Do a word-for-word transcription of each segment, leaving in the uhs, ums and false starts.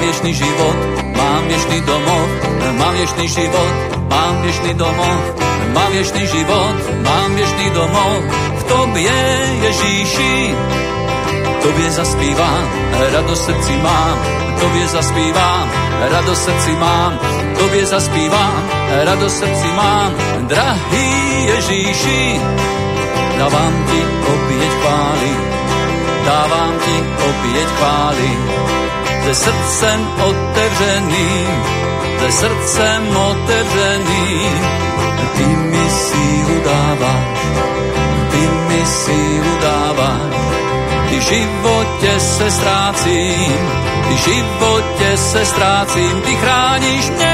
viečný život, mám viečný domov, mám viečný život, mám viečný domov, mám viečný život, mám viečný domov. V tobie, Ježíši, tobie zaspívam, radosť v srdci mám, tobie zaspívam, radosť v srdci mám, tobie zaspívam, radosť v srdci mám. Drahý Ježíši, dávam ti opieť chvály, dávam ti opieť chvály, ze srdcem otevřeným, ze srdcem otevřeným. Ty mi sílu dáváš, ty mi sílu dáváš, ty v životě se ztrácím, ty v životě se ztrácím, ty chráníš mě.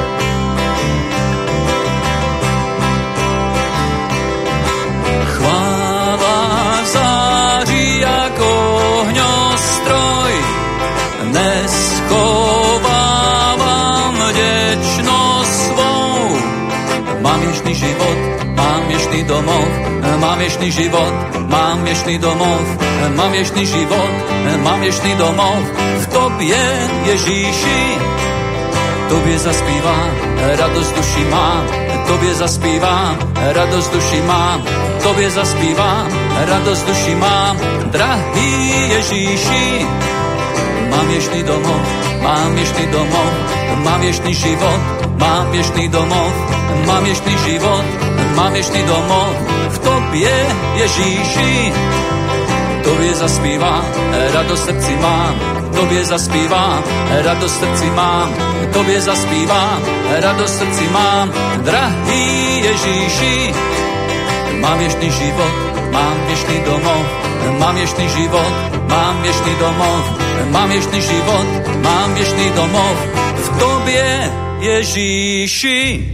Chvála září jako ohňostroj, neschovávám vděčnost svou. Mám věčný život, mám věčný domov, mám věčný život, mám věčný domov, mám věčný život, mám věčný domov. V tobě, Ježíši, tobě zaspívám, radost duši mám, tobě zaspívám, radost duši mám, tobě zaspívám, radost duši mám. Drahý Ježíši, mám věčný domov, mám věčný domov, mám věčný život, mám věčný domov, mám věčný život, mám věčný domov. V tobě, Ježíši, tobě zaspívám, radost v srdci mám, tobě zaspívám, radost v srdci mám, tobě zaspívám, radost v srdci mám. Drahý Ježíši, mám věčný život, mám věčný domov, mám věčný život, mám věčný domov, mám věčný život, mám věčný domov. V tobě, Ježíši.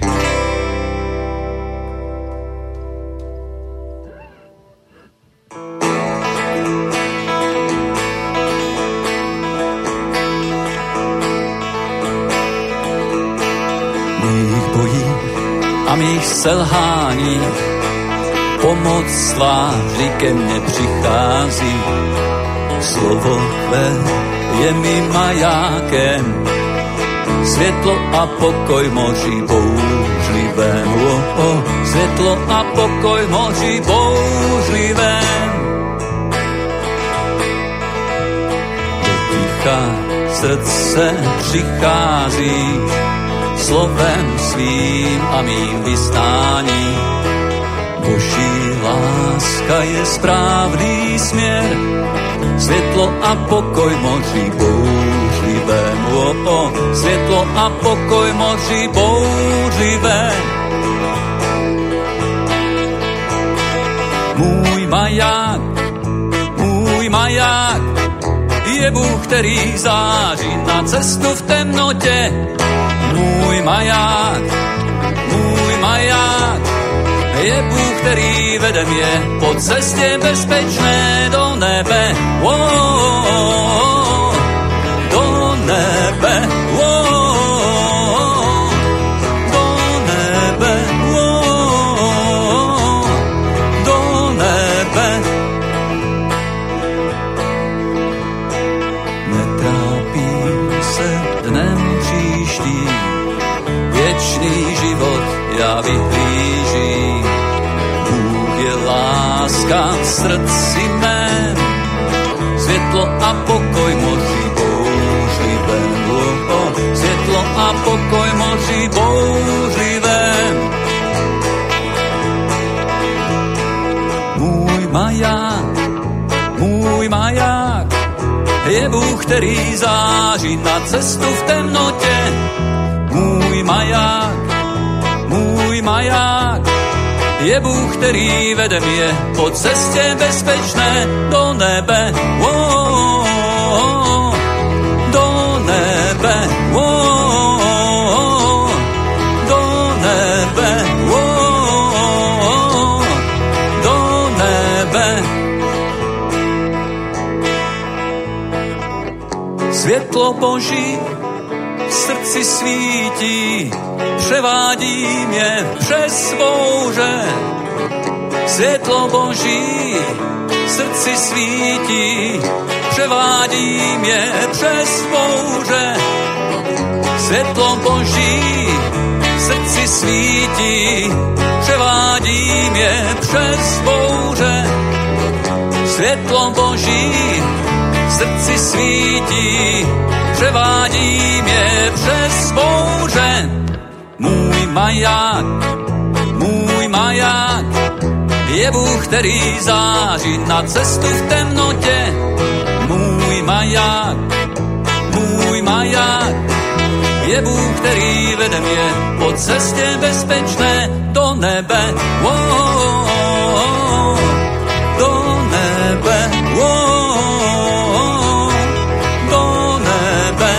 Mých bojí a mých selhání pomoc svá vždy ke mne přichází. Slovo tvé je mi majákem, světlo a pokoj moří bouřlivém. Oh, oh, světlo a pokoj moří bouřlivém. Do ticha srdce přichází, slovem svým a mým vystáním. Boží láska je správný směr, světlo a pokoj moří bouřlivém. Oh, oh, světlo a pokoj moří bouřlivém. Můj maják, můj maják je Bůh, který září na cestu v temnotě. Můj maják, můj maják je Bůh, který vede mě po cestě bezpečné do nebe. Oh, oh, oh, do nebe. Oh, oh, do nebe. Oh, oh, do nebe. Netrápím se dnem příštím, věčný život já vyhlížím. Bůh je láska v srdci mém, světlo a pokoj moří bouřlivém. Oh, oh, světlo a pokoj moří bouřlivém. Můj maják, můj maják je Bůh, který září na cestu v temnotě. Můj maják, můj maják je Bůh, který vede mě po cestě bezpečné do nebe. Oh, oh, oh, do nebe. Oh, oh, do nebe. Oh, oh, do nebe. Světlo Boží v srdci svítí, převádí mě přes bouře. Světlo Boží v srdci svítí, převádí mě přes bouře. Svetlo Boží v srdci svítí, převádím je přes bouře. Svetlo Boží v srdci svítí, převádím je přes bouře. Můj maják, můj maják, je Bůh, který září na cestu v temnotě. Můj maják, můj maják, je Bůh, který vede mě po cestě bezpečné do nebe. Oh, do nebe, oh, do nebe,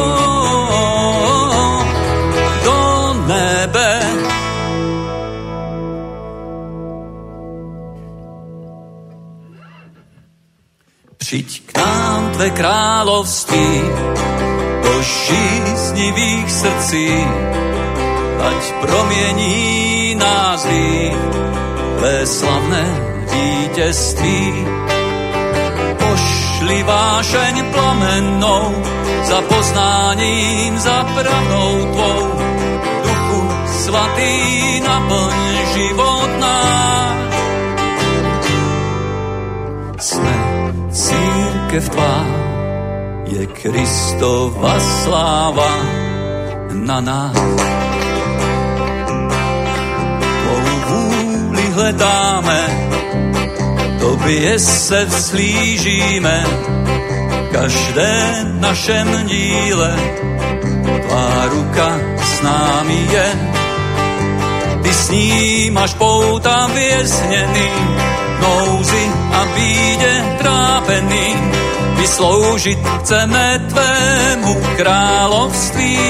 oh, do nebe. Přijď k nám tvé království, do žíznivých srdcí, ať promění nás hřích tvé slavné vítězství. Pošli vášeň plamennou za poznáním, za pravdou tvou. Duchu svatý, naplň život náš. Jsme církev tvá, je Kristova sláva na nás. Tvou vůli hledáme, tobě se vzhlížíme, každé našem díle tvá ruka s námi je. Ty snímáš pouta vězněný, nouzi a bídě trápený. Vysloužit chceme tvému království.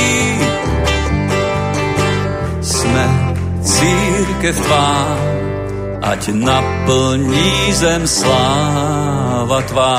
Jsme církev tvá, ať naplní zem sláva tvá.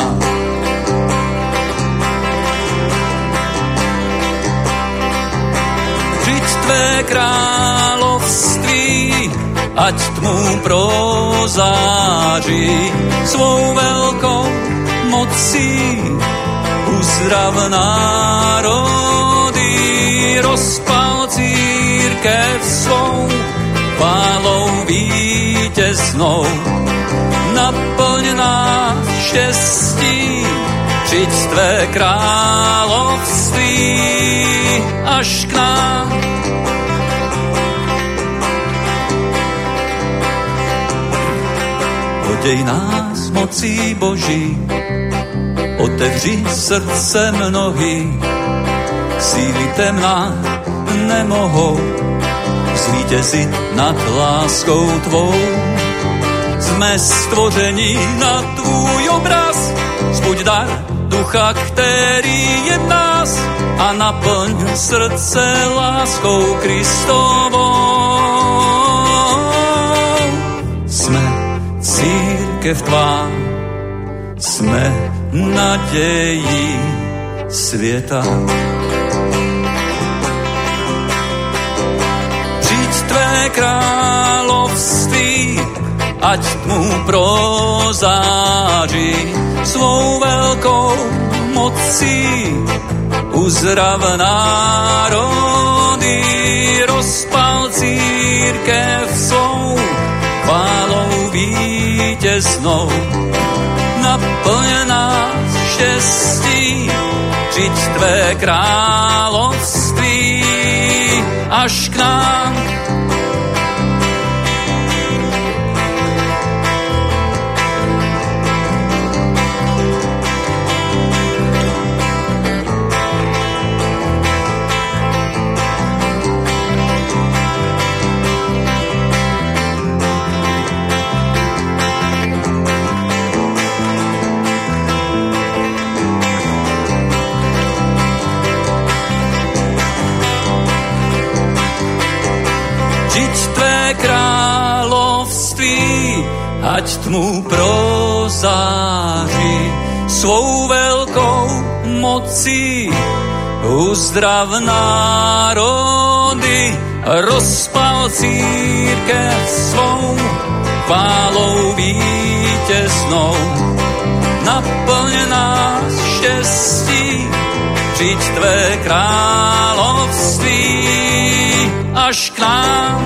Přijď tvé království, ať tmu prozáří svou velkou mocí. Uzdrav národy, rozpal církev svou, chválou vítěznou. Naplň nás štěstí, přijď tvé království až k nám. Oděj nás mocí Boží, otevři srdce mnohý, síly temná nemohou zvítězit nad láskou tvou. Jsme stvoření na tvůj obraz, zbuď dar ducha, který je v nás, a naplň srdce láskou Kristovou. Jsme církev tvá, jsme nadějí světa. Přijď tvé království, ať tmu prozáří svou velkou mocí. Uzdrav národy, rozpal církev svou, chválou vítěznou. Naplň nás štěstí, přijď tvé království až k nám. Ať tmu prozáří svou velkou mocí. Uzdrav národy, rozpal církev svou, chválou vítěznou. Naplň nás štěstí, šířiť tvé království až k nám.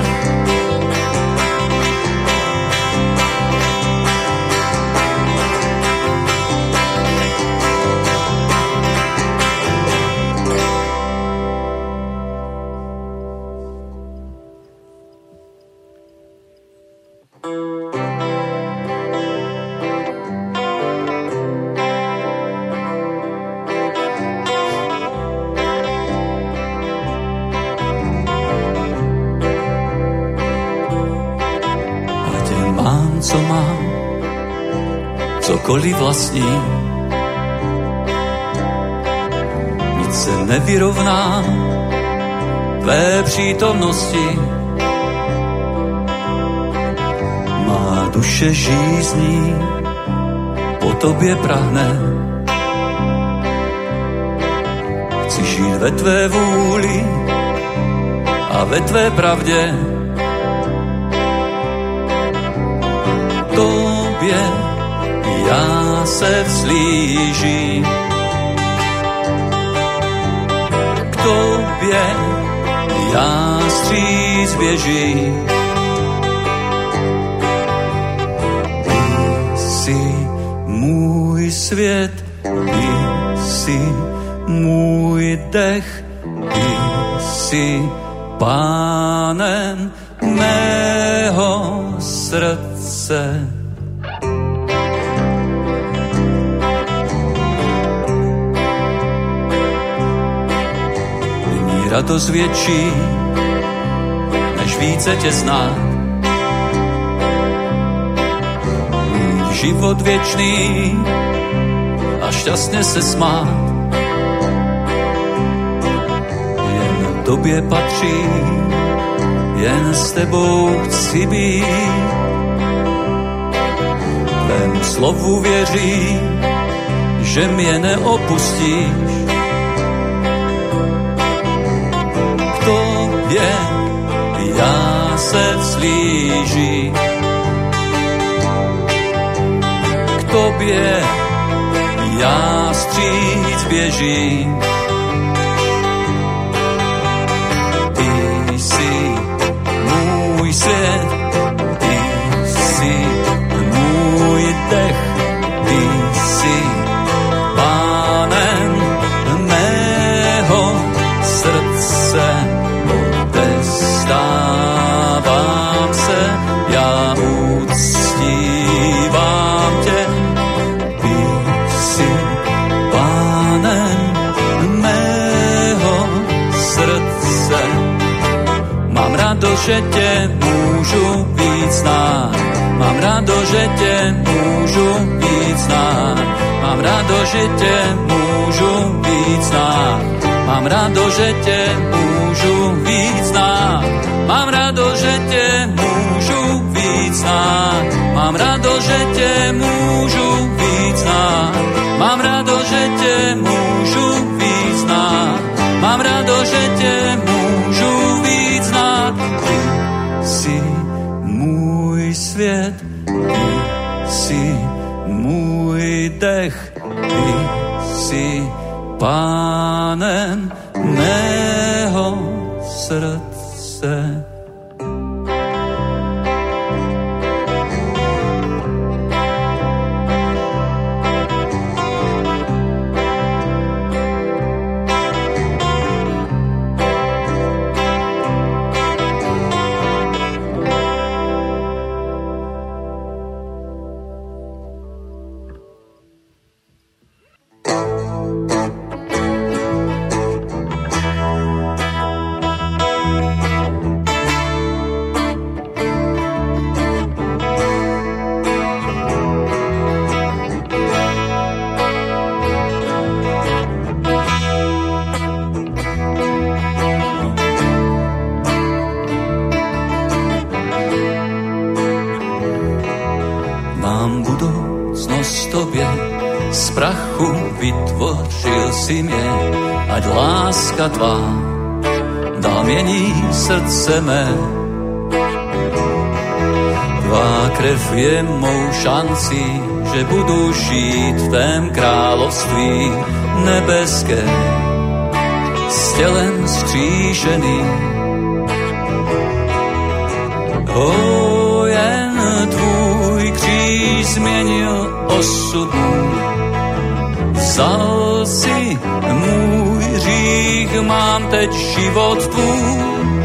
Co mám, cokoliv vlastní, nic se nevyrovná tvé přítomnosti. Má duše žízní, po tobě prahne. Chci žít ve tvé vůli a ve tvé pravdě. Tobě já se vzlížím, k tobě já stříc běžím. Ty jsi můj svět, ty jsi můj dech, ty jsi pánem mého srdce. Nyní radost větší, než více tě znát. Mít život věčný a šťastně se smát. Jen tobě patří, jen s tebou chci být. Tvému slovu věřím, že mě neopustíš. K tobě já se vzlížím, k tobě já stříc běžím. Ty jsi můj svět, ty jsi můj dech, ty jsi pánem mého srdce. Odevzdávám se, já uctívám tě, ty jsi pánem mého srdce. Mám radost, že tě můžu víc znát. Mám radost, že tě můžu víc znát. Mám radost, že tě můžu víc znát. Mám radost, že tě můžu víc znát. Mám radost, že tě můžu víc znát. Mám radost, že tě můžu víc znát. Mám radost, že tě můžu víc znát. Mám radost, že tě můžu víc znát. Ty jsi můj svět, ty jsi můj dech, ty jsi pánem mého srdce. Vytvořil si mě, ať láska tvá dál mění srdce mé. Tvá krev je mou šancí, že budu žít v tém království nebeské. s tělem skříšený. O, jen tvůj kříž změnil osud můj. Vzal si můj hřích, mám teď život tvůj.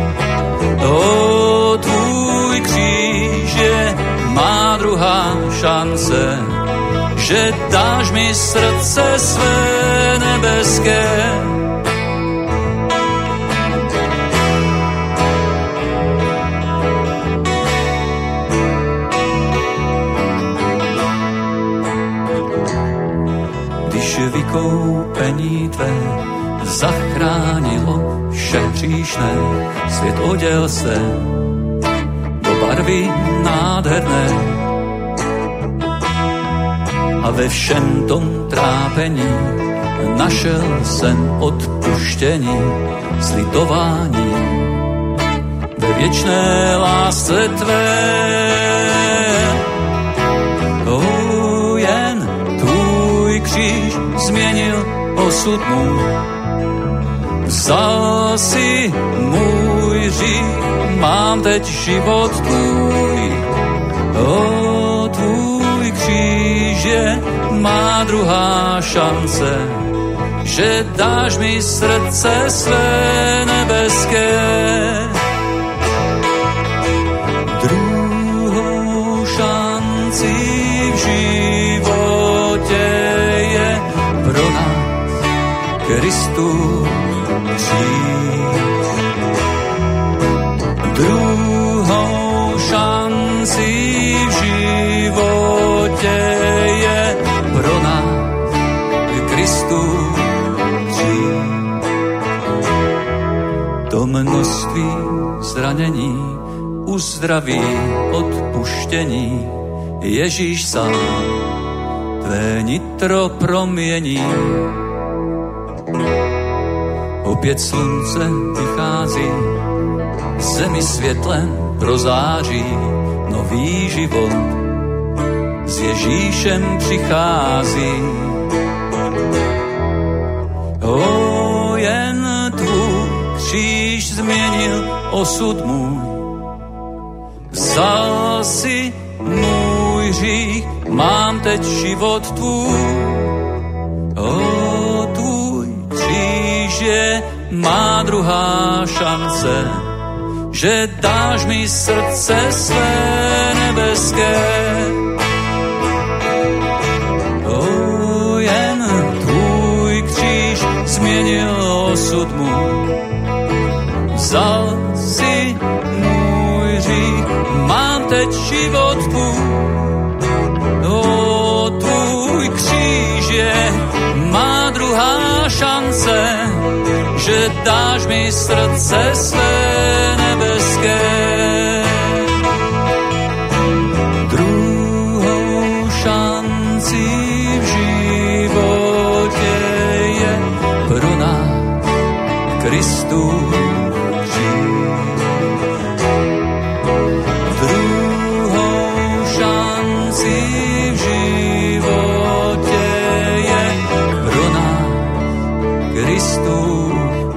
O, tvůj kříž je má druhá šance, že dáš mi srdce své nebeské. Když vykoupení tvé zachránilo vše hříšné, svět oděl se do barvy nádherné. A ve všem tom trápení našel jsem odpuštění, slitování ve věčné lásce tvé. O, jen tvůj kříž změnil osud můj. Vzal si můj hřích, mám teď život tvůj. O, tvůj kříž je má druhá šance, že dáš mi srdce své nebeské. Druhou šanci v životě je pro nás Kristův kříž. Druhou šanci v životě je pro nás Kristův kříž. To množství zranění uzdraví odpuštění, Ježíš sám tvé nitro promění. Opět slunce vychází, zemi světlem prozáří, nový život s Ježíšem přichází. O, jen tvůj kříž změnil osud můj. Vzal si můj hřích, mám teď život tvůj. O, tvůj kříž je má druhá šance, že dáš mi srdce své nebeské. O, jen tvůj kříž změnil osud můj. Vzal si můj hřích, mám teď život tvůj. O, tvůj kříž je má druhá šance, že dáš mi srdce své nebeské. Druhou šanci v životě je pro nás Kristův kříž. Druhou šanci v životě je pro nás Kristův.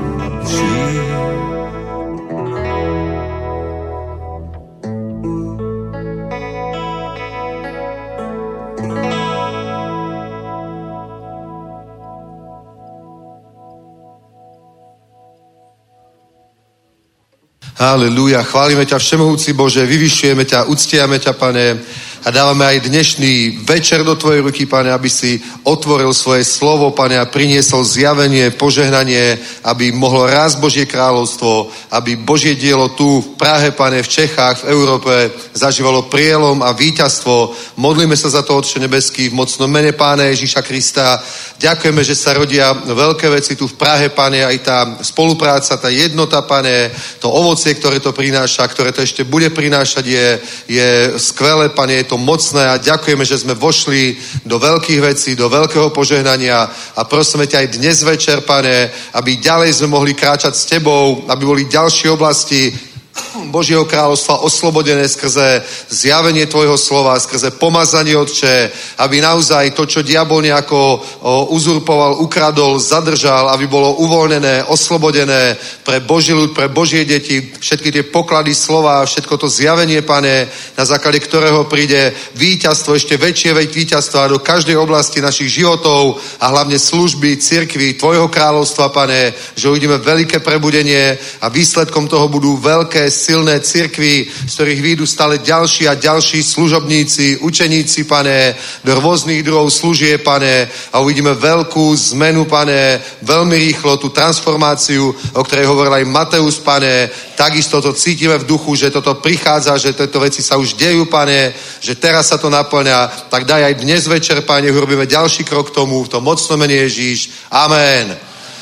Halelúja, chválime ťa všemohúci Bože, vyvyšujeme ťa, uctiame ťa, Pane, a dávame aj dnešný večer do tvojej ruky, Pane, aby si otvoril svoje slovo, Pane, a priniesol zjavenie, požehnanie, aby mohlo rásť Božie kráľovstvo, aby Božie dielo tu v Prahe, Pane, v Čechách, v Európe zažívalo prielom a víťazstvo. Modlíme sa za to, Otče nebeský, v mocnom mene Pána Ježíša Krista. Ďakujeme, že sa rodia veľké veci tu v Prahe, Pane, aj tá spolupráca, tá jednota, Pane, to ovocie, ktoré to prináša, ktoré to ešte bude prinášať, je, je skvelé, Pane, je to mocné a ďakujeme, že sme vošli do veľkých vecí, do veľkého požehnania a prosíme ťa aj dnes večer, Pane, aby ďalej sme mohli kráčať s tebou, aby boli ďalšie oblasti Božieho kráľovstva oslobodené skrze zjavenie tvojho slova, skrze pomazanie, Otče, aby naozaj to, čo diabol nejako uzurpoval, ukradol, zadržal, aby bolo uvoľnené, oslobodené pre Boží ľud, pre Božie deti, všetky tie poklady slova, všetko to zjavenie, Pane, na základe ktorého príde víťazstvo, ešte väčšie víťazstvo do každej oblasti našich životov a hlavne služby, cirkvi, tvojho kráľovstva, Pane, že uvidíme veľké prebudenie a výsledkom toho budú veľké, silné cirkvi, z ktorých výjdu stále ďalší a ďalší služobníci, učeníci, Pane, do rôznych druhov služie, Pane, a uvidíme veľkú zmenu, Pane, veľmi rýchlo, tú transformáciu, o ktorej hovoril aj Mateus, Pane, takisto to cítime v duchu, že toto prichádza, že tieto veci sa už dejú, Pane, že teraz sa to naplňa, tak daj aj dnes večer, Pane, urobíme ďalší krok k tomu, v tom mocnom mene Ježíš. Amen.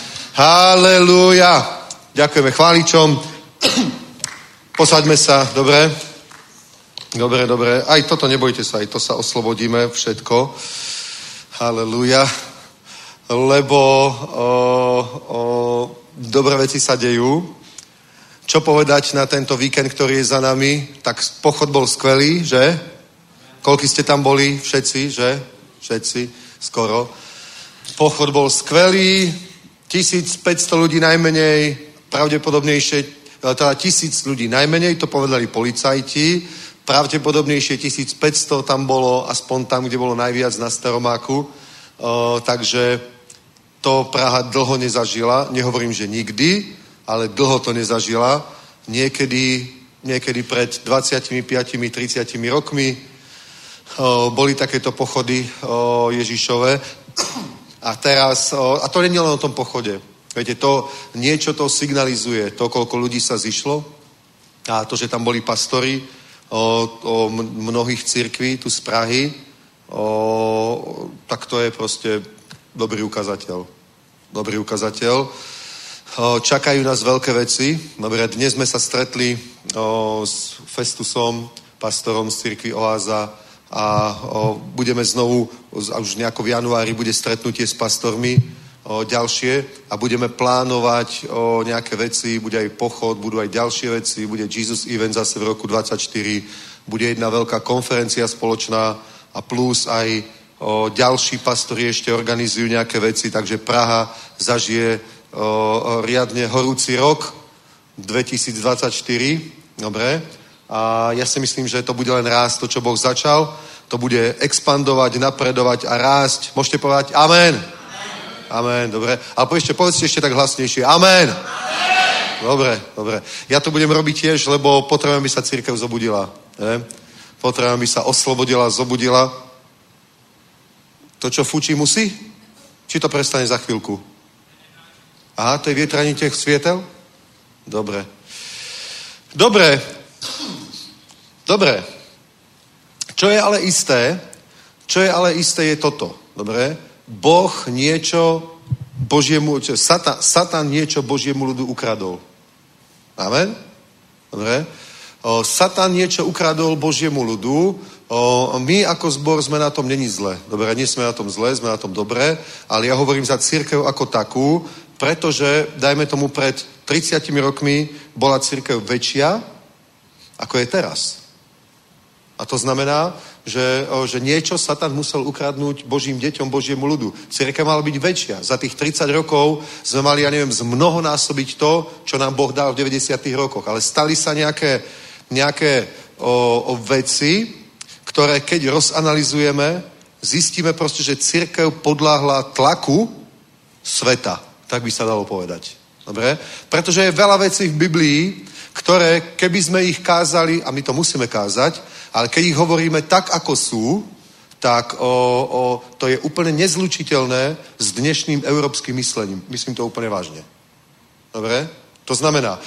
Halelúja. Ďakujeme chváličom. Posaďme sa, dobre? Dobre, dobre. Aj toto nebojte sa, aj to sa oslobodíme, všetko. Halelúja. Lebo o, o, dobré veci sa dejú. Čo povedať na tento víkend, ktorý je za nami? Tak pochod bol skvelý, že? Koľko ste tam boli? Všetci, že? Všetci, skoro. Pochod bol skvelý, tisícpäťsto ľudí najmenej, pravdepodobnejšie, teda tisíc ľudí najmenej, to povedali policajti, pravdepodobnejšie tisícpäťsto tam bolo, aspoň tam, kde bolo najviac na Staromáku, o, takže to Praha dlho nezažila, nehovorím, že nikdy, ale dlho to nezažila, niekedy, niekedy pred dvadsaťpäť tridsať rokmi o, boli takéto pochody o, Ježišove a teraz, o, a to nie je len o tom pochode, viete, to niečo to signalizuje, to, koľko ľudí sa zišlo a to, že tam boli pastori o, o mnohých cirkví tu z Prahy, o, tak to je proste dobrý ukazateľ. Dobrý ukazateľ. O, čakajú nás veľké veci. Dobre, dnes sme sa stretli o, s Festusom, pastorom z cirkvi Oáza a o, budeme znovu, a už nejako v januári bude stretnutie s pastormi o, ďalšie a budeme plánovať o, nejaké veci, bude aj pochod, budú aj ďalšie veci, bude Jesus Event zase v roku dvadsaťštyri, bude jedna veľká konferencia spoločná a plus aj o, ďalší pastori ešte organizujú nejaké veci, takže Praha zažije o, o, riadne horúci rok dvetisícdvadsaťštyri, dobre, a ja si myslím, že to bude len rásť, to, čo Boh začal, to bude expandovať, napredovať a rásť. Môžete povedať amen? Amen, amen, dobre. Ale ešte povedzte ešte tak hlasnejšie. Amen. Amen. Dobre, dobre. Ja to budem robiť tiež, lebo potrebujem, aby sa cirkev zobudila. Ne? Potrebujem, aby sa oslobodila, zobudila. To, čo fučí, musí? Či to prestane za chvíľku? Aha, to je vietraní tých svietel? Dobre. Dobre. Dobre. Čo je ale isté, čo je ale isté je toto. Dobre? Boh niečo Božiemu, čo, Satan, Satan niečo Božiemu ľudu ukradol. Amen? Dobre? O, Satan niečo ukradol Božiemu ľudu. O, my ako zbor sme na tom není zle. Dobre, nie sme na tom zle, sme na tom dobré, ale ja hovorím za cirkev ako takú, pretože, dajme tomu, pred tridsiatimi rokmi bola cirkev väčšia, ako je teraz. A to znamená, že, že niečo Satan musel ukradnúť Božím deťom, Božiemu ľudu. Cirkev mala byť väčšia. Za tých tridsať rokov sme mali, ja neviem, zmnohonásobiť to, čo nám Boh dal v deväťdesiatych rokoch. Ale stali sa nejaké, nejaké o, o veci, ktoré keď rozanalizujeme, zistíme proste, že cirkev podľahla tlaku sveta. Tak by sa dalo povedať. Dobre? Pretože je veľa vecí v Biblii, ktoré, keby sme ich kázali, a my to musíme kázať, ale keď ich hovoríme tak, ako sú, tak o, o, to je úplne nezlučiteľné s dnešným európskym myslením. Myslím to úplne vážne. Dobre? To znamená,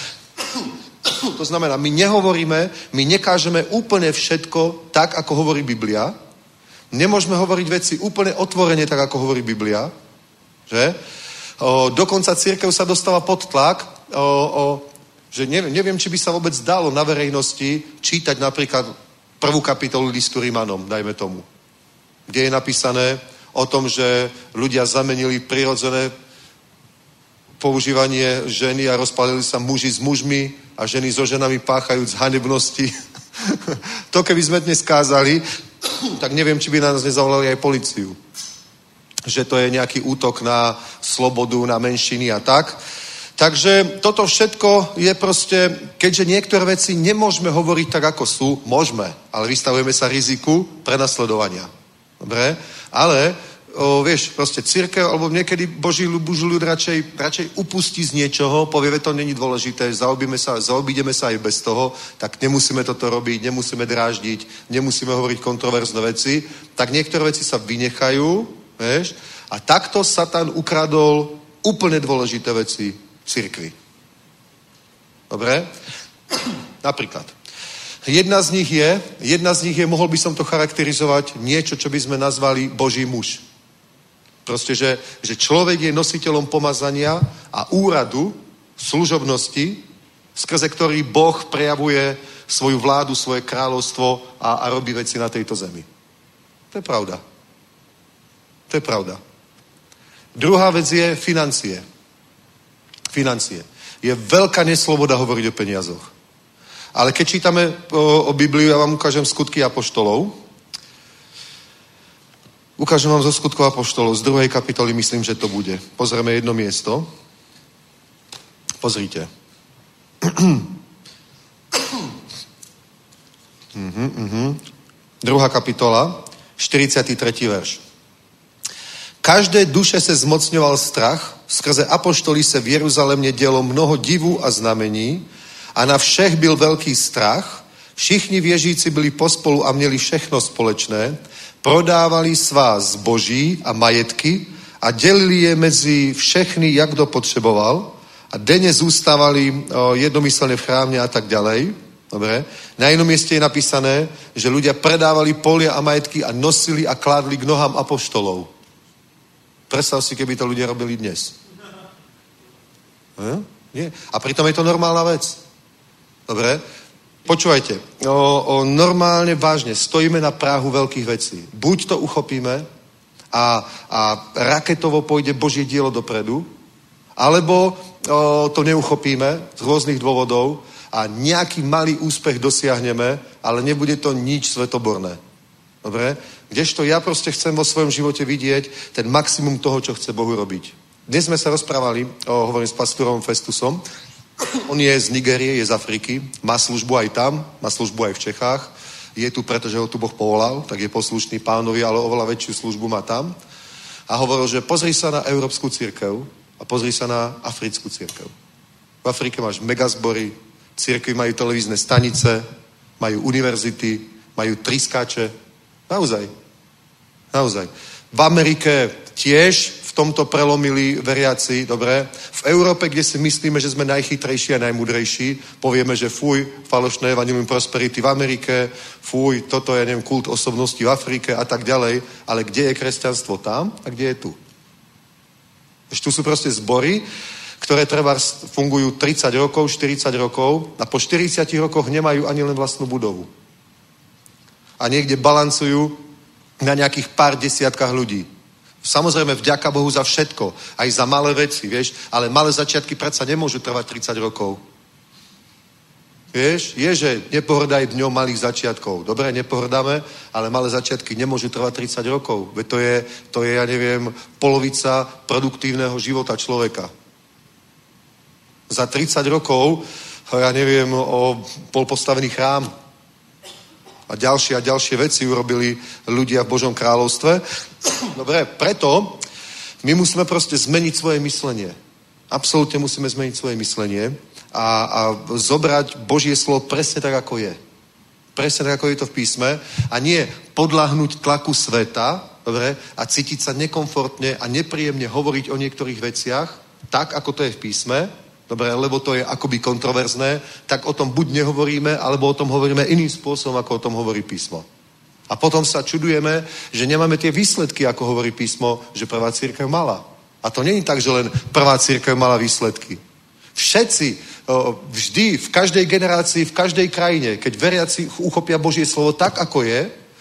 to znamená, my nehovoríme, my nekážeme úplne všetko tak, ako hovorí Biblia. Nemôžeme hovoriť veci úplne otvorene, tak, ako hovorí Biblia. Že? O, dokonca cirkev sa dostala pod tlak, o, o, že neviem, neviem, či by sa vôbec dalo na verejnosti čítať napríklad prvú kapitolu listu Rimanom, dajme tomu. Kde je napísané o tom, že ľudia zamenili prirodzené používanie ženy a rozpálili sa muži s mužmi a ženy so ženami páchajúc hanebnosti. To keby sme dnes kázali, tak neviem, či by nás nezavolali aj políciu. Že to je nejaký útok na slobodu, na menšiny a tak. Takže toto všetko je proste, keďže niektoré veci nemôžeme hovoriť tak, ako sú, môžeme, ale vystavujeme sa riziku prenasledovania. Dobre? Ale O, vieš, proste cirkev, alebo niekedy Boží ľud radšej, radšej upustí z niečoho, povie, že to není dôležité, zaobídeme sa, zaobídeme sa aj bez toho, tak nemusíme toto robiť, nemusíme dráždiť, nemusíme hovoriť kontroverzné veci, tak niektoré veci sa vynechajú, vieš, a takto Satan ukradol úplne dôležité veci cirkvi. Dobre? Napríklad. Jedna z nich je, jedna z nich je, mohol by som to charakterizovať, niečo, čo by sme nazvali Boží muž. Proste, že, že človek je nositeľom pomazania a úradu, služobnosti, skrze ktorý Boh prejavuje svoju vládu, svoje kráľovstvo a, a robí veci na tejto zemi. To je pravda. To je pravda. Druhá vec je financie. Financie. Je veľká nesloboda hovoriť o peniazoch. Ale keď čítame o, o Bibliu, ja vám ukážem skutky apoštolov. Ukážem vám zo skutkov apoštolov, z druhej kapitoly myslím, že to bude. Pozrieme jedno miesto. Pozrite. uh-huh, uh-huh. Druhá kapitola, štyridsiaty tretí verš. Každé duše se zmocňoval strach, skrze apoštolí se v Jeruzalémě dělo mnoho divů a znamení a na všech byl velký strach. Všichni věřící byli pospolu a měli všechno společné, prodávali svá zboží a majetky a dělili je mezi všechny, jak kdo potřeboval a denně zůstávali o, jednomyslně v chrámě a tak ďalej. Dobre? Na jednom mieste je napísané, že ľudia predávali polia a majetky a nosili a kládli k nohám apoštolov. Predstav si, keby to ľudia robili dnes. Hm? Nie. A pritom je to normálna vec. Dobre? Počúvajte, o, o, normálne, vážne, stojíme na práhu veľkých vecí. Buď to uchopíme a, a raketovo pôjde Božie dielo dopredu, alebo o, to neuchopíme z rôznych dôvodov a nejaký malý úspech dosiahneme, ale nebude to nič svetoborné. Dobre? Kdežto ja proste chcem vo svojom živote vidieť ten maximum toho, čo chce Bohu robiť. Dnes sme sa rozprávali, o, hovorím s pastorom Festusom. On je z Nigérie, je z Afriky, má službu aj tam, má službu aj v Čechách. Je tu, pretože ho tu Boh povolal, tak je poslušný Pánovi, ale oveľa väčšiu službu má tam. A hovoril, že pozri sa na európsku cirkev a pozri sa na africkú cirkev. V Afrike máš megazbory, cirkvi majú televízne stanice, majú univerzity, majú triskáče. Naozaj. Naozaj. V Amerike tiež v tomto prelomili veriaci, dobre? V Európe, kde si myslíme, že sme najchytrejší a najmudrejší, povieme, že fuj, falošné evangelium prosperity v Amerike, fuj, toto je, neviem, kult osobnosti v Afrike a tak ďalej, ale kde je kresťanstvo tam a kde je tu? Ešte tu sú proste zbory, ktoré treba fungujú tridsať rokov, štyridsať rokov a po štyridsiatich rokoch nemajú ani len vlastnú budovu. A niekde balancujú na nejakých pár desiatkách ľudí. Samozrejme, vďaka Bohu za všetko, aj za malé veci, vieš, ale malé začiatky predsa nemôžu trvať tridsať rokov. Vieš, je, že nepohrdaj dňom malých začiatkov. Dobre, nepohrdáme, ale malé začiatky nemôžu trvať tridsať rokov. Veď to je, to je, ja neviem, polovica produktívneho života človeka. Za tridsať rokov, ja neviem, o bol postavený chrám. A ďalšie a ďalšie veci urobili ľudia v Božom kráľovstve. Dobre, preto my musíme proste zmeniť svoje myslenie. Absolútne musíme zmeniť svoje myslenie a, a zobrať Božie slovo presne tak, ako je. Presne tak, ako je to v písme a nie podľahnúť tlaku sveta, dobre, a cítiť sa nekomfortne a nepríjemne hovoriť o niektorých veciach, tak, ako to je v písme, dobre, lebo to je akoby kontroverzné, tak o tom buď nehovoríme, alebo o tom hovoríme iným spôsobom, ako o tom hovorí písmo. A potom sa čudujeme, že nemáme tie výsledky, ako hovorí písmo, že prvá cirkev mala. A to nie je tak, že len prvá cirkev mala výsledky. Všetci, vždy, v každej generácii, v každej krajine, keď veriaci uchopia Božie slovo tak, ako je,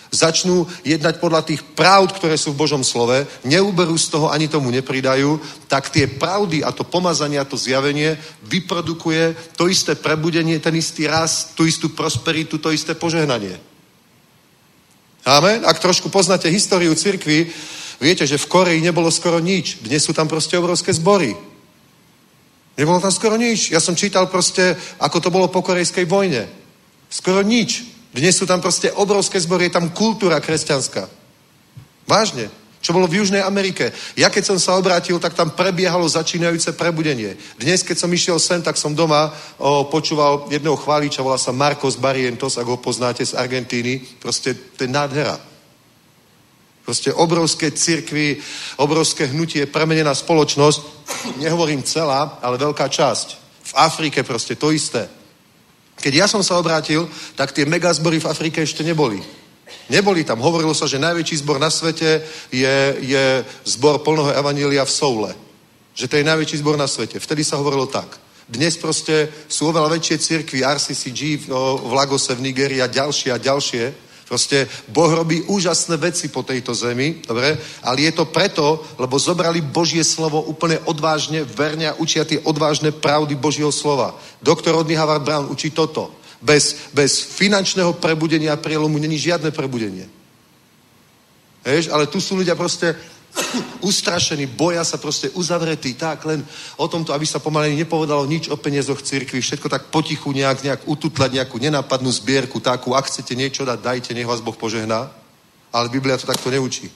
začnú jednať podľa tých pravd, ktoré sú v Božom slove, neuberú z toho, ani tomu nepridajú, tak tie pravdy a to pomazanie a to zjavenie vyprodukuje to isté prebudenie, ten istý rast, tú istú prosperitu, to isté požehnanie. Amen? Ak trošku poznáte históriu cirkvi, viete, že v Koreji nebolo skoro nič. Dnes sú tam proste obrovské zbory. Nebolo tam skoro nič. Ja som čítal proste, ako to bolo po korejskej vojne. Skoro nič. Dnes sú tam proste obrovské zbory, je tam kultúra kresťanská. Vážne. Čo bolo v Južnej Amerike. Ja keď som sa obrátil, tak tam prebiehalo začínajúce prebudenie. Dnes, keď som išiel sem, tak som doma o, počúval jedného chváliča, volá sa Marcos Barrientos, ak ho poznáte z Argentíny. Proste to je nádhera. Proste obrovské cirkvi, obrovské hnutie, premenená spoločnosť. Nehovorím celá, ale veľká časť. V Afrike proste to isté. Keď ja som sa obrátil, tak tie megazbory v Afrike ešte neboli. Neboli tam. Hovorilo sa, že najväčší zbor na svete je, je zbor plného evanjelia v Soule. Že to je najväčší zbor na svete. Vtedy sa hovorilo tak. Dnes proste sú oveľa väčšie cirkvi, R C C G v, v Lagose v Nigerii a ďalšie a ďalšie. Proste Boh robí úžasné veci po tejto zemi, dobre? Ale je to preto, lebo zobrali Božie slovo úplne odvážne, verne a učia tie odvážne pravdy Božieho slova. Doktor Rodney Howard Brown učí toto. Bez, bez finančného prebudenia a prielomu není žiadne prebudenie. Hež? Ale tu sú ľudia proste ustrašení, boja sa proste uzavretí, tak len o tomto, aby sa pomaly nepovedalo nič o peniazoch cirkvi, všetko tak potichu nejak, nejak ututlať nejakú nenápadnú zbierku, takú, ak chcete niečo dať, dajte, nech vás Boh požehná. Ale Biblia to takto neučí.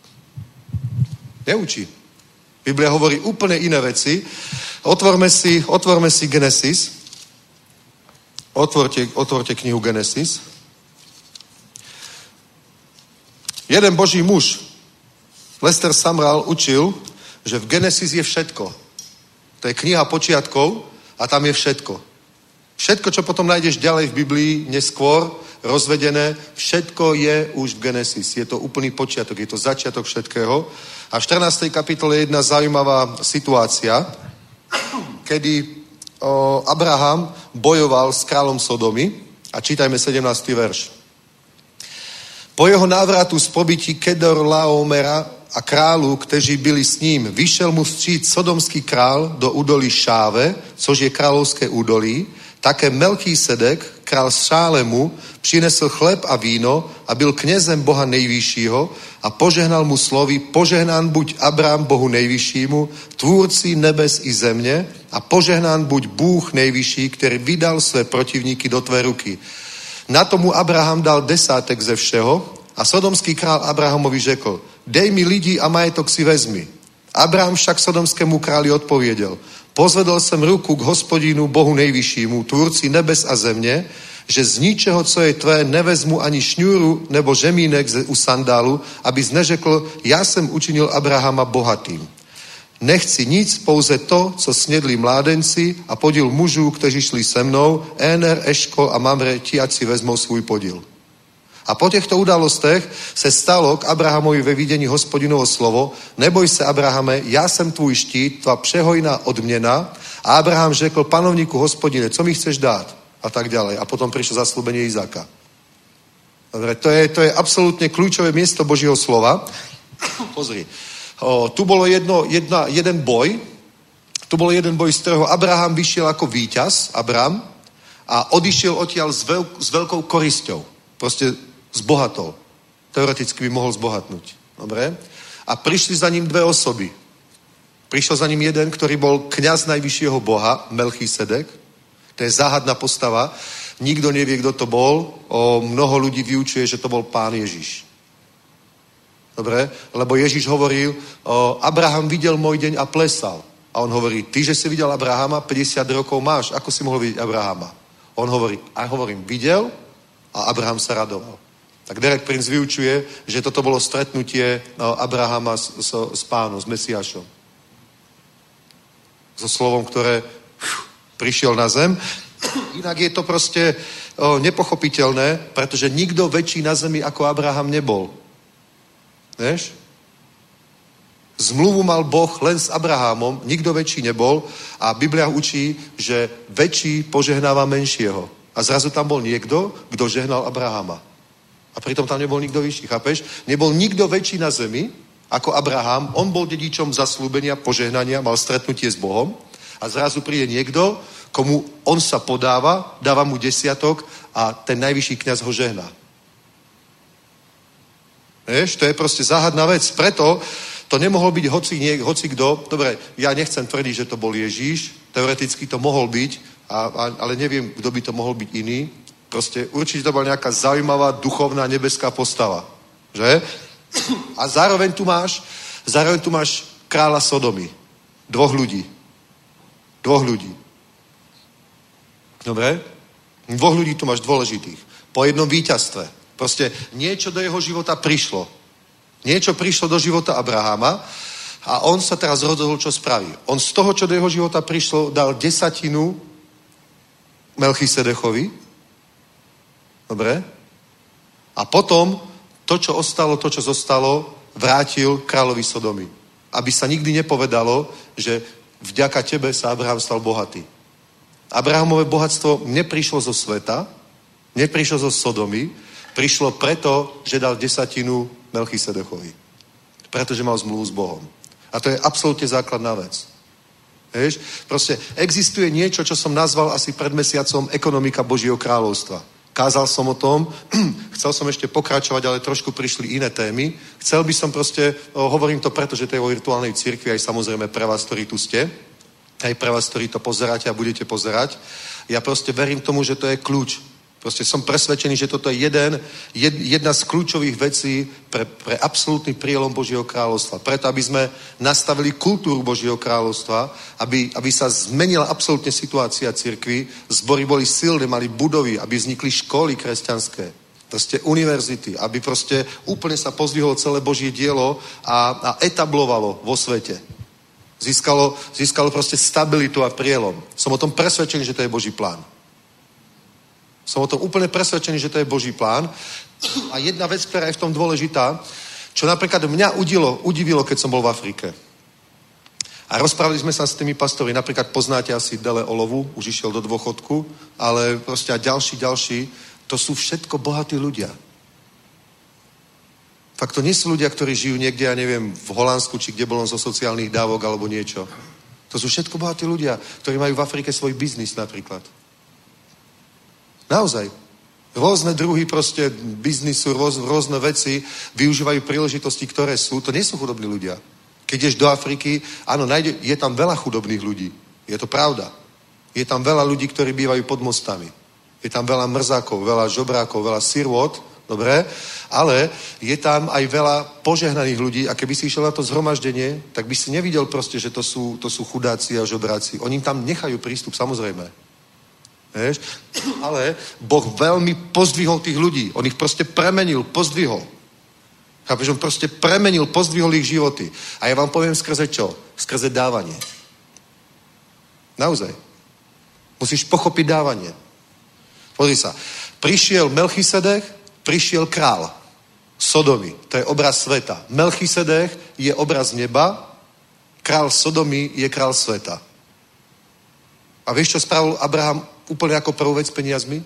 Neučí. Biblia hovorí úplne iné veci. Otvorme si, otvorme si Genesis. Otvorte, otvorte knihu Genesis. Jeden Boží muž, Lester Sumrall, učil, že v Genesis je všetko. To je kniha počiatkov a tam je všetko. Všetko, čo potom nájdeš ďalej v Biblii, neskôr rozvedené, všetko je už v Genesis. Je to úplný počiatok, je to začiatok všetkého. A v štrnástej kapitole je jedna zaujímavá situácia, kedy o, Abraham bojoval s kráľom Sodomy a čítajme sedemnásty verš. Po jeho návratu z pobytí Kedor Laomera a králu, kteří byli s ním, vyšel mu vstříc sodomský král do údolí Šáve, což je královské údolí. Také Melchísedek, král Šálemu, přinesl chleb a víno a byl knězem Boha nejvyššího a požehnal mu slovy: požehnán buď Abrám Bohu nejvyššímu, tvůrci nebes i země, a požehnán buď Bůh nejvyšší, který vydal své protivníky do tvé ruky. Na tomu Abraham dal desátek ze všeho a sodomský král Abrahamovi řekl: dej mi lidi a majetok si vezmi. Abraham však sodomskému králi odpověděl: pozvedl jsem ruku k Hospodinu Bohu nejvyššímu, tvůrci nebes a země, že z ničeho, co je tvé, nevezmu ani šňůru nebo žemínek u sandálu, abys neřekl: já jsem učinil Abrahama bohatým. Nechci nic, pouze to, co snědli mládenci a podíl mužů, kteří šli se mnou, Éner, Eškol a Mamre, ti ať si vezmou svůj podíl. A po těchto událostech se stalo k Abrahamovi ve vidění Hospodinovo slovo: neboj se, Abrahame, já jsem tvůj štít, tvá přehojná odměna. A Abraham řekl: panovníku Hospodine, co mi chceš dát? A tak ďalej. A potom prišlo zasľúbenie Izáka. Dobre, to je, to je absolútne kľúčové miesto Božieho slova. Pozri. O, tu bolo jedno, jedna, jeden boj, tu bol jeden boj, z ktorého Abraham vyšiel ako víťaz, Abraham, a odišiel odtiaľ s, veľk, s veľkou korisťou. Proste zbohatol. Teoreticky by mohol zbohatnúť. Dobre? A prišli za ním dve osoby. Prišiel za ním jeden, ktorý bol kňaz najvyššieho Boha, Melchísedek. To je záhadná postava. Nikto nevie, kto to bol. O, mnoho ľudí vyučuje, že to bol Pán Ježiš. Dobre? Lebo Ježiš hovoril: o, Abraham videl môj deň a plesal. A on hovorí: ty, že si videl Abrahama, päťdesiat rokov máš. Ako si mohol vidieť Abrahama? On hovorí: a hovorím, videl a Abraham sa radoval. Tak Derek Prince vyučuje, že toto bolo stretnutie no, Abrahama s, s, s Pánom, s Mesiášom. So slovom, ktoré prišiel na zem. Inak je to proste o, nepochopiteľné, pretože nikto väčší na zemi ako Abraham nebol. Vieš? Zmluvu mal Boh len s Abrahamom, nikto väčší nebol a Biblia učí, že väčší požehnáva menšieho. A zrazu tam bol niekto, kto žehnal Abrahama. A pritom tam nebol nikto vyšší, chápeš? Nebol nikto väčší na zemi ako Abraham. On bol dedičom zasľúbenia, požehnania, mal stretnutie s Bohom a zrazu príde niekto, komu on sa podáva, dáva mu desiatok a ten najvyšší kňaz ho žehná. Vieš, to je proste záhadná vec. Preto to nemohol byť hoci, nie, hoci kto. Dobre, ja nechcem tvrdiť, že to bol Ježíš. Teoreticky to mohol byť, a, a, ale neviem, kto by to mohol byť iný. Proste určite to bola nejaká zaujímavá, duchovná, nebeská postava. Že? A zároveň tu máš, zároveň tu máš kráľa Sodomy. Dvoch ľudí. Dvoch ľudí. Dobre? Dvoch ľudí tu máš dôležitých. Po jednom víťazstve. Proste niečo do jeho života prišlo. Niečo prišlo do života Abraháma a on sa teraz rozhodol, čo spraví. On z toho, čo do jeho života prišlo, dal desatinu Melchisedechovi. Dobre? A potom to, čo ostalo, to, čo zostalo, vrátil kráľovi Sodomy. Aby sa nikdy nepovedalo, že vďaka tebe sa Abraham stal bohatý. Abrahamové bohatstvo neprišlo zo sveta, neprišlo zo Sodomy, prišlo preto, že dal desatinu Melchisedechovi. Pretože mal zmluvu s Bohom. A to je absolútne základná vec. Vieš? Proste existuje niečo, čo som nazval asi pred mesiacom ekonomika Božieho kráľovstva. Kázal som o tom, chcel som ešte pokračovať, ale trošku prišli iné témy. Chcel by som proste, hovorím to preto, že to je vo virtuálnej cirkvi, aj samozrejme pre vás, ktorí tu ste, aj pre vás, ktorí to pozeráte a budete pozerať. Ja proste verím tomu, že to je kľúč. Proste som presvedčený, že toto je jeden, jed, jedna z kľúčových vecí pre, pre absolútny prielom Božieho kráľovstva. Preto, aby sme nastavili kultúru Božieho kráľovstva, aby, aby sa zmenila absolútne situácia cirkvi, zbory boli silné, mali budovy, aby vznikli školy kresťanské, proste univerzity, aby proste úplne sa pozdvihlo celé Božie dielo a, a etablovalo vo svete. Získalo, získalo proste stabilitu a prielom. Som o tom presvedčený, že to je Boží plán. Som o tom úplne presvedčený, že to je Boží plán. A jedna vec, ktorá je v tom dôležitá, čo napríklad mňa udilo, udivilo, keď som bol v Afrike. A rozprávali sme sa s tými pastori. Napríklad poznáte asi Dele Olovu, už išiel do dôchodku, ale proste a ďalší, ďalší, to sú všetko bohatí ľudia. Fakt to nie sú ľudia, ktorí žijú niekde, ja neviem, v Holandsku, či kde bolo zo sociálnych dávok, alebo niečo. To sú všetko bohatí ľudia, ktorí majú v Afrike svoj biznis napríklad. Naozaj. Rôzne druhy proste biznisu, rôz, rôzne veci využívajú príležitosti, ktoré sú. To nie sú chudobní ľudia. Keď ideš do Afriky, áno, nájde, je tam veľa chudobných ľudí. Je to pravda. Je tam veľa ľudí, ktorí bývajú pod mostami. Je tam veľa mrzákov, veľa žobrákov, veľa sirôt, dobre? Ale je tam aj veľa požehnaných ľudí a keby si išiel na to zhromaždenie, tak by si nevidel proste, že to sú, to sú chudáci a žobráci. Oni im tam nechajú prístup, samozrejme. Vieš? Ale Boh veľmi pozdvihol tých ľudí. On ich proste premenil, pozdvihol. Chápeš? On proste premenil, pozdvihol ich životy. A ja vám poviem skrze čo? Skrze dávanie. Naozaj. Musíš pochopiť dávanie. Pozri sa. Prišiel Melchisedech, prišiel král Sodomy. To je obraz sveta. Melchisedech je obraz neba, král Sodomy je král sveta. A vieš, čo spravil Abraham úplne ako prvú vec s peniazmi?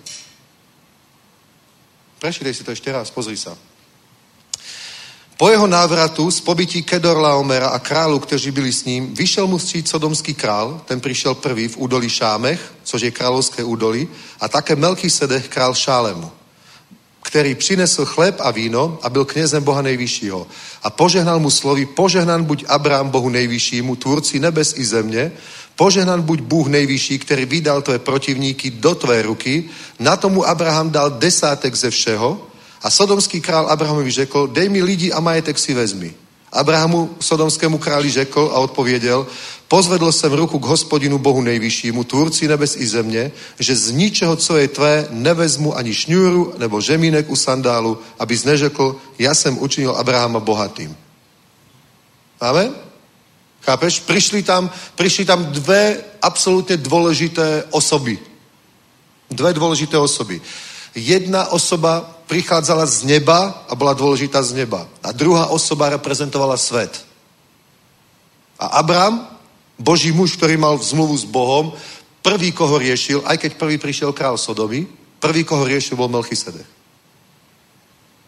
Prečítaj si to ešte raz, pozri sa. Po jeho návratu z pobytí Kedorlaomera a králu, kteří byli s ním, vyšel mu vstříc sodomský král, ten přišel prvý v údolí Šámech, což je královské údolí, a také Melchisedech král Šálemu, který přinesl chléb a víno a byl knězem Boha nejvyššího. A požehnal mu slovy, požehnan buď Abrám Bohu nejvyššímu, tvůrci nebes i země, požehnan buď Bůh nejvyšší, který vydal tvé protivníky do tvé ruky, na tomu Abraham dal desátek ze všeho a sodomský král Abrahamovi řekl, dej mi lidi a majetek si vezmi. Abrahamu sodomskému králi řekl a odpověděl, pozvedl jsem ruku k Hospodinu Bohu nejvyššímu, tvůrci nebes i země, že z ničeho, co je tvé, nevezmu ani šňůru nebo žemínek u sandálu, abys neřekl, já jsem učinil Abrahama bohatým. Amen? Chápeš? Prišli tam, prišli tam dve absolútne dôležité osoby. Dve dôležité osoby. Jedna osoba prichádzala z neba a bola dôležitá z neba. A druhá osoba reprezentovala svet. A Abram, Boží muž, ktorý mal zmluvu s Bohom, prvý, koho riešil, aj keď prvý prišiel král Sodomy, prvý, koho riešil, bol Melchisedech.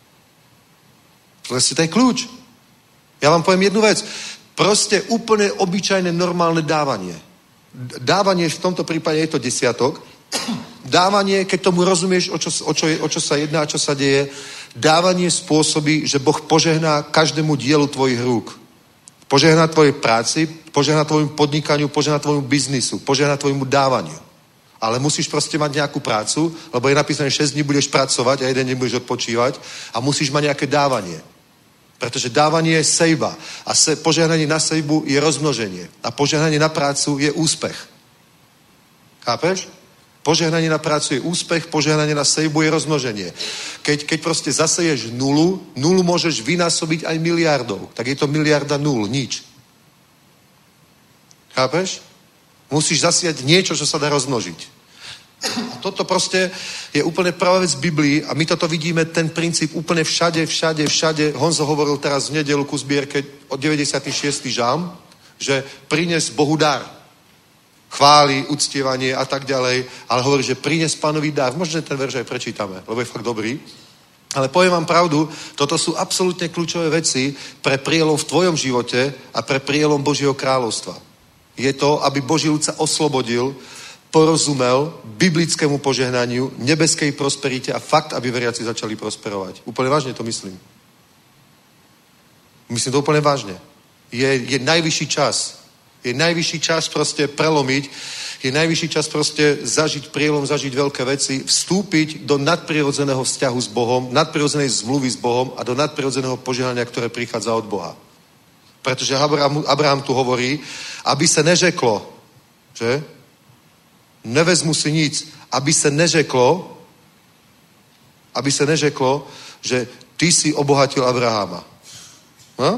Proste to je kľúč. Ja vám poviem jednu vec. Proste úplne obyčajné, normálne dávanie. Dávanie, v tomto prípade je to desiatok. Dávanie, keď tomu rozumieš, o čo, o čo, je, o čo sa jedná, čo sa deje, dávanie spôsobí, že Boh požehná každému dielu tvojich rúk. Požehná tvojej práci, požehná tvojmu podnikaniu, požehná tvojmu biznisu, požehná tvojmu dávaniu. Ale musíš proste mať nejakú prácu, lebo je napísané, šesť dní budeš pracovať a jeden deň budeš odpočívať a musíš mať nejaké dávanie. Pretože dávanie je sejba a se, požehnanie na sejbu je rozmnoženie a požehnanie na prácu je úspech. Chápeš? Požehnanie na prácu je úspech, požehnanie na sejbu je rozmnoženie. Keď, keď proste zaseješ nulu, nulu môžeš vynásobiť aj miliardou. Tak je to miliarda nul, nič. Chápeš? Musíš zasiať niečo, čo sa dá rozmnožiť. A toto proste je úplne pravá vec v Biblii a my toto vidíme, ten princíp úplne všade, všade, všade. Honzo hovoril teraz v nedeľu ku zbierke od deväťdesiaty šiesty žalm, že prines Bohu dar. Chváli, uctievanie a tak ďalej, ale hovorí, že prines Pánovi dar. Možno ten verš aj prečítame, lebo je fakt dobrý. Ale poviem vám pravdu, toto sú absolútne kľúčové veci pre prielom v tvojom živote a pre prielom Božieho kráľovstva. Je to, aby Boží ľud sa oslobodil, porozumel biblickému požehnaniu, nebeskej prosperite a fakt, aby veriaci začali prosperovať. Úplne vážne to myslím. Myslím to úplne vážne. Je, je najvyšší čas. Je najvyšší čas proste prelomiť, je najvyšší čas proste zažiť prielom, zažiť veľké veci, vstúpiť do nadprirodzeného vzťahu s Bohom, nadprirodzenej zmluvy s Bohom a do nadprirodzeného požehnania, ktoré prichádza od Boha. Pretože Abraham, Abraham tu hovorí, aby sa neřeklo, že? Nevezmu si nic, aby sa neřeklo, aby sa neřeklo, že ty si obohatil Abrahama. No?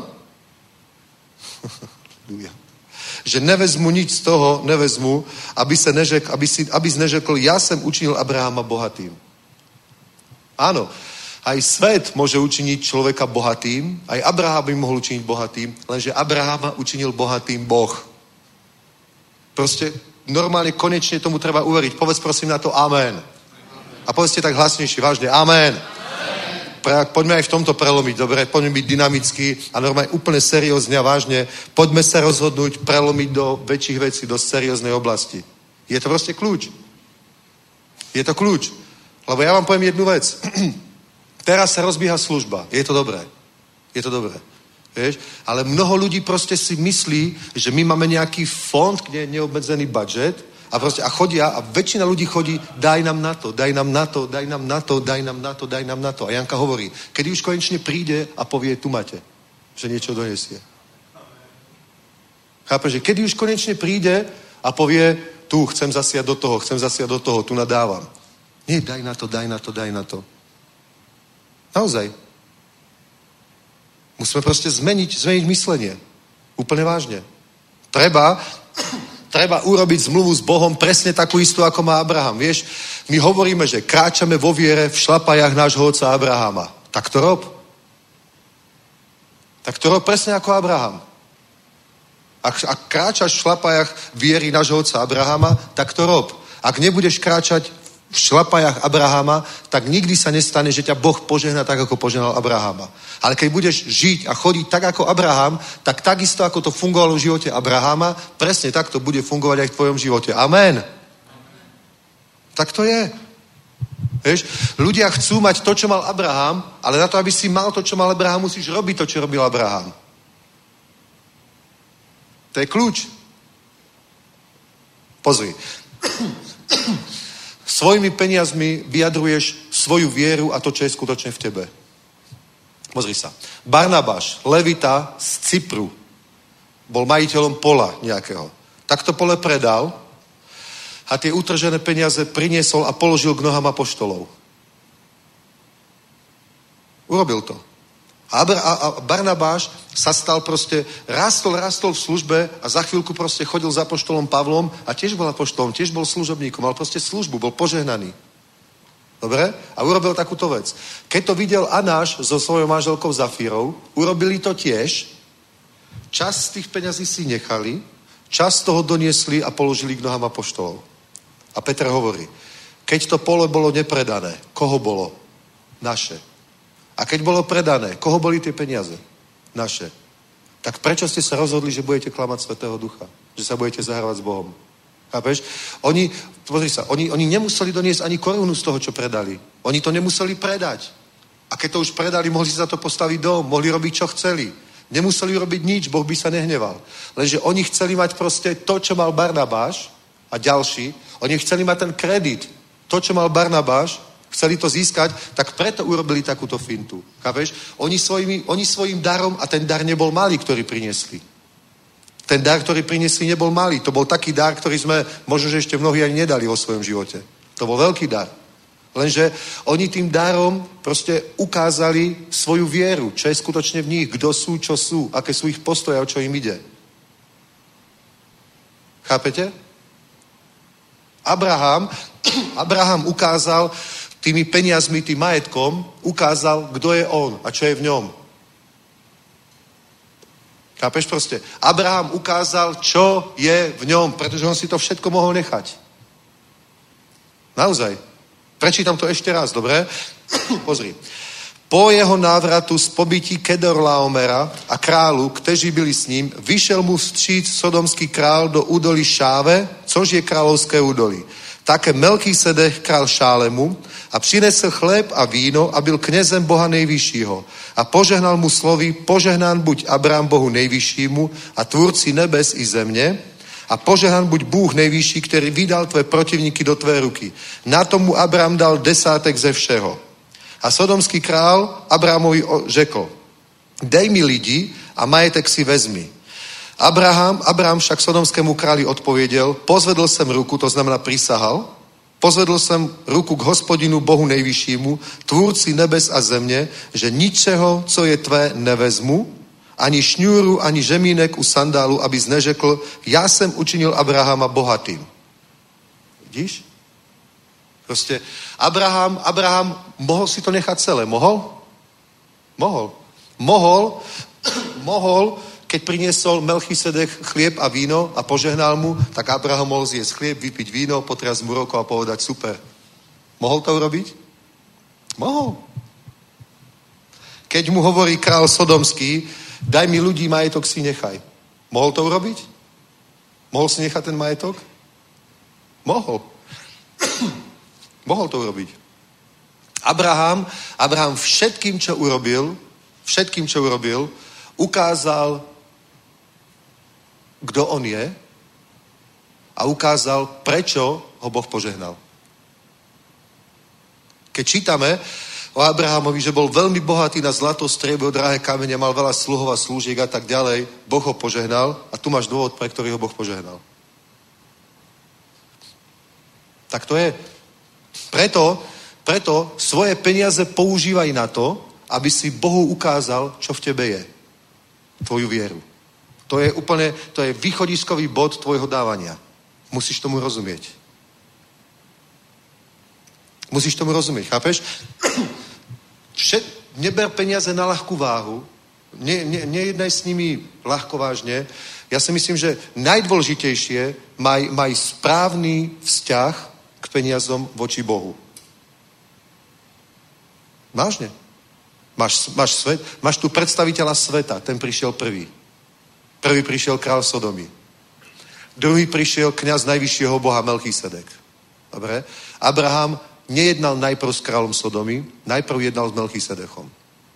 Že nevezmu nič z toho, nevezmu, aby se neřekl, aby si, aby neřekl, ja jsem učinil Abrahama bohatým. Áno, aj svet môže učiniť človeka bohatým, aj Abraham by mohol učiniť bohatým, lenže Abrahama učinil bohatým Boh. Proste normálne konečne tomu treba uveriť. Povedz prosím na to amen. A povedzte tak hlasnejšie, vážne, amen. Amen. Poďme aj v tomto prelomiť, dobre? Poďme byť dynamický a normálne úplne seriózne a vážne. Poďme sa rozhodnúť prelomiť do väčších vecí, do serióznej oblasti. Je to proste kľúč. Je to kľúč. Lebo ja vám poviem jednu vec. Teraz sa rozbieha služba. Je to dobré. Je to dobré. Vieš? Ale mnoho ľudí proste si myslí, že my máme nejaký fond, kde je neobmedzený budget a proste a chodia a väčšina ľudí chodí, daj nám na to, daj nám na to, daj nám na to, daj nám na to, daj nám na to. A Janka hovorí, kedy už konečne príde a povie, tu máte, že niečo donesie. Chápe, že kedy už konečne príde a povie, tu chcem zasiať do toho, chcem zasiať do toho, tu nadávam. Nie, daj na to, daj na to, daj na to. Naozaj. Musíme proste zmeniť, zmeniť myslenie. Úplne vážne. Treba, treba urobiť zmluvu s Bohom presne takú istú, ako má Abraham. Vieš, my hovoríme, že kráčame vo viere v šlapajách nášho otca Abrahama. Tak to rob. Tak to rob presne ako Abraham. Ak, ak kráčaš v šlapajách viery nášho otca Abrahama, tak to rob. Ak nebudeš kráčať v šlapajách Abrahama, tak nikdy sa nestane, že ťa Boh požehná tak, ako požehnal Abrahama. Ale keď budeš žiť a chodiť tak, ako Abraham, tak takisto, ako to fungovalo v živote Abrahama, presne tak to bude fungovať aj v tvojom živote. Amen. Tak to je. Vieš, ľudia chcú mať to, čo mal Abraham, ale na to, aby si mal to, čo mal Abraham, musíš robiť to, čo robil Abraham. To je kľúč. Pozri. Svojimi peniazmi vyjadruješ svoju vieru a to, čo je skutočne v tebe. Pozri sa. Barnabáš, levita z Cypru, bol majiteľom pola nejakého. Tak to pole predal a tie utržené peniaze priniesol a položil k nohám apoštolov. Urobil to. A Barnabáš sa stal proste, rastol, rastol v službe a za chvíľku proste chodil za apoštolom Pavlom a tiež bol apoštolom, tiež bol služobníkom, mal proste službu, bol požehnaný. Dobre? A urobil takúto vec. Keď to videl Anáš so svojou manželkou Zafírou, urobili to tiež, čas z tých peňazí si nechali, čas toho doniesli a položili k nohám apoštolov. A Peter hovorí, keď to pole bolo nepredané, koho bolo? Naše. A keď bolo predané, koho boli tie peniaze? Naše. Tak prečo ste sa rozhodli, že budete klamať Svätého Ducha? Že sa budete zahrávať s Bohom? Chápeš? Oni, pozri sa, oni, oni nemuseli doniesť ani korunu z toho, čo predali. Oni to nemuseli predať. A keď to už predali, mohli si za to postaviť dom, mohli robiť, čo chceli. Nemuseli robiť nič, Boh by sa nehneval. Lenže oni chceli mať proste to, čo mal Barnabáš a ďalší. Oni chceli mať ten kredit. To, čo mal Barnabáš, chceli to získať, tak preto urobili takúto fintu. Chápeš? Oni, svojimi, oni svojim darom, a ten dar nebol malý, ktorý priniesli. Ten dar, ktorý priniesli, nebol malý. To bol taký dar, ktorý sme možno, že ešte mnohí ani nedali vo svojom živote. To bol veľký dar. Lenže oni tým darom proste ukázali svoju vieru, čo je skutočne v nich, kto sú, čo sú, aké sú ich postoje, o čo im ide. Chápete? Abraham, Abraham ukázal tými peniazmi, tým majetkom, ukázal, kto je on a čo je v ňom. Chápeš proste? Abraham ukázal, čo je v ňom, pretože on si to všetko mohol nechať. Naozaj. Prečítam to ešte raz, dobre? Pozri. Po jeho návratu z pobytí Kedorlaomera a králu, kteří byli s ním, vyšel mu vstříc sodomský král do údolí Šáve, což je královské údolí. Také Melchisedech král Šálemu a přinesl chléb a víno a byl knězem Boha nejvyššího. A požehnal mu slovy, požehnán buď Abrám Bohu nejvyššímu a tvůrci nebes i země, a požehnán buď Bůh nejvyšší, který vydal tvé protivníky do tvé ruky. Na tomu Abrám dal desátek ze všeho. A sodomský král Abrámovi řekl, dej mi lidi a majetek si vezmi. Abraham, Abrám však sodomskému králi odpověděl, pozvedl jsem ruku, to znamená prisahal, pozvedl jsem ruku k Hospodinu Bohu nejvyššímu, tvůrci nebes a země, že ničeho, co je tvé, nevezmu, ani šňůru, ani žemínek u sandálu, abys neřekl, já jsem učinil Abrahama bohatým. Vidíš? Prostě Abraham, Abraham mohl si to nechat celé. Mohl? Mohl. Mohl, mohl, keď priniesol Melchisedech chlieb a víno a požehnal mu, tak Abraham mohol zjesť chlieb, vypiť víno, potriasť mu rukou a povedať super. Mohol to urobiť? Mohol. Keď mu hovorí král Sodomský, daj mi ľudí, majetok si nechaj. Mohol to urobiť? Mohol si nechať ten majetok? Mohol. Mohol to urobiť. Abraham, Abraham všetkým, čo urobil, všetkým, čo urobil, ukázal, kdo on je a ukázal, prečo ho Boh požehnal. Keď čítame o Abrahamovi, že bol veľmi bohatý na zlato, striebro, drahé kamene, mal veľa sluhov a slúžiek a tak ďalej, Boh ho požehnal a tu máš dôvod, pre ktorý ho Boh požehnal. Tak to je. Preto, preto svoje peniaze používaj na to, aby si Bohu ukázal, čo v tebe je. Tvoju vieru. To je úplne, to je východiskový bod tvojho dávania. Musíš tomu rozumieť. Musíš tomu rozumieť, chápeš? Všet, neber peniaze na ľahkú váhu, ne, ne, nejednaj s nimi ľahko vážne. Ja si myslím, že najdôležitejšie maj, maj správny vzťah k peniazom voči Bohu. Vážne. Máš, máš, svet, máš tu predstaviteľa sveta, ten prišiel prvý. Prvý prišiel král Sodomy. Druhý prišiel kňaz najvyššieho Boha Melchisedek. Dobre? Abraham nejednal najprv s kráľom Sodomy, najprv jednal s Melchisedechom.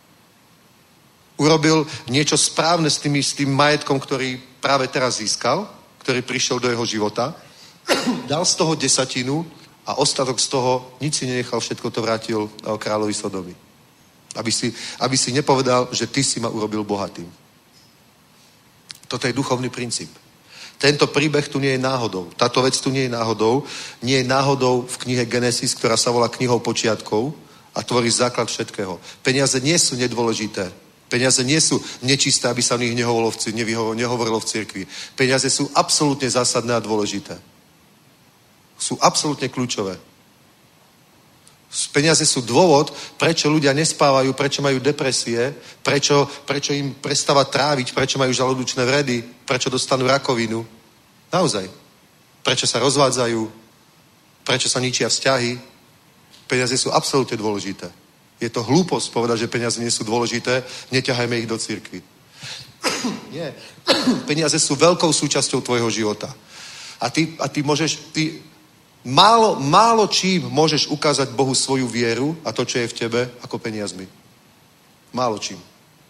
Urobil niečo správne s, tými, s tým majetkom, ktorý práve teraz získal, ktorý prišiel do jeho života. Dal z toho desatinu a ostatok z toho nič si nenechal, všetko to vrátil kráľovi Sodomy. Aby si, aby si nepovedal, že ty si ma urobil bohatým. Toto je duchovný princíp. Tento príbeh tu nie je náhodou. Táto vec tu nie je náhodou. Nie je náhodou v knihe Genesis, ktorá sa volá knihou počiatkov a tvorí základ všetkého. Peniaze nie sú nedôležité. Peniaze nie sú nečisté, aby sa o nich nehovorilo v, nehovorilo v cirkvi. Peniaze sú absolútne zásadné a dôležité. Sú absolútne kľúčové. Peniaze sú dôvod, prečo ľudia nespávajú, prečo majú depresie, prečo, prečo im prestáva tráviť, prečo majú žalúdočné vredy, prečo dostanú rakovinu. Naozaj. Prečo sa rozvádzajú, prečo sa ničia vzťahy. Peniaze sú absolútne dôležité. Je to hlúposť povedať, že peniaze nie sú dôležité, neťahajme ich do cirkvi. Nie. Peniaze sú veľkou súčasťou tvojho života. A ty, a ty môžeš, ty málo, málo čím môžeš ukázať Bohu svoju vieru a to, čo je v tebe, ako peniazmi. Málo čím.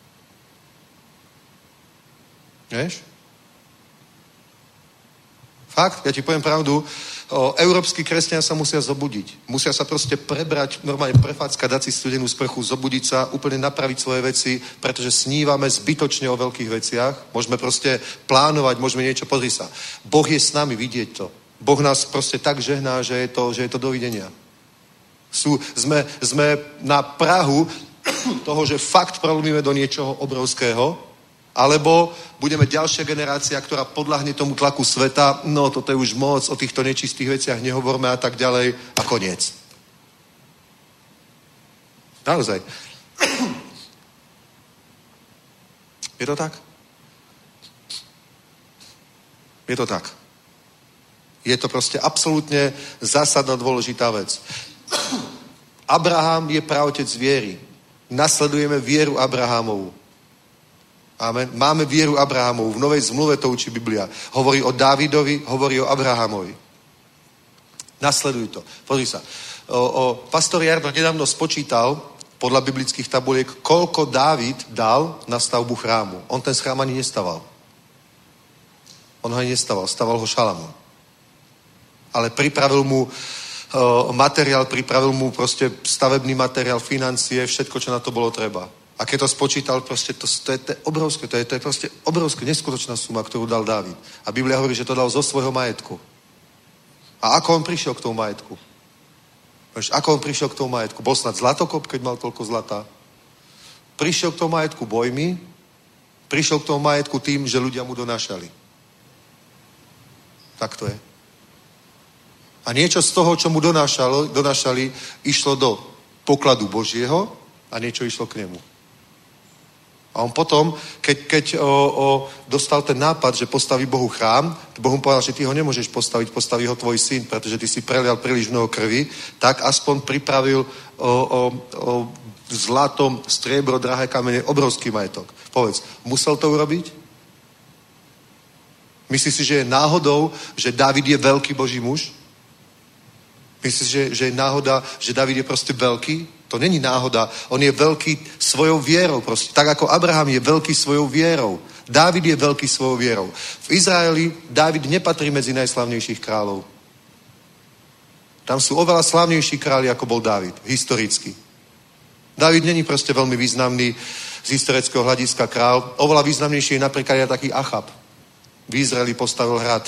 Vieš? Fakt, ja ti poviem pravdu, o, európski kresťania sa musia zobudiť. Musia sa proste prebrať, normálne prefácka, dať si studenú sprchu, zobudiť sa, úplne napraviť svoje veci, pretože snívame zbytočne o veľkých veciach. Môžeme proste plánovať, môžeme niečo, pozri sa. Boh je s nami, vidieť to. Boh nás proste tak žehná, že je to, že je to dovidenia. Sú, sme, sme na prahu toho, že fakt prelomíme do niečoho obrovského, alebo budeme ďalšia generácia, ktorá podľahne tomu tlaku sveta, no toto je už moc, o týchto nečistých veciach nehovorme a tak ďalej a koniec. Naozaj. Je to tak? Je to tak. Je to proste absolútne zásadná dôležitá vec. Abraham je praotec viery. Nasledujeme vieru Abrahamovu. Amen. Máme vieru Abrahamovu. V Novej zmluve to učí Biblia. Hovorí o Dávidovi, hovorí o Abrahamovi. Nasleduj to. Pozri sa. O, o, pastor Jarno nedávno spočítal podľa biblických tabuliek, koľko Dávid dal na stavbu chrámu. On ten chrám ani nestaval. On ho ani nestaval. Staval ho Šalamún. Ale pripravil mu o, materiál, pripravil mu proste stavebný materiál, financie, všetko, čo na to bolo treba. A keď to spočítal, proste to, to, je, to je obrovské, to je, to je proste obrovské, neskutočná suma, ktorú dal Dávid. A Biblia hovorí, že to dal zo svojho majetku. A ako on prišiel k tomu majetku? Víš, ako on prišiel k tomu majetku? Bol snad zlatokop, keď mal toľko zlata? Prišiel k tomu majetku bojmi, prišiel k tomu majetku tým, že ľudia mu donášali. Tak to je. A niečo z toho, čo mu donášalo, donášali, išlo do pokladu Božieho a niečo išlo k nemu. A on potom, keď, keď o, o, dostal ten nápad, že postaví Bohu chrám, Boh mu povedal, že ty ho nemôžeš postaviť, postaví ho tvoj syn, pretože ty si prelial príliš mnoho krvi, tak aspoň pripravil o, o, o zlatom, striebro, drahé kamene, obrovský majetok. Povedz, musel to urobiť? Myslíš si, že je náhodou, že Dávid je veľký Boží muž? Myslíš, že, že je náhoda, že Dávid je proste veľký? To není náhoda. On je veľký svojou vierou. Proste. Tak ako Abraham je veľký svojou vierou. Dávid je veľký svojou vierou. V Izraeli Dávid nepatrí medzi najslavnejších kráľov. Tam sú oveľa slavnejší králi, ako bol Dávid. Historicky. Dávid není proste veľmi významný z historického hľadiska král. Oveľa významnejší je napríklad aj taký Achab. V Izraeli postavil hrad.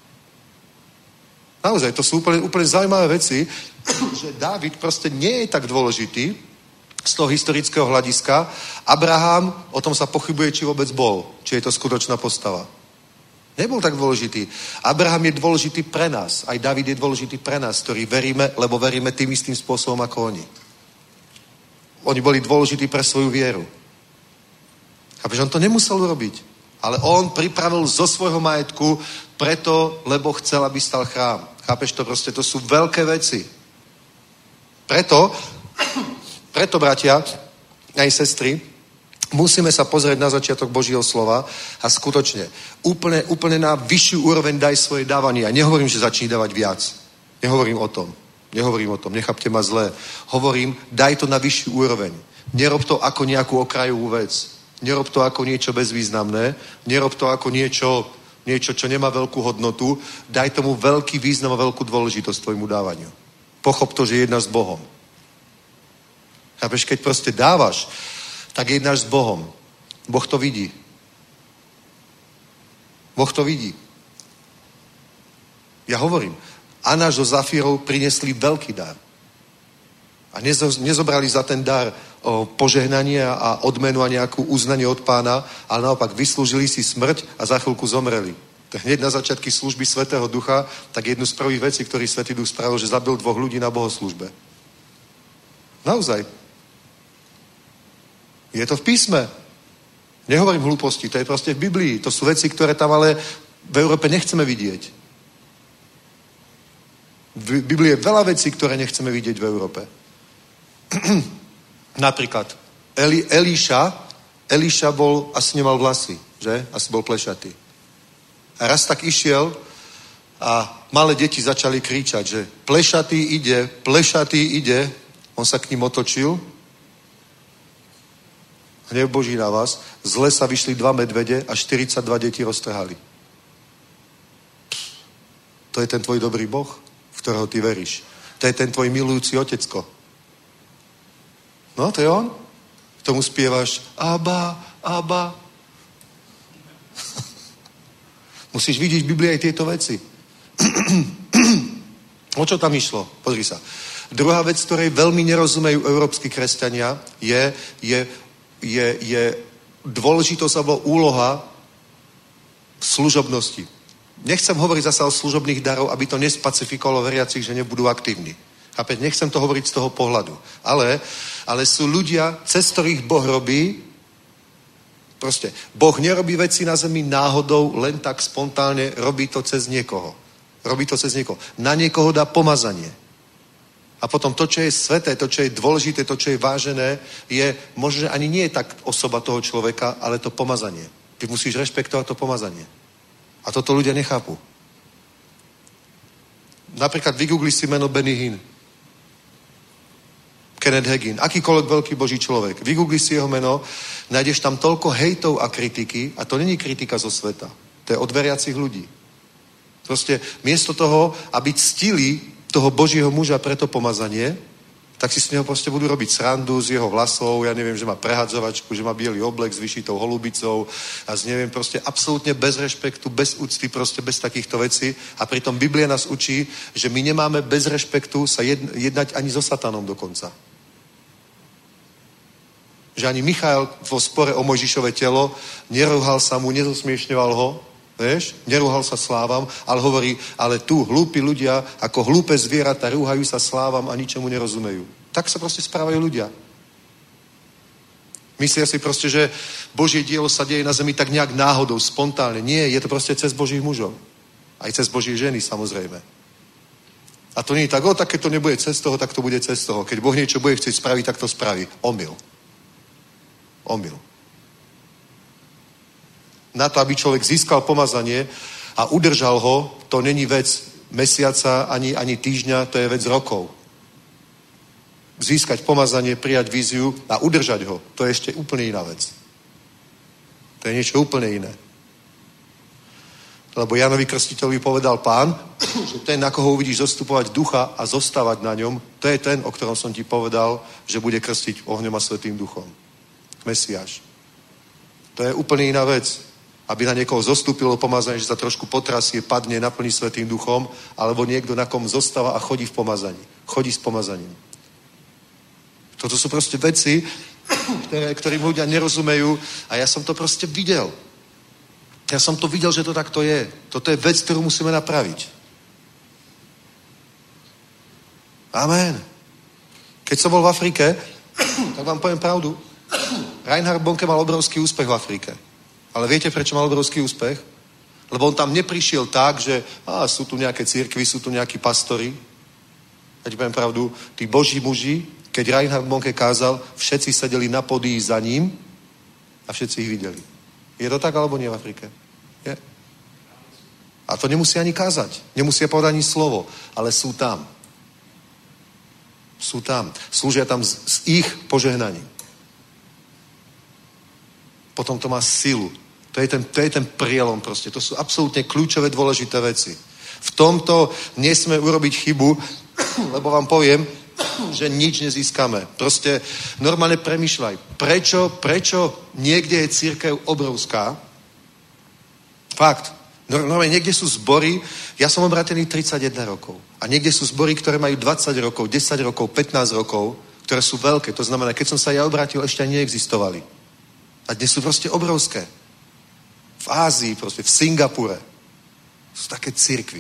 Naozaj, to sú úplne, úplne zaujímavé veci, že Dávid proste nie je tak dôležitý z toho historického hľadiska. Abraham, o tom sa pochybuje, či vôbec bol, či je to skutočná postava. Nebol tak dôležitý. Abraham je dôležitý pre nás. Aj Dávid je dôležitý pre nás, ktorí veríme, lebo veríme tým istým spôsobom ako oni. Oni boli dôležití pre svoju vieru. Chápeš, on to nemusel urobiť. Ale on pripravil zo svojho majetku preto, lebo chcel, aby stal chrám. Chápeš to? Proste to sú veľké veci. Preto, preto, bratia aj sestry, musíme sa pozrieť na začiatok Božieho slova a skutočne úplne, úplne na vyššiu úroveň daj svoje dávanie. Ja nehovorím, že začni dávať viac. Nehovorím o tom. Nehovorím o tom. Nechápte ma zle. Hovorím, daj to na vyššiu úroveň. Nerob to ako nejakú okrajovú vec. Nerob to ako niečo bezvýznamné. Nerob to ako niečo, niečo, čo nemá veľkú hodnotu. Daj tomu veľký význam a veľkú dôležitosť tvojmu dávaniu. Pochop to, že jednáš s Bohom. Chápeš, keď proste dávaš, tak jednáš s Bohom. Boh to vidí. Boh to vidí. Ja hovorím, Anáš so Zafírou priniesli veľký dar. A nezobrali za ten dar o požehnanie a odmenu a nejakú uznanie od Pána, ale naopak vyslúžili si smrť a za chvíľku zomreli. Tak hneď na začiatky služby Svätého Ducha, tak jednu z prvých vecí, ktorý Svätý Duch spravil, že zabil dvoch ľudí na bohoslúžbe. Naozaj. Je to v písme. Nehovorím hlúposti, to je proste v Biblii. To sú veci, ktoré tam ale v Európe nechceme vidieť. V Biblii je veľa vecí, ktoré nechceme vidieť v Európe. Napríklad Eli, Eliša, Eliša bol, asi nemal vlasy, že? Asi bol plešatý. A raz tak išiel a malé deti začali kričať, že plešatý ide, plešatý ide. On sa k ním otočil. Hnev Boží na vás. Z lesa vyšli dva medvede a štyridsaťdva detí roztrhali. To je ten tvoj dobrý Boh, v ktorého ty veríš. To je ten tvoj milujúci otecko. No, to je on. K tomu spievaš Abba, Abba. Musíš vidieť v Biblii aj tieto veci. O čo tam išlo? Pozri sa. Druhá vec, ktorej veľmi nerozumejú európski kresťania, je, je, je, je dôležitosť alebo úloha služobnosti. Nechcem hovoriť zasa o služobných darov, aby to nespacifikovalo veriacich, že nebudú aktívni. Chápete? Nechcem to hovoriť z toho pohľadu. Ale, ale sú ľudia, cez ktorých Boh robí. Proste, Boh nerobí veci na zemi náhodou, len tak spontánne, robí to cez niekoho. Robí to cez niekoho. Na niekoho dá pomazanie. A potom to, čo je sveté, to, čo je dôležité, to, čo je vážené, je možno ani nie je tak osoba toho človeka, ale to pomazanie. Ty musíš rešpektovať to pomazanie. A toto ľudia nechápu. Napríklad vygoogli si meno Benny Hinn. Kenneth Hagin, akýkoľvek veľký Boží človek. Vygoogli si jeho meno, nájdeš tam toľko hejtov a kritiky, a to není kritika zo sveta. To je od veriacich ľudí. Proste miesto toho, aby ctili toho Božího muža pre to pomazanie, tak si s neho proste budú robiť srandu z jeho vlasov, ja neviem, že má prehadzovačku, že má biely oblek s vyšitou holubicou a z neviem, proste absolútne bez rešpektu, bez úcty, proste bez takýchto vecí. A pritom Biblia nás učí, že my nemáme bez rešpektu sa jednať ani so satanom dokonca. Že ani Michael vo spore o Mojžišové telo neruhal sa mu, nezosmiešňoval ho, vieš, nerúhal sa slávam, ale hovorí, ale tu hlúpi ľudia, ako hlúpe zvieratá, rúhajú sa slávam a ničemu nerozumejú. Tak sa proste správajú ľudia. Myslia si proste, že Božie dielo sa deje na zemi tak nejak náhodou, spontánne. Nie, je to proste cez Božích mužov. Aj cez Božie ženy, samozrejme. A to nie je tak, o, tak keď to nebude cez toho, tak to bude cez toho. Keď Boh niečo bude chcieť spraviť, tak to spraví. Omyl. Omyl. Na to, aby človek získal pomazanie a udržal ho, to není vec mesiaca ani, ani týždňa, to je vec rokov. Získať pomazanie, prijať víziu a udržať ho, to je ešte úplne iná vec. To je niečo úplne iné. Lebo Jánovi Krstiteľovi povedal Pán, že ten, na koho uvidíš zostupovať ducha a zostávať na ňom, to je ten, o ktorom som ti povedal, že bude krstiť ohňom a Svätým duchom. Mesiáš. To je úplne iná vec. Aby na niekoho zostúpilo pomazanie, že sa trošku potrasie, padne, naplní Svätým duchom, alebo niekto, na kom zostáva a chodí v pomazaní. Chodí s pomazaním. Toto sú proste veci, ktoré, ktorým ľudia nerozumejú a ja som to proste videl. Ja som to videl, že to takto je. Toto je vec, ktorú musíme napraviť. Amen. Keď som bol v Afrike, tak vám poviem pravdu, Reinhard Bonke mal obrovský úspech v Afrike. Ale viete, prečo mal obrovský úspech? Lebo on tam neprišiel tak, že á, sú tu nejaké cirkvi, sú tu nejakí pastori. Ja ti poviem pravdu, tí Boží muži, keď Reinhard Bonke kázal, všetci sedeli na podii za ním a všetci ich videli. Je to tak, alebo nie v Afrike? Je. A to nemusí ani kázať. Nemusia povedať ani slovo. Ale sú tam. Sú tam. Slúžia tam s, s ich požehnaním. Potom to má silu. To je ten, to je ten prielom proste. To sú absolútne kľúčové dôležité veci. V tomto nesme urobiť chybu, lebo vám poviem, že nič nezískame. Proste normálne premýšľaj. Prečo, prečo niekde je cirkev obrovská? Fakt. Normálne niekde sú zbory, ja som obrátený tridsaťjeden rokov. A niekde sú zbory, ktoré majú dvadsať rokov, desať rokov, pätnásť rokov, ktoré sú veľké. To znamená, keď som sa ja obrátil, ešte ani neexistovali. A dnes sú proste obrovské. V Ázii, proste v Singapure. Sú také cirkvy.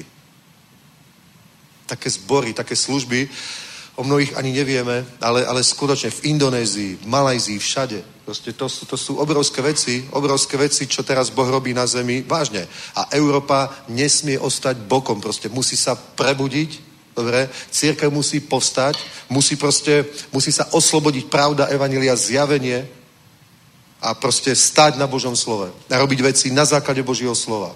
Také zbory, také služby. O mnohých ani nevieme, ale, ale skutočne v Indonézii, v Malajzii, všade. Proste to sú, to sú obrovské veci, obrovské veci, čo teraz Boh robí na zemi. Vážne. A Európa nesmie ostať bokom. Proste musí sa prebudiť Dobre? Cirkev musí povstať, musí proste, musí sa oslobodiť pravda, evanjelia, zjavenie a proste stať na Božom slove. A robiť veci na základe Božieho slova.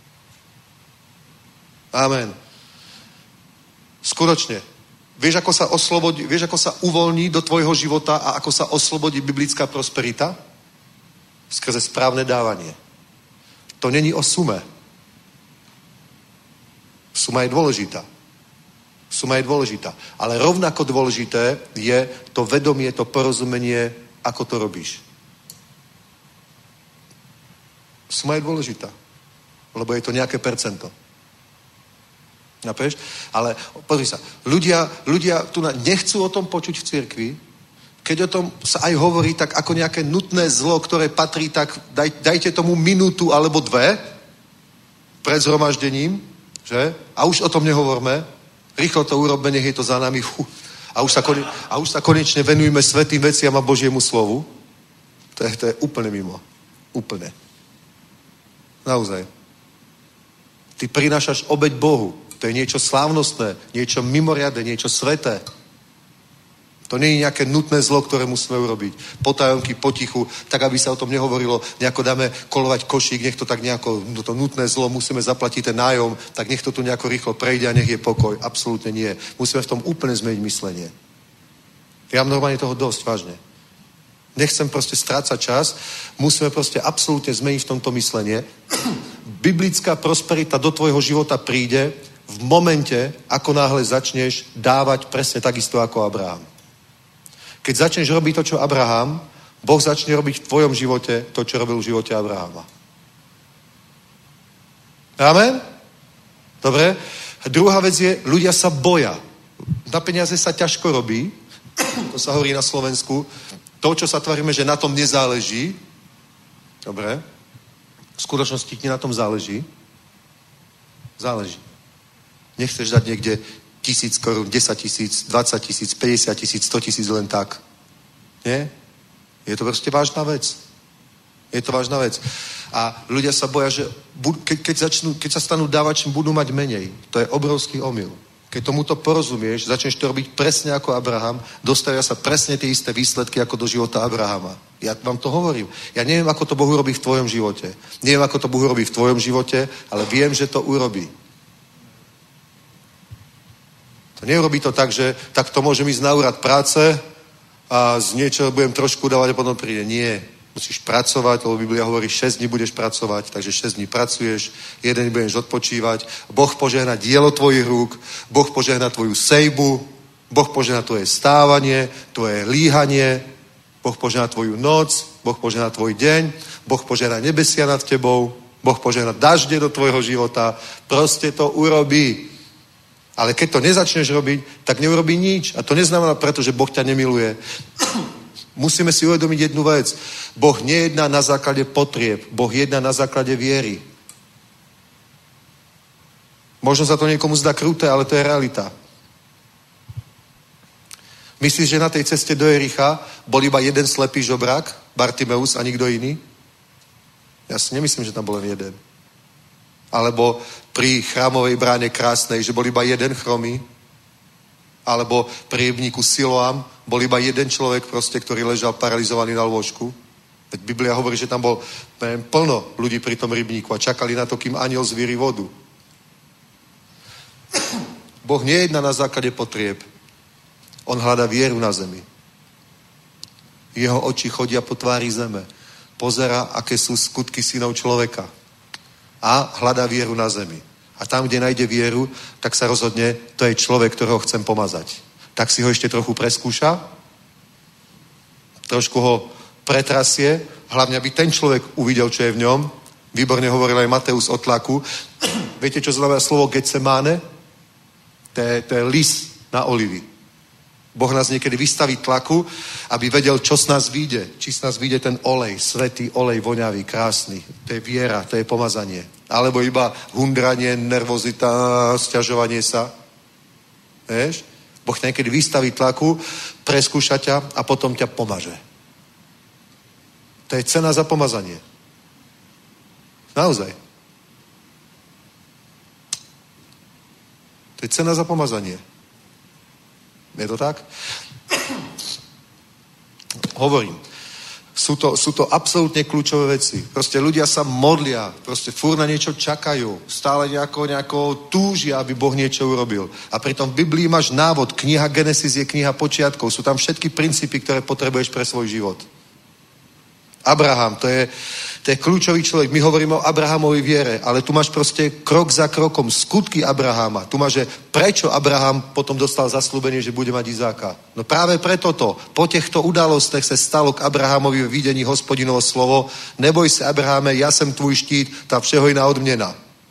Amen. Skutočne. Vieš, ako sa oslobodí, vieš, ako sa uvoľní do tvojho života a ako sa oslobodí biblická prosperita? Skrze správne dávanie. To není o sume. Suma je dôležitá. Suma je dôležitá. Ale rovnako dôležité je to vedomie, to porozumenie, ako to robíš. Suma je dôležitá. Lebo je to nejaké percento. Napeš? Ale pozri sa, ľudia, ľudia tu nechcú o tom počuť v cirkvi, keď o tom sa aj hovorí tak ako nejaké nutné zlo, ktoré patrí, tak daj, dajte tomu minútu alebo dve pred zhromaždením, že? A už o tom nehovorme. Rýchlo to urobme, nech je to za nami. Fú. A, už sa kone, a už sa konečne venujeme svätým veciam a Božiemu slovu. To je, to je úplne mimo. Úplne. Naozaj. Ty prinášaš obeť Bohu. To je niečo slávnostné, niečo mimoriadne, niečo sveté. To nie je nejaké nutné zlo, ktoré musíme urobiť. Potajomky, potichu, tak aby sa o tom nehovorilo, nejako dáme kolovať košík, nech to tak nejako, no to nutné zlo, musíme zaplatiť ten nájom, tak nech to tu nejako rýchlo prejde a nech je pokoj. Absolútne nie. Musíme v tom úplne zmeniť myslenie. Ja mám normálne toho dosť, vážne. Nechcem proste strácať čas, musíme proste absolútne zmeniť v tomto myslenie. Biblická prosperita do tvojho života príde v momente, ako náhle začneš dávať presne takisto ako Abraham. Keď začneš robiť to, čo Abraham, Boh začne robiť v tvojom živote to, čo robil v živote Abrahama. Amen? Dobre? A druhá vec je, ľudia sa boja. Na peniaze sa ťažko robí, to sa hovorí na Slovensku, to, čo sa tvárime, že na tom nezáleží, dobre, v skutočnosti ti na tom záleží, záleží. Nechceš dať niekde tisíc korún, desať tisíc, dvadsať tisíc, päťdesiat tisíc, sto tisíc len tak. Nie? Je to proste vážna vec. Je to vážna vec. A ľudia sa boja, že keď, keď, začnú, keď sa stanú dávačím, budú mať menej. To je obrovský omyl. Keď tomuto porozumieš, začneš to robiť presne ako Abraham, dostavia sa presne tie isté výsledky ako do života Abrahama. Ja vám to hovorím. Ja neviem, ako to Boh urobí v tvojom živote. Neviem, ako to Boh urobí v tvojom živote, ale viem, že to urobí. To neurobí to tak, že tak to môžem ísť na úrad práce a z niečoho budem trošku dávať a potom príde. Nie. Musíš pracovať, lebo Biblia hovorí, šesť dní budeš pracovať, takže šesť dní pracuješ, jeden deň budeš odpočívať. Boh požehná dielo tvojich rúk, Boh požehná tvoju sejbu, Boh požehná tvoje stávanie, tvoje líhanie, Boh požehná tvoju noc, Boh požehná tvoj deň, Boh požehná nebesia nad tebou, Boh požehná dažde do tvojho života. Proste to urobí. Ale keď to nezačneš robiť, tak neurobí nič. A to neznamená preto, že Boh ťa nemiluje. Musíme si uvedomiť jednu vec. Boh nejedná na základe potrieb. Boh jedná na základe viery. Možno sa to niekomu zdá kruté, ale to je realita. Myslíš, že na tej ceste do Jericha bol iba jeden slepý žobrák, Bartimeus a nikto iný? Ja si nemyslím, že tam bol len jeden. Alebo pri chrámovej bráne krásnej, že bol iba jeden chromý, alebo pri rybníku Siloam bol iba jeden človek proste, ktorý ležal paralizovaný na lôžku. Veď Biblia hovorí, že tam bol neviem, plno ľudí pri tom rybníku a čakali na to, kým anjel zvíri vodu. Boh nejedná na základe potrieb. On hľadá vieru na zemi. Jeho oči chodia po tvári zeme. Pozerá, aké sú skutky synov človeka. A hľadá vieru na zemi. A tam, kde nájde vieru, tak sa rozhodne, to je človek, ktorého chcem pomazať. Tak si ho ešte trochu preskúša, trošku ho pretrasie, hlavne, aby ten človek uvidel, čo je v ňom. Výborne hovoril aj Mateus o tlaku. Viete, čo znamená slovo Getsemáne? To je, to je lis na olivy. Boh nás niekedy vystaví tlaku, aby vedel, čo z nás vyjde. Či z nás vyjde ten olej, svätý olej, voňavý, krásny. To je viera, to je pomazanie. Alebo iba hundranie, nervozita, sťažovanie sa. Vieš? Boh ťa niekedy vystaví tlaku, preskúša ťa a potom ťa pomaže. To je cena za pomazanie. Naozaj. To je cena za pomazanie. Je to tak? Hovorím. Sú to, sú to absolútne kľúčové veci. Proste ľudia sa modlia, proste fúr na niečo čakajú, stále nejako, nejako túžia, aby Boh niečo urobil. A pritom v Biblii máš návod, kniha Genesis je kniha počiatkov, sú tam všetky princípy, ktoré potrebuješ pre svoj život. Abraham, to je, to je kľúčový človek. My hovoríme o Abrahamovej viere, ale tu máš proste krok za krokom skutky Abrahama. Tu máš, že prečo Abraham potom dostal zasľúbenie, že bude mať Izáka. No práve preto to. Po týchto udalostech sa stalo k Abrahamovi v videní Hospodinovo slovo: neboj sa, Abrahame, ja som tvůj štít, tá všehojná odmena.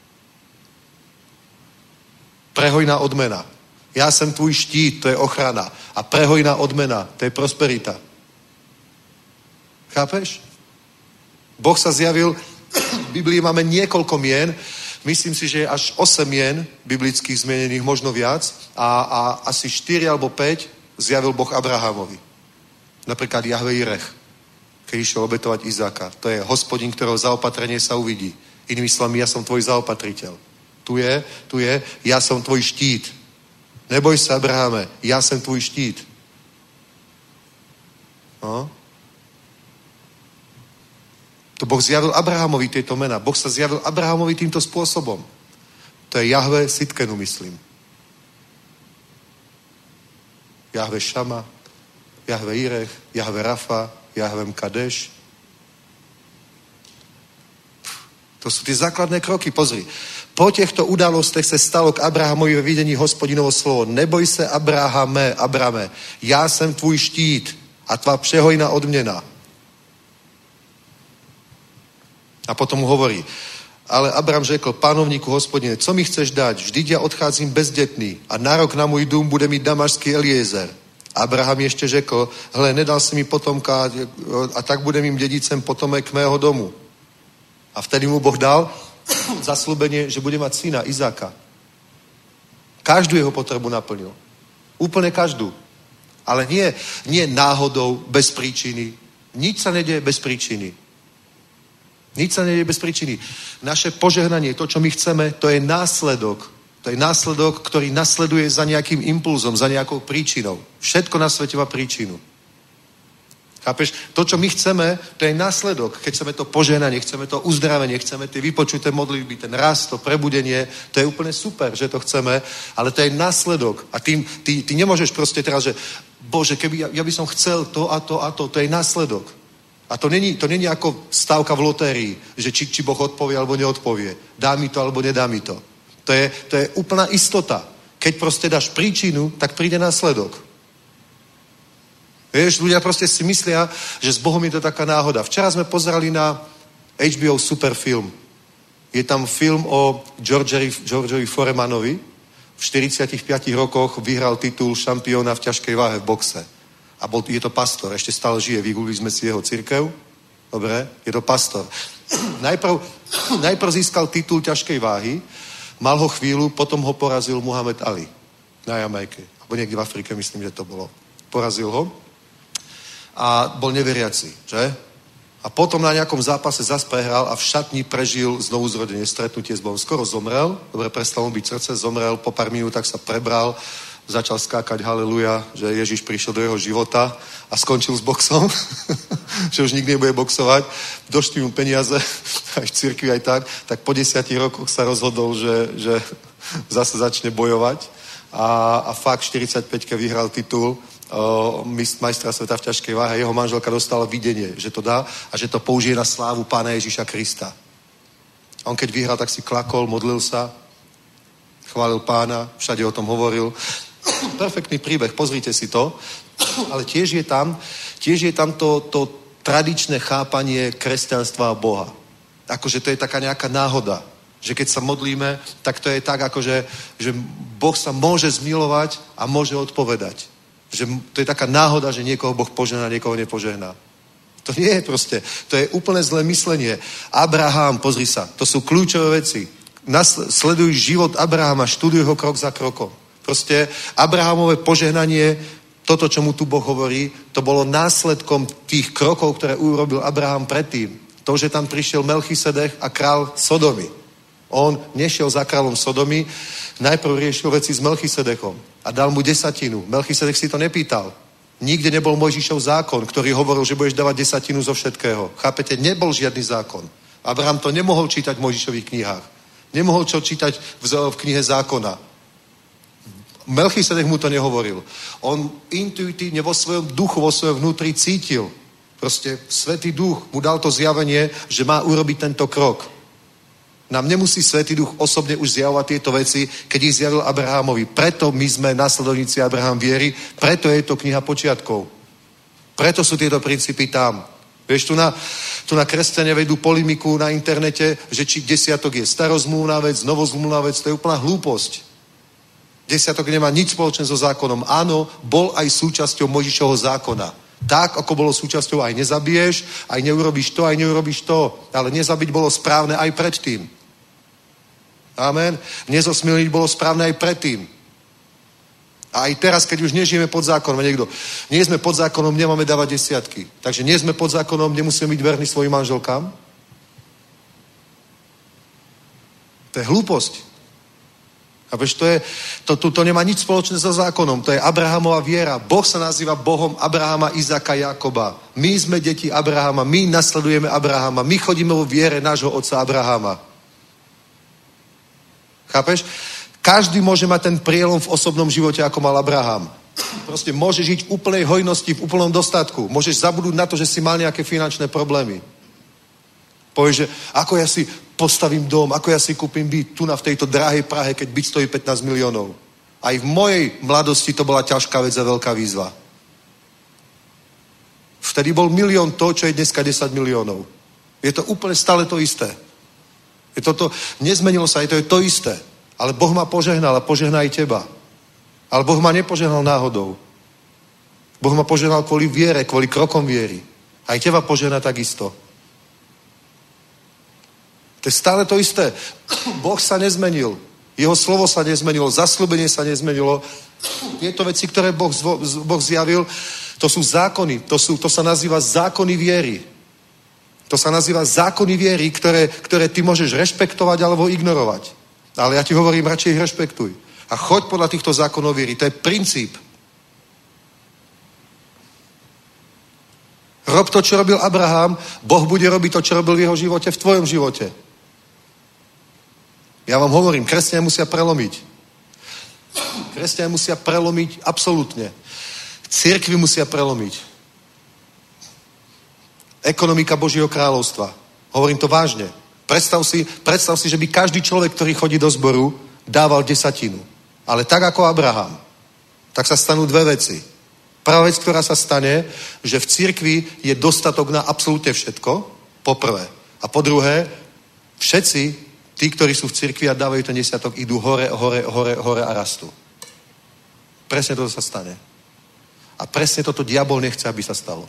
Prehojná odmena. Ja som tvůj štít, to je ochrana. A prehojná odmena, to je prosperita. Chápeš? Boh sa zjavil, v Biblii máme niekoľko mien, myslím si, že je až osem mien biblických zmienených, možno viac, a, a asi štyri alebo päť zjavil Boh Abrahamovi. Napríklad Jahve Jireh, keď išiel obetovať Izáka. To je Hospodin, ktorého zaopatrenie sa uvidí. Inými slovami, ja som tvoj zaopatriteľ. Tu je, tu je, ja som tvoj štít. Neboj sa, Abrahame, ja som tvoj štít. No? To Boh zjavil Abrahamovi tieto mená. Boh sa zjavil Abrahamovi týmto spôsobom. To je Jahve Sitkenu, myslím. Jahve Šama, Jahve Jireh, Jahve Rafa, Jahve Mkadeš. To sú tie základné kroky. Pozri. Po týchto udalostech sa stalo k Abrahamovi ve videní Hospodinovo slovo: neboj se, Abrahame, Abrame, ja som tvůj štít a tvá přehojná odměna. A potom mu hovorí: ale Abram řekl pánovníku Hospodine, co mi chceš dať? Vždyť ja odcházím bezdetný a nárok na můj dům bude mít damašský Eliezer. Abraham ještě řekl: hle, nedal si mi potomka a tak bude mým dědicem potomek mého domu. A vtedy mu Boh dal zasľúbenie, že bude mať syna Izáka. Každú jeho potrebu naplnil. Úplne každú. Ale nie, nie náhodou, bez príčiny. Nič sa nedieje bez príčiny. Nič sa nedieje bez príčiny. Naše požehnanie, to, čo my chceme, to je následok. To je následok, ktorý nasleduje za nejakým impulzom, za nejakou príčinou. Všetko na svete má príčinu. Chápeš? To, čo my chceme, to je následok. Keď chceme to požehnanie, chceme to uzdravenie, chceme tie vypočuté modlitby, ten rast, to prebudenie, to je úplne super, že to chceme, ale to je následok. A tým, ty, ty nemôžeš proste teraz, že Bože, keby ja, ja by som chcel to a to a to, to je následok. A to není, to není ako stávka v lotérii, že či, či Boh odpovie alebo neodpovie. Dá mi to alebo nedá mi to. To je, to je úplná istota. Keď proste dáš príčinu, tak príde následok. Vieš, ľudia proste si myslia, že s Bohom je to taká náhoda. Včera sme pozerali na há bé ó super film. Je tam film o Georgeovi, Georgeovi Foremanovi. V štyridsiatich piatich rokoch vyhral titul šampióna v ťažkej váhe v boxe. A bol, je to pastor, ešte stále žije, vygooglili sme si jeho cirkev. Dobre, je to pastor. Najprv, najprv získal titul ťažkej váhy, mal ho chvíľu, potom ho porazil Muhammad Ali na Jamajke. Alebo niekde v Afrike, myslím, že to bolo. Porazil ho a bol neveriaci, že? A potom na nejakom zápase zas prehral a v šatni prežil znovu zrodenie, stretnutie s Bohom. Skoro zomrel, dobre, prestalo mu byť srdce, zomrel, po pár minútach sa prebral, začal skákať haleluja, že Ježiš prišiel do jeho života a skončil s boxom, že už nikdy nebude boxovať. Došli mu peniaze, aj v cirkvi, aj tak, tak po desiatich rokoch sa rozhodol, že, že zase začne bojovať a, a fakt v štyridsiatpäťke vyhral titul o, majstra sveta v ťažkej váhe. Jeho manželka dostala videnie, že to dá a že to použije na slávu Pána Ježiša Krista. A on keď vyhral, tak si klakol, modlil sa, chválil Pána, všade o tom hovoril. Perfektný príbeh, pozrite si to. Ale tiež je tam, tiež je tam to, to tradičné chápanie kresťanstva a Boha. Akože to je taká nejaká náhoda. Že keď sa modlíme, tak to je tak, akože, že Boh sa môže zmilovať a môže odpovedať. Že to je taká náhoda, že niekoho Boh požehná, niekoho nepožehná. To nie je proste. To je úplne zlé myslenie. Abraham, pozri sa, to sú kľúčové veci. Nasl- sleduj život Abrahama, študuj ho krok za krokom. Proste Abrahamové požehnanie, toto, čo mu tu Boh hovorí, to bolo následkom tých krokov, ktoré urobil Abraham predtým. To, že tam prišiel Melchisedech a král Sodomy. On nešiel za kráľom Sodomy, najprv riešil veci s Melchisedechom a dal mu desatinu. Melchisedech si to nepýtal. Nikde nebol Mojžišov zákon, ktorý hovoril, že budeš dávať desatinu zo všetkého. Chápete? Nebol žiadny zákon. Abraham to nemohol čítať v Mojžišových knihách. Nemohol čo čítať v, v knihe zákona. Melchisedech mu to nehovoril. On intuitívne vo svojom duchu, vo svojom vnútri cítil. Proste Svätý Duch mu dal to zjavenie, že má urobiť tento krok. Nám nemusí Svätý Duch osobne už zjavovať tieto veci, keď ich zjavil Abrahamovi. Preto my sme nasledovníci Abraham viery, preto je to kniha počiatkov. Preto sú tieto princípy tam. Vieš, tu na, tu na kresťania vedú polemiku na internete, že či desiatok je starozmluvná vec, novozmluvná vec, to je úplná hlúposť. Desiatok nemá nič spoločné so zákonom. Áno, bol aj súčasťou Mojžišovho zákona. Tak, ako bolo súčasťou aj nezabiješ, aj neurobíš to, aj neurobíš to. Ale nezabiť bolo správne aj predtým. Amen. Nezosmilniť bolo správne aj predtým. A aj teraz, keď už nežijeme pod zákonom, niekto, nie sme pod zákonom, nemáme dávať desiatky. Takže nie sme pod zákonom, nemusíme byť verní svojim manželkám. To je hlúposť. A vieš, to, je, to, to, to nemá nič spoločné so zákonom. To je Abrahamova viera. Boh sa nazýva Bohom Abrahama, Izaka, Jakoba. My sme deti Abrahama, my nasledujeme Abrahama, my chodíme vo viere nášho otca Abrahama. Chápeš? Každý môže mať ten prielom v osobnom živote, ako mal Abraham. Proste môžeš žiť v úplnej hojnosti, v úplnom dostatku. Môžeš zabudnúť na to, že si mal nejaké finančné problémy. Povieš, že ako ja si postavím dom, ako ja si kúpim byt tu na v tejto drahej Prahe, keď byt stojí pätnásť miliónov. Aj v mojej mladosti to bola ťažká vec a veľká výzva. Vtedy bol milión to, čo je dneska desať miliónov. Je to úplne stále to isté. Je to to, nezmenilo sa, je to, je to isté. Ale Boh ma požehnal a požehná aj teba. Ale Boh ma nepožehnal náhodou. Boh ma požehnal kvôli viere, kvôli krokom viery. Aj teba požehná takisto. To je stále to isté. Boh sa nezmenil. Jeho slovo sa nezmenilo. Zasľúbenie sa nezmenilo. Tieto veci, ktoré Boh, zvo, boh zjavil, to sú zákony. To, sú, to sa nazýva zákony viery. To sa nazýva zákony viery, ktoré, ktoré ty môžeš rešpektovať alebo ignorovať. Ale ja ti hovorím, radšej ich rešpektuj. A choď podľa týchto zákonov viery. To je princíp. Rob to, čo robil Abraham, Boh bude robiť to, čo robil v jeho živote, v tvojom živote. Ja vám hovorím, kresťania musia prelomiť. Kresťania musia prelomiť absolútne. Cirkvi musia prelomiť. Ekonomika Božieho kráľovstva. Hovorím to vážne. Predstav si, predstav si, že by každý človek, ktorý chodí do zboru, dával desatinu. Ale tak ako Abraham. Tak sa stanú dve veci. Prvá vec, ktorá sa stane, že v cirkvi je dostatok na absolútne všetko, po prvé. A po druhé, všetci, tí, ktorí sú v cirkvi a dávajú ten desiatok, idú hore, hore, hore, hore a rastú. Presne toto sa stane. A presne toto diabol nechce, aby sa stalo.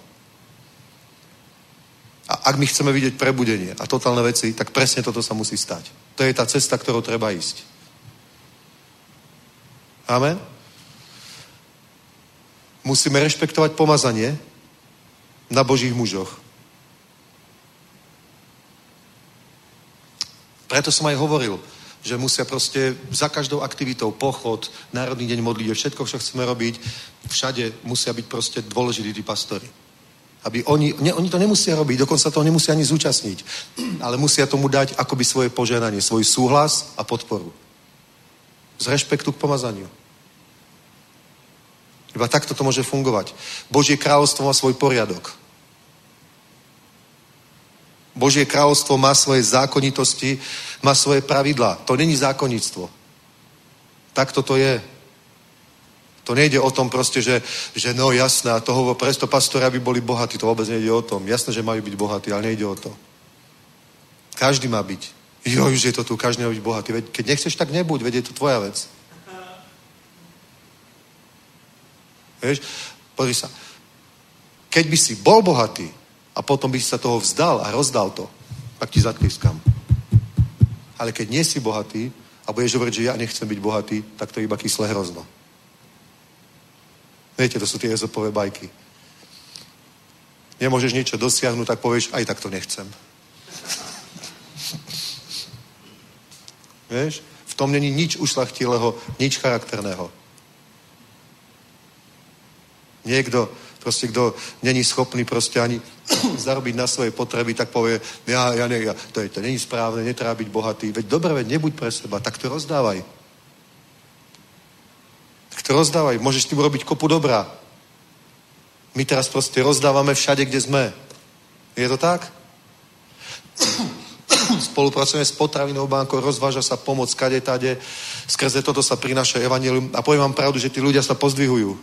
A ak my chceme vidieť prebudenie a totálne veci, tak presne toto sa musí stať. To je tá cesta, ktorou treba ísť. Amen? Musíme rešpektovať pomazanie na Božích mužoch. Preto som aj hovoril, že musia proste za každou aktivitou, pochod, Národný deň modlíte, všetko, čo chceme robiť, všade musia byť proste dôležití tí pastori. Aby oni, ne, oni to nemusia robiť, dokonca toho nemusia ani zúčastniť, ale musia tomu dať akoby svoje požehnanie, svoj súhlas a podporu. Z rešpektu k pomazaniu. Iba takto to môže fungovať. Božie kráľovstvo má svoj poriadok. Božie kráľovstvo má svoje zákonitosti, má svoje pravidlá. To není zákonníctvo. Takto to je. To nejde o tom proste, že, že no jasné, a toho presto pastori, aby boli bohatí. To vôbec nejde o tom. Jasné, že majú byť bohatí, ale nejde o to. Každý má byť. Jo, už je to tu, každý má byť bohatý. Veď, keď nechceš, tak nebuď, veď je to tvoja vec. Vieš, pozri sa. Keď by si bol bohatý a potom by si sa toho vzdal a rozdal to, tak ti zatlískam. Ale keď nie si bohatý a budeš hovoriť, že ja nechcem byť bohatý, tak to je iba kyslé hrozno. Viete, to sú tie Ezopové bajky. Nemôžeš niečo dosiahnuť, tak povieš, aj tak to nechcem. Vieš? V tom není nič ušlachtilého, nič charakterného. Niekto, proste, kto není schopný proste ani zarobiť na svoje potreby, tak povie, ja, ja, ne, ja to, je, to není správne, netreba byť bohatý. Veď dobre, veď nebuď pre seba, tak to rozdávaj. Tak to rozdávaj, môžeš tým robiť kopu dobrá. My teraz proste rozdávame všade, kde sme. Je to tak? Spolupracujeme s potravinou bankou, rozváža sa pomoc kade, tade, skrze toto sa prináša evanjelium a poviem vám pravdu, že tí ľudia sa pozdvihujú.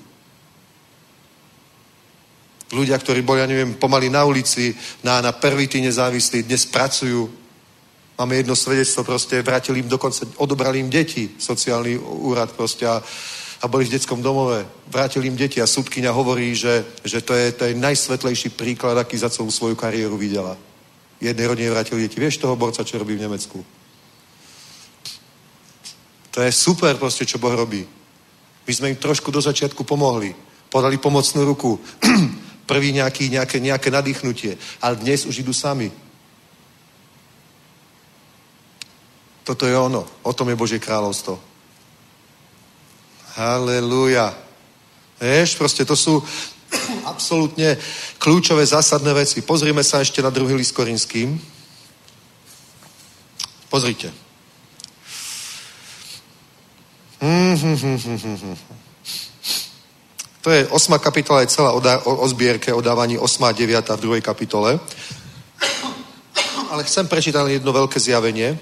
Ľudia, ktorí boli, ja neviem, pomaly na ulici, na, na pervity nezávislí, dnes pracujú. Máme jedno svedectvo, proste vrátili im dokonca, odobrali im deti, sociálny úrad proste a, a boli v detskom domove. Vrátili im deti a sudkyňa hovorí, že, že to, je, to je najsvetlejší príklad, aký za celú svoju kariéru videla. Jednej rodine vrátili deti. Vieš toho borca, čo robí v Nemecku? To je super proste, čo Boh robí. My sme im trošku do začiatku pomohli. Podali pomocnú ruku. Prvý nejaký, nejaké, nejaké nadýchnutie. Ale dnes už idú sami. Toto je ono. O tom je Božie kráľovstvo. Halelúja. Vieš, proste to sú absolútne kľúčové, zásadné veci. Pozrime sa ešte na druhý list Korinským. Pozrite. To je osma kapitola, je celá o, o, o zbierke, o dávaní osma a deviata v druhej kapitole. Ale chcem prečítať jedno veľké zjavenie.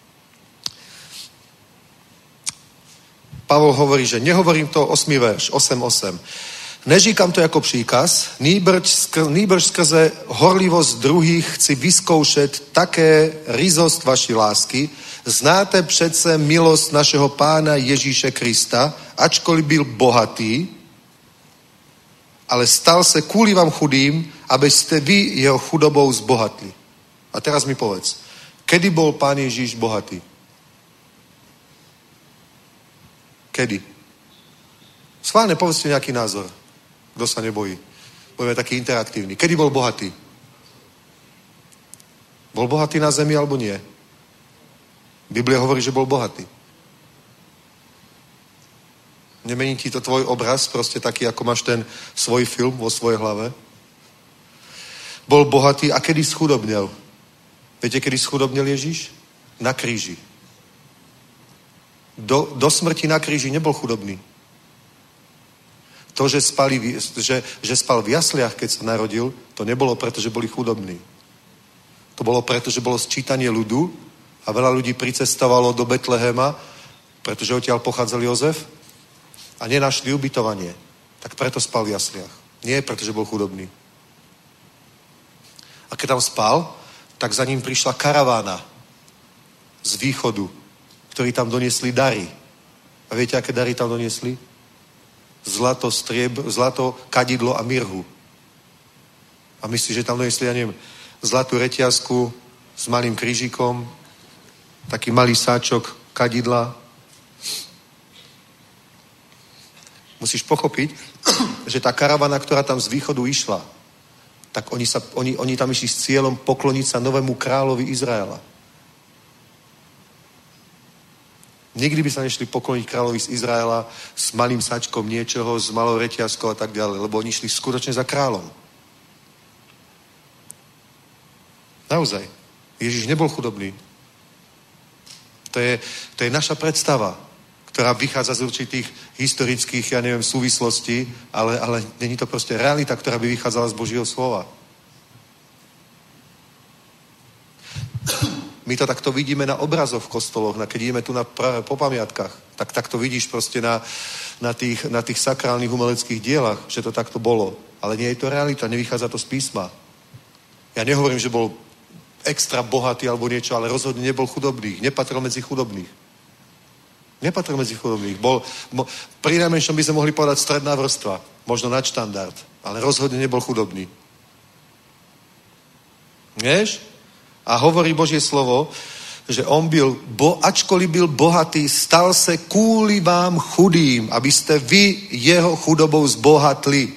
Pavol hovorí, že nehovorím to osmý verš, osem osem. Neříkam to jako příkaz, nýbrž, skr, nýbrž skrze horlivost druhých chci vyzkoušet také ryzost vaší lásky. Znáte přece milost našeho Pána Ježíše Krista, ačkoliv byl bohatý, ale stal se kvůli vám chudým, abyste vy jeho chudobou zbohatli. A teraz mi povedz, kedy bol Pán Ježíš bohatý? Kedy? Schválne, povedzte nejaký názor. Kto sa nebojí? Budeme taký interaktívny. Kedy bol bohatý? Bol bohatý na zemi alebo nie? Biblia hovorí, že bol bohatý. Nemení ti to tvoj obraz, proste taký, ako máš ten svoj film vo svojej hlave? Bol bohatý a kedy schudobnel? Viete, kedy schudobnel Ježíš? Na kríži. Do, do smrti na kríži nebol chudobný. To, že, spali, že, že spal v jasliach, keď sa narodil, to nebolo preto, že boli chudobní. To bolo preto, že bolo sčítanie ľudu a veľa ľudí pricestovalo do Betlehema, pretože odtiaľ pochádzal Jozef a nenašli ubytovanie. Tak preto spal v jasliach. Nie preto, že bol chudobný. A keď tam spal, tak za ním prišla karavána z východu, ktorí tam doniesli dary. A viete, aké dary tam doniesli? Zlato, strieb, zlato, kadidlo a mirhu. A myslíš, že tam doniesli, ja neviem, zlatú reťazku s malým krížikom, taký malý sáčok kadidla. Musíš pochopiť, že tá karavana, ktorá tam z východu išla, tak oni, sa, oni, oni tam išli s cieľom pokloniť sa novému kráľovi Izraela. Nikdy by sa nešli pokloniť kráľovi z Izraela s malým sačkom niečoho, s malou reťazkou a tak ďalej, lebo oni šli skutočne za kráľom. Naozaj. Ježiš nebol chudobný. To je, to je naša predstava, ktorá vychádza z určitých historických, ja neviem, súvislostí, ale, ale není to proste realita, ktorá by vychádzala z Božieho slova. My to takto vidíme na obrazoch v kostoloch, na, keď ideme tu na, po pamiatkách, tak takto vidíš proste na, na, tých, na tých sakrálnych umeleckých dielach, že to takto bolo. Ale nie je to realita, nevychádza to z písma. Ja nehovorím, že bol extra bohatý alebo niečo, ale rozhodne nebol chudobný. Nepatril medzi chudobných. Nepatril medzi chudobných. Bol, mo, pri najmenšom by sme mohli povedať stredná vrstva, možno nadštandard, ale rozhodne nebol chudobný. Vieš? A hovorí Božie slovo, že on byl, bo, ačkoliv byl bohatý, stal se kvůli vám chudým, abyste vy jeho chudobou zbohatli.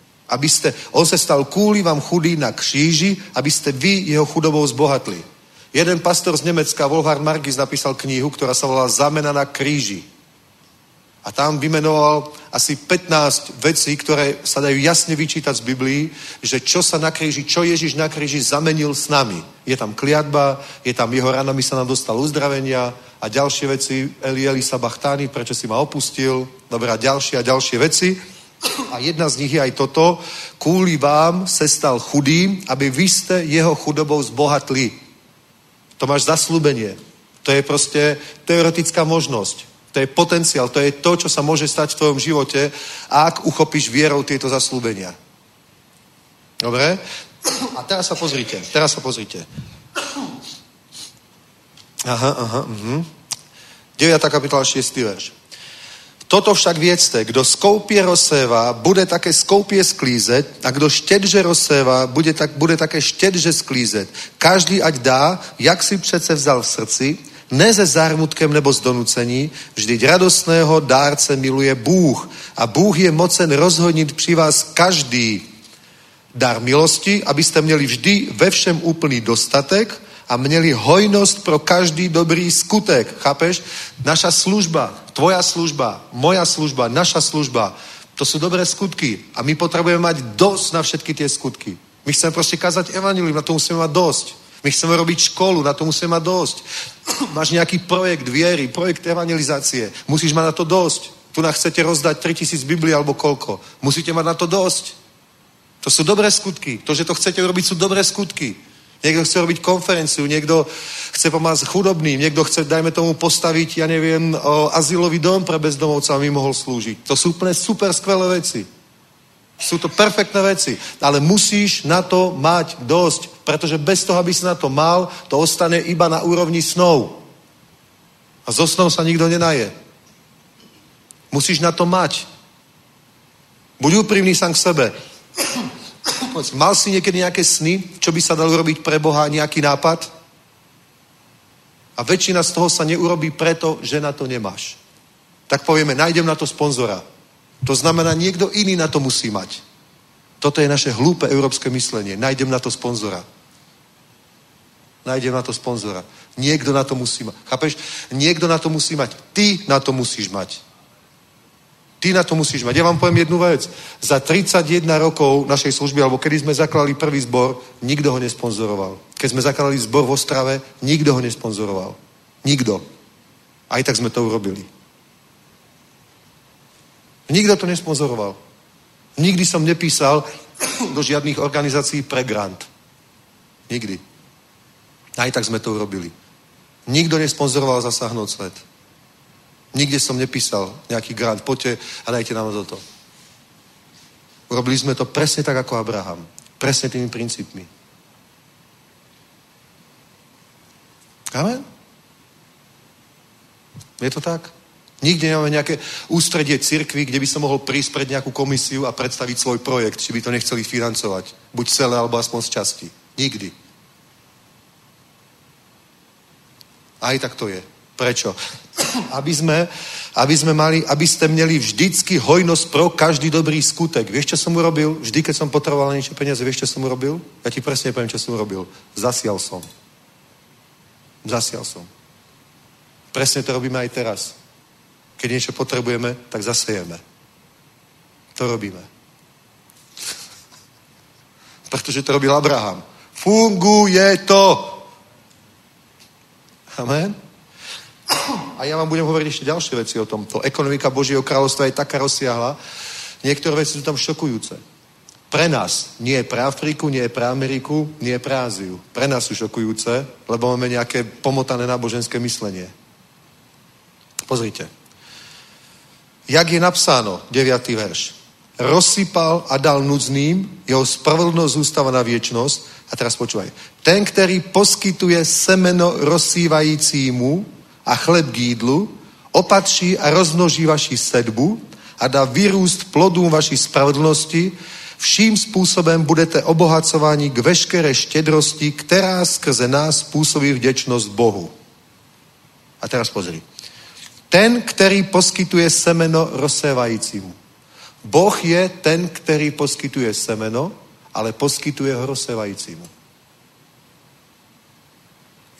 Abyste, on se stal kvůli vám chudý na kříži, abyste vy jeho chudobou zbohatli. Jeden pastor z Nemecka, Wolfhard Margis, napísal knihu, ktorá sa volá Zámena na kríži. A tam vymenoval asi pätnásť vecí, ktoré sa dajú jasne vyčítať z Biblii, že čo sa na kríži, čo Ježiš na kríži zamenil s nami. Je tam kliatba, je tam jeho ranami sa nám dostal uzdravenia a ďalšie veci, Eli Eli sabachthani, prečo si ma opustil, dobrá, ďalšie a ďalšie veci. A jedna z nich je aj toto, kvôli vám se stal chudým, aby vy ste jeho chudobou zbohatli. To máš zasľúbenie. To je proste teoretická možnosť. To je potenciál, to je to, čo sa môže stať v tvojom živote, ak uchopíš vierou tieto zasľúbenia. Dobre? A teraz sa pozrite, teraz sa pozrite. Aha, aha, mhm. deviata kapitola, šiesty verš. Toto však viedzte, kdo skoupie rozséva, bude také skoupie sklízet, a kdo štedže rozséva, bude, tak, bude také štedže sklízet. Každý ať dá, jak si přece vzal v srdci, ne se zármutkem nebo z donucení, vždyť radostného dárce miluje Bůh. A Bůh je mocen rozhodnit při vás každý dar milosti, abyste měli vždy ve všem úplný dostatek a měli hojnost pro každý dobrý skutek. Chápeš? Naša služba, tvoja služba, moja služba, naša služba, to sú dobré skutky. A my potrebujeme mať dosť na všetky tie skutky. My chceme proste kázať evanjelium, na to musíme mať dosť. My chceme robiť školu, na to musíme mať dosť. Máš nejaký projekt viery, projekt evangelizácie, musíš mať na to dosť. Tu nás chcete rozdať tritisíc Biblií alebo koľko. Musíte mať na to dosť. To sú dobré skutky. To, že to chcete robiť, sú dobré skutky. Niekto chce robiť konferenciu, niekto chce pomáhať chudobným, niekto chce, dajme tomu, postaviť, ja neviem, azylový dom pre bezdomovca, aby mohol slúžiť. To sú úplne super skvelé veci. Sú to perfektné veci, ale musíš na to mať dosť, pretože bez toho, aby si na to mal, to ostane iba na úrovni snov. A zo snov sa nikto nenaje. Musíš na to mať. Buď úprimný sám k sebe. Mal si niekedy nejaké sny, čo by sa dalo robiť pre Boha, nejaký nápad? A väčšina z toho sa neurobí preto, že na to nemáš. Tak povieme, nájdem na to sponzora. To znamená, niekto iný na to musí mať. Toto je naše hlúpe európske myslenie. Nájdem na to sponzora. Nájdem na to sponzora. Niekto na to musí mať. Chápeš? Niekto na to musí mať. Ty na to musíš mať. Ty na to musíš mať. Ja vám poviem jednu vec. Za tridsaťjeden rokov našej služby, alebo kedy sme zakladali prvý zbor, nikto ho nesponzoroval. Keď sme zakladali zbor v Ostrave, nikto ho nesponzoroval. Nikto. Aj tak sme to urobili. Nikto to nesponzoroval. Nikdy som nepísal do žiadnych organizácií pre grant. Nikdy. Aj tak sme to urobili. Nikto nesponzoroval Zasáhnout svet. Nikde som nepísal nejaký grant. Poďte a dajte nám toto. Urobili sme to presne tak, ako Abraham. Presne tými princípmi. Amen? Je to tak? Nikde nemáme nejaké ústredie cirkvi, kde by som mohol prísť pred nejakú komisiu a predstaviť svoj projekt, či by to nechceli financovať. Buď celé, alebo aspoň z časti. Nikdy. Aj tak to je. Prečo? Aby sme, aby sme mali, aby ste měli vždycky hojnosť pro každý dobrý skutek. Vieš, čo som urobil? Vždy, keď som potreboval niečo peniaze, vieš, čo som urobil? Ja ti presne poviem, čo som urobil. Zasial som. Zasial som. Presne to robíme aj teraz. Keď niečo potrebujeme, tak zasejeme. To robíme. Pretože to robil Abraham. Funguje to. Amen. A ja vám budem hovoriť ešte ďalšie veci o tomto. Ekonomika Božieho kráľovstva je taká rozsiahla. Niektoré veci sú tam šokujúce. Pre nás, nie je pre Afriku, nie je pre Ameriku, nie je pre Áziu. Pre nás sú šokujúce, lebo máme nejaké pomotané náboženské myslenie. Pozrite. Jak je napsáno, deviatý verš. Rozsypal a dal núdznym, jeho spravedlnosť zústava na viečnosť. A teraz počúvaj. Ten, ktorý poskytuje semeno rozsývajícímu a chleb k jídlu, opatří a rozmnoží vaši sedbu a dá vyrůst plodům vaší spravedlnosti, vším způsobem budete obohacováni k veškeré štědrosti, která skrze nás způsobí vděčnost Bohu. A teraz pozri. Ten, který poskytuje semeno rozsévajícímu. Boh je ten, který poskytuje semeno, ale poskytuje ho rozsévajícímu.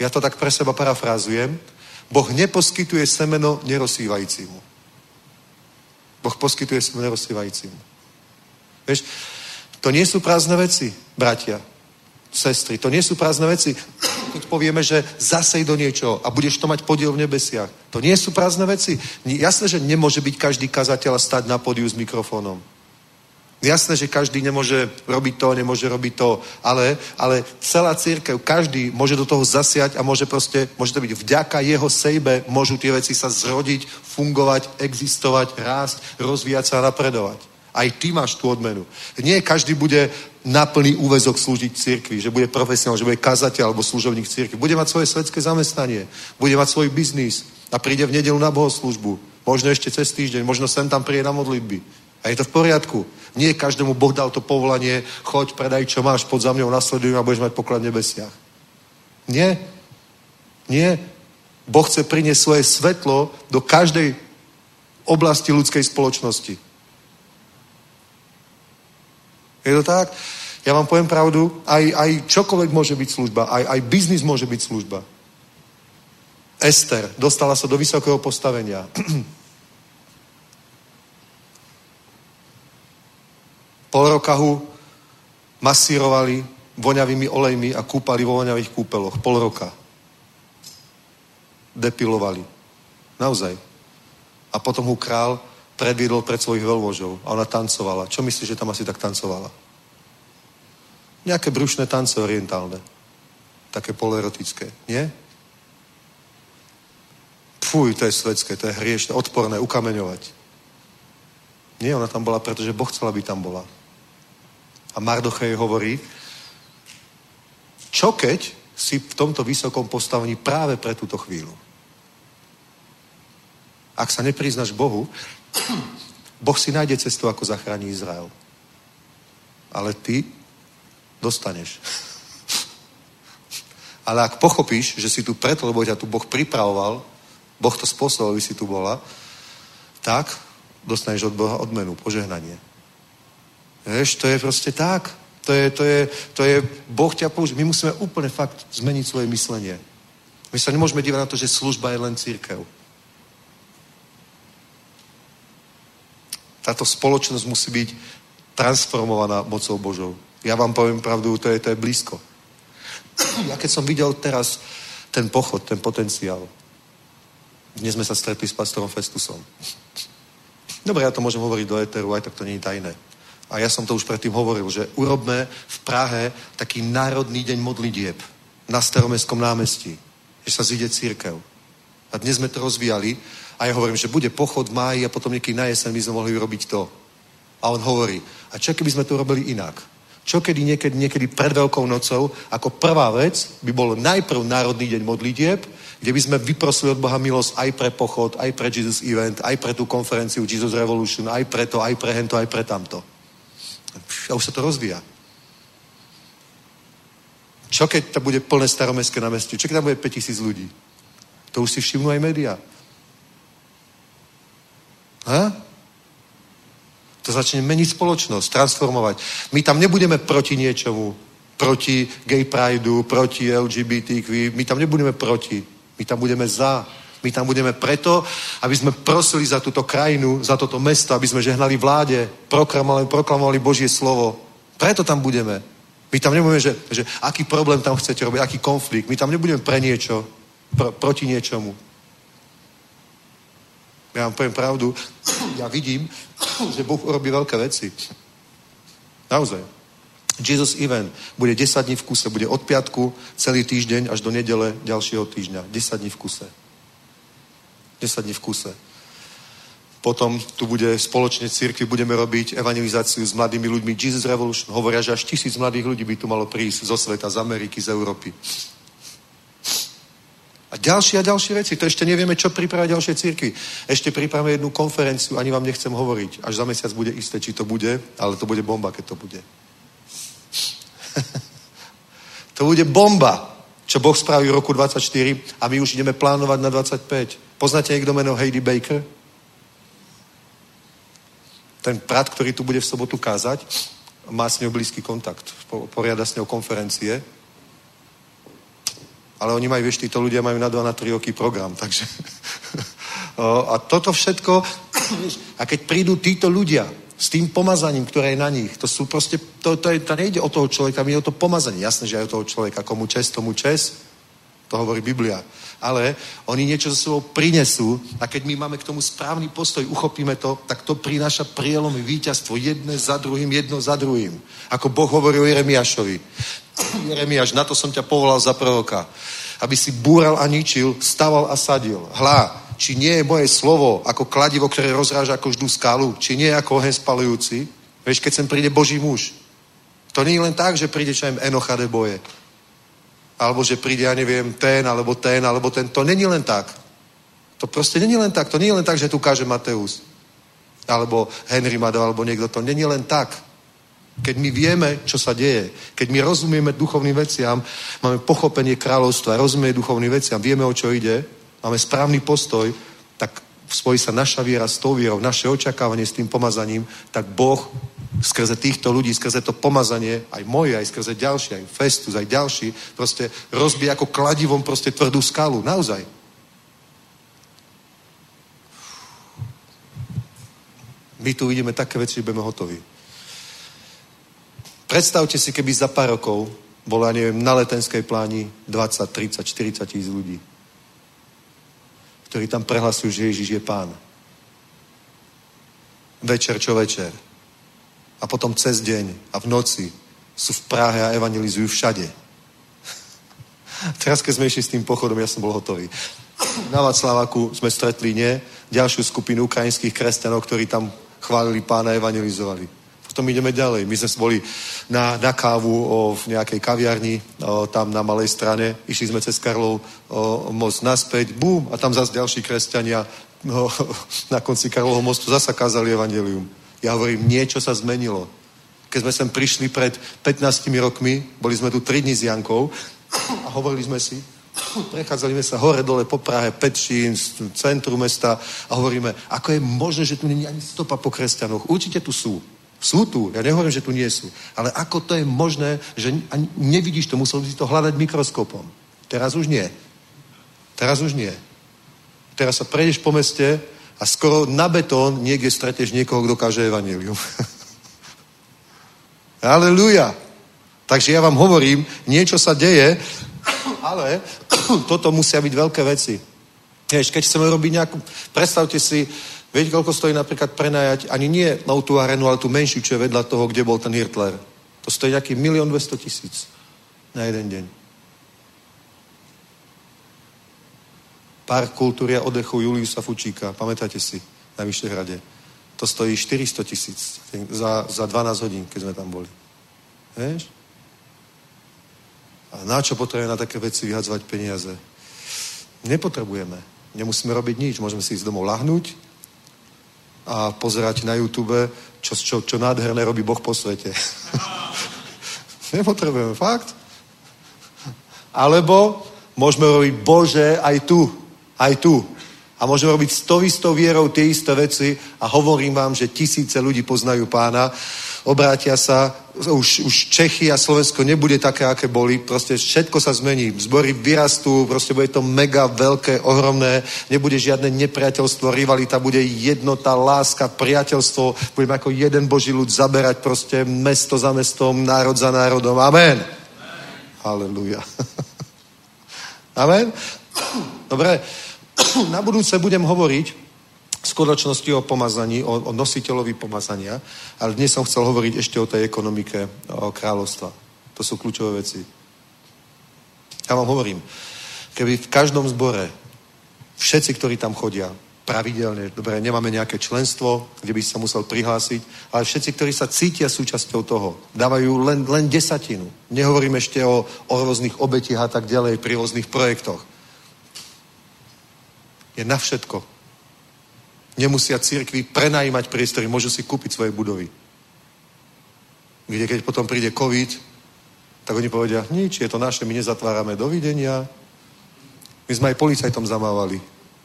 Ja to tak pre seba parafrázujem. Boh neposkytuje semeno nerozsývajícímu. Boh poskytuje semeno nerozsývajícímu. Vieš, to nie sú prázdne veci, bratia, sestry. To nie sú prázdne veci. Keď povieme, že zasej do niečoho a budeš to mať podiel v nebesiach. To nie sú prázdne veci. Jasné, že nemôže byť každý kazateľ stať na pódiu s mikrofónom. Jasné, že každý nemôže robiť to, nemôže robiť to, ale, ale celá cirkev, každý môže do toho zasiať a môže proste, môže to byť vďaka jeho sejbe, môžu tie veci sa zrodiť, fungovať, existovať, rásť, rozvíjať sa a napredovať. Aj ty máš tú odmenu. Nie každý bude na plný úväzok slúžiť cirkvi, že bude profesionál, že bude kazateľ alebo služobník cirkvi. Bude mať svoje svetské zamestnanie, bude mať svoj biznis a príde v nedeľu na bohoslúžbu. Možno ešte cez týždeň, možno sem tam príde na modlitby. A je to v poriadku. Nie každému Boh dal to povolanie, choď, predaj, čo máš, pod za mňou, nasleduj a budeš mať poklad v nebesiach. Nie. Nie. Boh chce priniesť svoje svetlo do každej oblasti ľudskej spoločnosti. Je to tak? Ja vám poviem pravdu, aj, aj čokoľvek môže byť služba, aj, aj biznis môže byť služba. Ester dostala sa do vysokého postavenia. Pol roka ho masírovali voňavými olejmi a kúpali vo voňavých kúpeloch. Pol roka. Depilovali. Naozaj. A potom ho král predviedol pred svojich veľmožov a ona tancovala. Čo myslíš, že tam asi tak tancovala? Nejaké brušné tance orientálne. Také poloerotické. Nie? Fuj, to je svetské, to je hriešne, odporné, ukameňovať. Nie, ona tam bola, pretože Boh chcel, aby tam bola. A Mardochej hovorí, čo keď si v tomto vysokom postavení práve pre túto chvíľu? Ak sa nepriznáš Bohu, Boh si nájde cestu, ako zachráni Izrael. Ale ty dostaneš. Ale ak pochopíš, že si tu preto, lebo ťa tu Boh pripravoval, Boh to spôsobil, aby si tu bola, tak dostaneš od Boha odmenu, požehnanie. Vieš, to je proste tak. To je, to je, to je, Boh ťa použije. My musíme úplne fakt zmeniť svoje myslenie. My sa nemôžeme dívať na to, že služba je len cirkev. Táto spoločnosť musí byť transformovaná mocou Božou. Ja vám poviem pravdu, to je, to je blízko. Ja keď som videl teraz ten pochod, ten potenciál, dnes sme sa stretli s pastorom Festusom. Dobre, ja to môžem hovoriť do éteru, aj tak to nie je tajné. A ja som to už predtým hovoril, že urobme v Prahe taký národný deň modlitieb na Staromestskom námestí, že sa zíde cirkev. A dnes sme to rozvíjali a ja hovorím, že bude pochod v máji a potom niekedy na jeseň by sme mohli urobiť to. A on hovorí, a čo keby sme to robili inak? Čo kedy niekedy, niekedy pred Veľkou nocou, ako prvá vec by bol najprv národný deň modlitieb, kde by sme vyprosili od Boha milosť aj pre pochod, aj pre Jesus Event, aj pre tú konferenciu Jesus Revolution, aj pre to, aj pre hento, aj pre tamto. A už sa to rozvíja. Čo keď to bude plné Staromestské námestie? Čo keď tam bude päťtisíc ľudí? To už si všimnú aj médiá. Ha? To začne meniť spoločnosť, transformovať. My tam nebudeme proti niečomu, proti gay prideu, proti el gé bé té kvé, my tam nebudeme proti, my tam budeme za. My tam budeme preto, aby sme prosili za túto krajinu, za toto mesto, aby sme žehnali vláde, proklamovali, proklamovali Božie slovo. Preto tam budeme. My tam nebudeme, že, že aký problém tam chcete robiť, aký konflikt. My tam nebudeme pre niečo, pr- proti niečomu. Ja vám poviem pravdu, ja vidím, že Boh urobí veľké veci. Naozaj. Jesus Event bude desať dní v kuse, bude od piatku celý týždeň až do nedele ďalšieho týždňa. desať dní v kuse. desať dní v kuse. Potom tu bude spoločne cirkvi, budeme robiť evangelizáciu s mladými ľuďmi. Jesus Revolution hovoria, že až tisíc mladých ľudí by tu malo prísť zo sveta, z Ameriky, z Európy. A ďalšie a ďalšie veci. To ešte nevieme, čo pripravia ďalšie cirkvi. Ešte pripravíme jednu konferenciu, ani vám nechcem hovoriť. Až za mesiac bude isté, či to bude, ale to bude bomba, keď to bude. To bude bomba, čo Boh spraví v roku dvadsaťštyri a my už ideme plánovať na dvadsaťpäť. Poznáte niekto meno Heidi Baker? Ten brat, ktorý tu bude v sobotu kázať, má s ňou blízky kontakt. Poriada s ňou konferencie. Ale oni majú, vieš, títo ľudia majú na dva, na tri roky program, takže... A toto všetko, a keď prídu títo ľudia s tým pomazaním, ktoré je na nich, to sú proste, to, to, je, to nejde o toho človeka, my je o to pomazanie. Jasné, že aj o toho človeka, komu čes, tomu čes, to hovorí Biblia. Ale oni niečo so sebou prinesú a keď my máme k tomu správny postoj, uchopíme to, tak to prináša prielomy, víťazstvo jedné za druhým, jedno za druhým. Ako Boh hovorí o Jeremiášovi. Jeremiáš, na to som ťa povolal za proroka, aby si búral a ničil, staval a sadil. Hlá, či nie je moje slovo ako kladivo, ktoré rozráža ako vždú skalu, či nie je ako oheň spalujúci. Vieš, keď sem príde Boží muž. To nie je len tak, že príde čo im Enocha de boje. Alebo že príde, ja neviem, ten, alebo ten, alebo ten. To není len tak. To proste není len tak. To nie je len tak, že tu káže Mateus. Alebo Henry Madov, alebo niekto. To není len tak. Keď my vieme, čo sa deje, keď my rozumieme duchovným veciam, máme pochopenie kráľovstva, rozumieme duchovným veciam, vieme, o čo ide, máme správny postoj, tak spojí sa naša viera s tou vierou, naše očakávanie s tým pomazaním, tak Boh skrze týchto ľudí, skrze to pomazanie, aj moje, aj skrze ďalší, aj Festus, aj ďalší, proste rozbije ako kladivom proste tvrdú skalu. Naozaj. My tu vidíme také veci, že budeme hotoví. Predstavte si, keby za pár rokov bolo, ja neviem, na Letenskej pláni dvadsať, tridsať, štyridsať tisíc ľudí, ktorí tam prehlasujú, že Ježiš je Pán. Večer čo večer. A potom cez deň a v noci sú v Prahe a evangelizujú všade. Teraz, keď sme išli s tým pochodom, ja som bol hotový. Na Václaváku sme stretli, nie? Ďalšiu skupinu ukrajinských kresťanov, ktorí tam chválili Pána a evangelizovali. Potom ideme ďalej. My sme boli na, na kávu o, v nejakej kaviarni, o, tam na malej strane. Išli sme cez Karlov o, most naspäť. Bum! A tam zase ďalší kresťania o, na konci Karlovho mostu zasa kázali evangelium. Ja hovorím, niečo sa zmenilo. Keď sme sem prišli pred pätnástimi rokmi, boli sme tu tri dni s Jankou a hovorili sme si, prechádzali sme sa hore dole po Prahe, Petšín, centru mesta a hovoríme, ako je možné, že tu nie je ani stopa po kresťanoch. Určite tu sú. Sú tu, ja nehovorím, že tu nie sú. Ale ako to je možné, že ani nevidíš to, musel by si to hľadať mikroskopom. Teraz už nie. Teraz už nie. Teraz sa prejdeš po meste a skoro na betón niekde stretneš niekoho, kto káže evanjelium. Halelúja. Takže ja vám hovorím, niečo sa deje, ale toto musia byť veľké veci. Vieš, keď chceme robiť nejakú... Predstavte si, viete, koľko stojí napríklad prenajať, ani nie na tú arenu, ale tú menšiu, čo je vedľa toho, kde bol ten Hirtler. To stojí nejaký milión dvesto tisíc na jeden deň. Park kultúry a oddechu Juliusa Fučíka, pamätáte si, na Vyšehrade. To stojí štyristo tisíc za, za dvanásť hodín, keď sme tam boli. Vieš? A na čo potrebujeme na také veci vyhadzovať peniaze? Nepotrebujeme. Nemusíme robiť nič. Môžeme si ísť domov lahnúť a pozerať na YouTube, čo, čo, čo nádherné robí Boh po svete. Nepotrebujeme, fakt. Alebo môžeme robiť, Bože, aj tu, aj tu. A môžeme robiť s tou istou vierou tie isté veci a hovorím vám, že tisíce ľudí poznajú Pána, obrátia sa, už, už Čechy a Slovensko nebude také, aké boli, proste všetko sa zmení, zbory vyrastú, proste bude to mega veľké, ohromné, nebude žiadne nepriateľstvo, rivalita, bude jednota, láska, priateľstvo, budeme ako jeden Boží ľud zaberať proste mesto za mestom, národ za národom. Amen. Halelúja. Amen. Dobre, na budúce budem hovoriť v skutočnosti o pomazaní, o, o nositeľovi pomazania, ale dnes som chcel hovoriť ešte o tej ekonomike, o kráľovstva. To sú kľúčové veci. Ja vám hovorím, keby v každom zbore všetci, ktorí tam chodia, pravidelne, dobre, nemáme nejaké členstvo, kde by sa musel prihlásiť, ale všetci, ktorí sa cítia súčasťou toho, dávajú len, len desatinu. Nehovorím ešte o, o rôznych obetiach a tak ďalej pri rôznych projektoch. Je na všetko. Nemusia cirkvi prenajímať priestory, môžu si kúpiť svoje budovy. Kde keď potom príde COVID, tak oni povedia, nič, je to naše, my nezatvárame, dovidenia. My sme aj policajtom zamávali.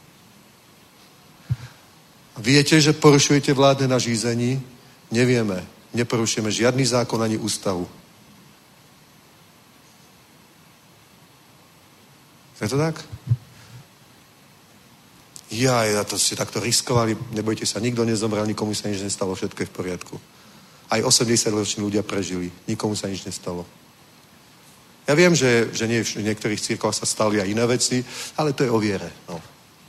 Viete, že porušujete vládne nařízení? Nevieme. Neporušujeme žiadny zákon ani ústavu. Je to tak? Ja, ja to ste takto riskovali, nebojte sa, nikto nezomrel, nikomu sa nič nestalo, všetko je v poriadku. Aj osemdesiatroční ľudia prežili, nikomu sa nič nestalo. Ja viem, že, že nie, v niektorých cirkvách sa stali aj iné veci, ale to je o viere. No.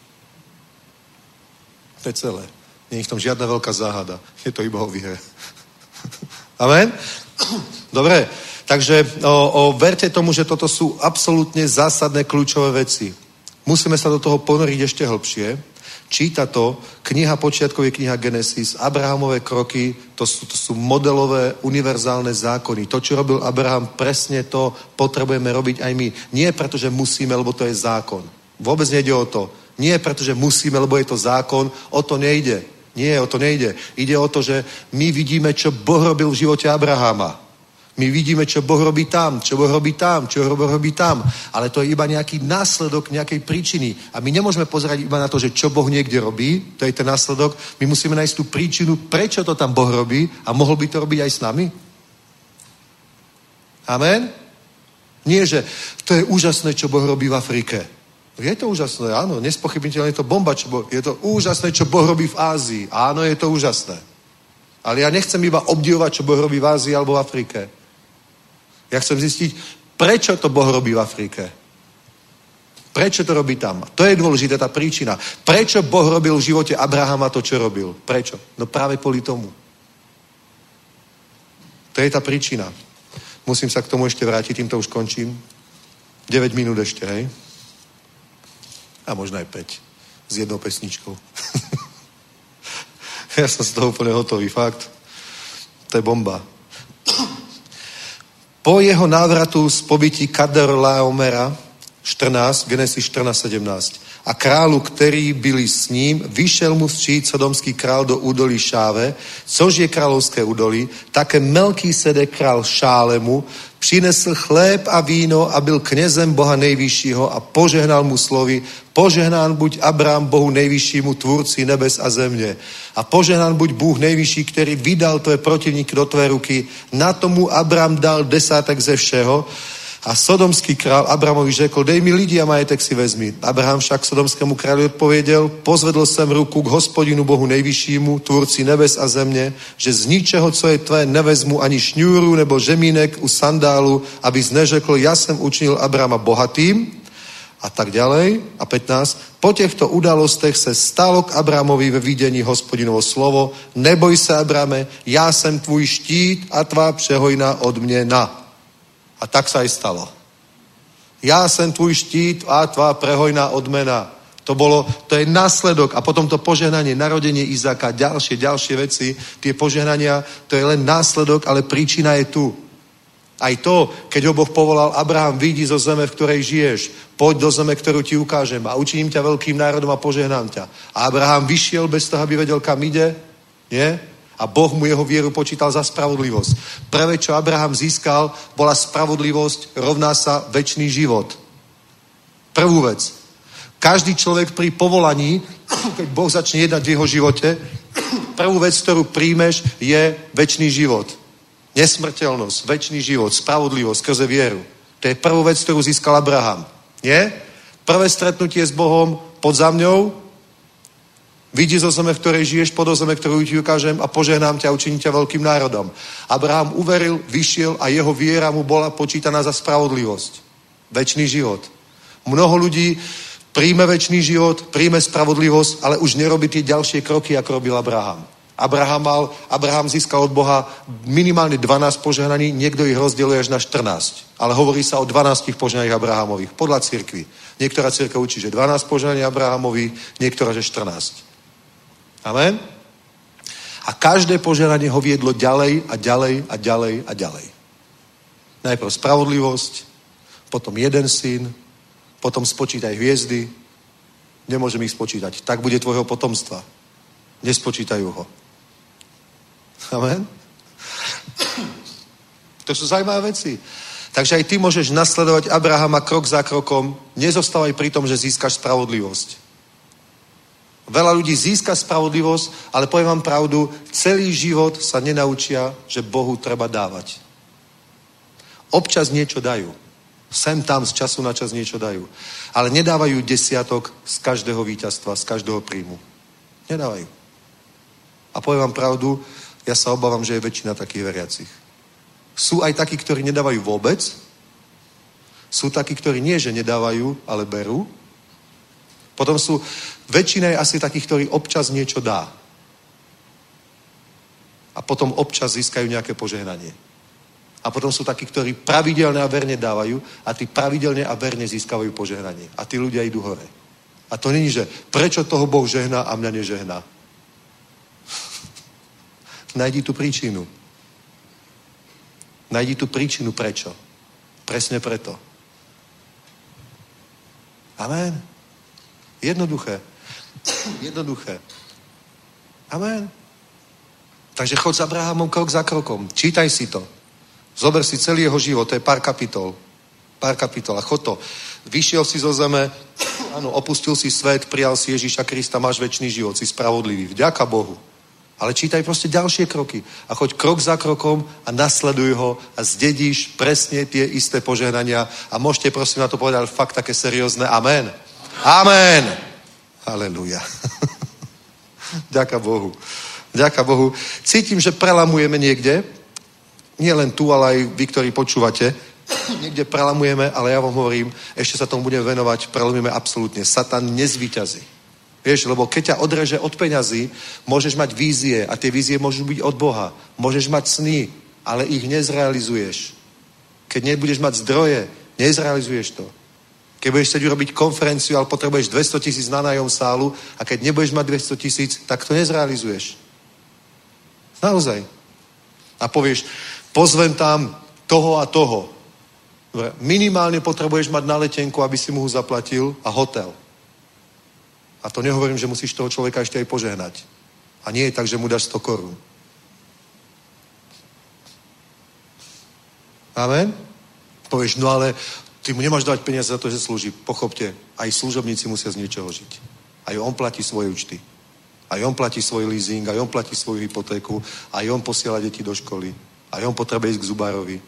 To je celé. Nie je v tom žiadna veľká záhada. Je to iba o viere. Amen? Dobre, takže o, o, verte tomu, že toto sú absolútne zásadné kľúčové veci. Musíme sa do toho ponoriť ešte hlbšie. Číta to, kniha počiatkov je kniha Genesis, Abrahamové kroky, to sú, to sú modelové, univerzálne zákony. To, čo robil Abraham, presne to potrebujeme robiť aj my. Nie preto, že musíme, lebo to je zákon. Vôbec nejde o to. Nie preto, že musíme, lebo je to zákon. O to nejde. Nie, o to nejde. Ide o to, že my vidíme, čo Boh robil v živote Abrahama. My vidíme, čo Boh robí tam, čo Boh robí tam, čo Boh robí tam. Ale to je iba nejaký následok nejakej príčiny. A my nemôžeme pozerať iba na to, že čo Boh niekde robí, to je ten následok. My musíme nájsť tú príčinu, prečo to tam Boh robí a mohol by to robiť aj s nami. Amen? Nie, že to je úžasné, čo Boh robí v Afrike. Je to úžasné, áno, nespochybniteľne je to bomba, čo Boh, je to úžasné, čo Boh robí v Ázii. Áno, je to úžasné. Ale ja nechcem iba obdivovať, čo Boh robí v Ázii alebo v Afrike. Ja chcem zistiť, prečo to Boh robí v Afrike. Prečo to robí tam? To je dôležitá tá príčina. Prečo Boh robil v živote Abrahama to, čo robil? Prečo? No práve kvôli tomu. To je tá príčina. Musím sa k tomu ešte vrátiť, týmto už končím. deväť minút ešte, hej? A možno aj päť. S jednou pesničkou. Ja som z toho úplne hotový, fakt. To je bomba. Po jeho návratu z pobytí Kedorlaomera štrnásť, Genesis štrnásť sedemnásť. A králu, který byli s ním, vyšel mu vstříc sodomský král do údolí Šáve, což je královské údolí, také Melkýsedek král Šálemu přinesl chléb a víno a byl knězem Boha nejvyššího a požehnal mu slovy, požehnán buď Abrám Bohu nejvyššímu, tvůrci nebes a země. A požehnán buď Bůh nejvyšší, který vydal tvé protivníky do tvé ruky. Na tomu Abrám dal desátek ze všeho. A sodomský král Abramovi řekl, dej mi lidi a majetek si vezmi. Abraham však sodomskému králi odpověděl, pozvedl jsem ruku k Hospodinu Bohu nejvyššímu, tvůrci nebes a země, že z ničeho, co je tvé, nevezmu ani šňůru nebo žemínek u sandálu, abys neřekl, já jsem učinil Abrama bohatým. A tak ďalej. A pätnásť. Po těchto událostech se stalo k Abramovi ve vidění Hospodinovo slovo, neboj se, Abrame, já jsem tvůj štít a tvá přehojná odměna. A tak sa aj stalo. Ja som tvoj štít a tvá prehojná odmena. To bolo, to je následok a potom to požehnanie, narodenie Izáka, ďalšie, ďalšie veci, tie požehnania, to je len následok, ale príčina je tu. Aj to, keď ho Boh povolal, Abraham, vyjdi zo zeme, v ktorej žiješ, poď do zeme, ktorú ti ukážem a učiním ťa veľkým národom a požehnám ťa. A Abraham vyšiel bez toho, aby vedel, kam ide, nie? A Boh mu jeho vieru počítal za spravodlivosť. Prvé, čo Abraham získal, bola spravodlivosť, rovná sa večný život. Prvú vec. Každý človek pri povolaní, keď Boh začne jednať v jeho živote, prvú vec, ktorú príjmeš, je večný život. Nesmrteľnosť, večný život, spravodlivosť skrze vieru. To je prvú vec, ktorú získal Abraham. Nie? Prvé stretnutie s Bohom pod zamňou, vidí zo zeme, v ktorej žiješ, po do zeme, ktorú ti ukážem a požehnám ťa a učiním ťa veľkým národom. Abraham uveril, vyšiel a jeho viera mu bola počítaná za spravodlivosť. Večný život. Mnoho ľudí príjme večný život, príjme spravodlivosť, ale už nerobí tie ďalšie kroky, ako robil Abraham. Abraham, mal, Abraham získal od Boha minimálne dvanásť požehnaní, niekto ich rozdieluje až na štrnásť. Ale hovorí sa o dvanástich požehnaních Abrahamových, podľa cirkvi. Niektorá cirkev učí, že dvanásť požehnaní Abrahamových, niektorá, že štrnásť. Amen? A každé požehnanie ho viedlo ďalej a ďalej a ďalej a ďalej. Najprv spravodlivosť, potom jeden syn, potom spočítaj hviezdy, nemôžem ich spočítať. Tak bude tvojho potomstva. Nespočítajú ho. Amen? To sú zaujímavé veci. Takže aj ty môžeš nasledovať Abrahama krok za krokom. Nezostávaj pri tom, že získaš spravodlivosť. Veľa ľudí získa spravodlivosť, ale poviem vám pravdu, celý život sa nenaučia, že Bohu treba dávať. Občas niečo dajú. Sem tam z času na čas niečo dajú. Ale nedávajú desiatok z každého víťazstva, z každého príjmu. Nedávajú. A poviem vám pravdu, ja sa obávam, že je väčšina takých veriacich. Sú aj takí, ktorí nedávajú vôbec. Sú takí, ktorí nie, že nedávajú, ale berú. Potom sú, väčšina je asi takých, ktorí občas niečo dá. A potom občas získajú nejaké požehnanie. A potom sú takí, ktorí pravidelne a verne dávajú a tí pravidelne a verne získavajú požehnanie. A tí ľudia idú hore. A to není, že prečo toho Boh žehná a mňa nežehná. Najdi tú príčinu. Najdi tú príčinu prečo. Presne preto. Amen. Jednoduché. Jednoduché. Amen. Takže chod s Abrahamom krok za krokom. Čítaj si to. Zober si celý jeho život, to je pár kapitol. Pár kapitol a chod to. Vyšiel si zo zeme, áno, opustil si svet, prijal si Ježíša Krista, máš večný život, si spravodlivý. Vďaka Bohu. Ale čítaj proste ďalšie kroky. A choď krok za krokom a nasleduj ho a zdedíš presne tie isté požehnania. A môžete prosím na to povedať fakt také seriózne amen. Amen. Halelúja. Ďaká Bohu. Ďaká Bohu. Cítim, že prelamujeme niekde. Nie len tu, ale aj vy, ktorí počúvate. Niekde prelamujeme, ale ja vám hovorím, ešte sa tomu budeme venovať, prelamujeme absolútne. Satan nezvíťazí. Vieš, lebo keď ťa odreže od peňazí, môžeš mať vízie a tie vízie môžu byť od Boha. Môžeš mať sny, ale ich nezrealizuješ. Keď nebudeš mať zdroje, nezrealizuješ to. Keď budeš chcieť urobiť konferenciu, ale potrebuješ dvesto tisíc na nájom sálu a keď nebudeš mať dvesto tisíc, tak to nezrealizuješ. Naozaj. A povieš, pozvem tam toho a toho. Minimálne potrebuješ mať na letenku, aby si mu ho zaplatil a hotel. A to nehovorím, že musíš toho človeka ešte aj požehnať. A nie je tak, že mu dáš sto korún. Amen? Povieš, no ale ty mu nemáš dávať peniaze za to, že slúži. Pochopte, aj služobníci musia z niečoho žiť. Aj on platí svoje účty. Aj on platí svoj leasing, aj on platí svoju hypotéku, aj on posiela deti do školy. Aj on potrebuje ísť k zubárovi.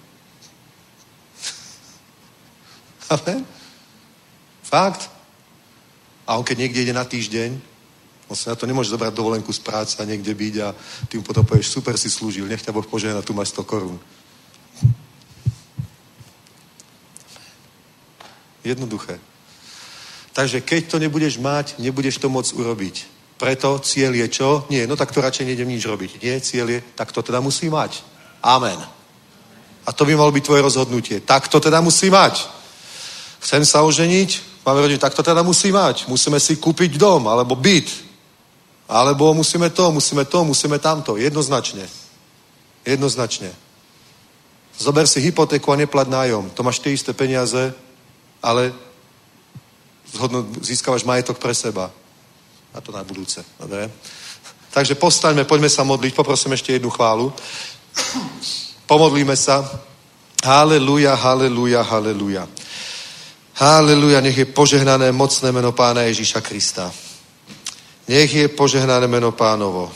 Amen? Fakt? A on keď niekde ide na týždeň, on sa na to nemôže zobrať dovolenku z práce a niekde byť a ty mu potom povieš, super si slúžil, nech ťa Boh požehná, tu máš sto korún. Jednoduché. Takže keď to nebudeš mať, nebudeš to môcť urobiť. Preto cieľ je čo? Nie, no tak to radšej nejdem nič robiť. Nie, cieľ je, tak to teda musí mať. Amen. A to by malo byť tvoje rozhodnutie. Tak to teda musí mať. Chcem sa oženiť, máme rodinu, tak to teda musí mať. Musíme si kúpiť dom, alebo byt. Alebo musíme to, musíme to, musíme tamto. Jednoznačne. Jednoznačne. Zober si hypotéku a neplať nájom. To máš tie isté peniaze, ale získavaš majetok pre seba. A to na budúce. Dobre? Takže postaňme, poďme sa modliť. Poprosím ešte jednu chválu. Pomodlíme sa. Haleluja, haleluja, haleluja. Haleluja, nech je požehnané mocné meno Pána Ježíša Krista. Nech je požehnané meno Pánovo.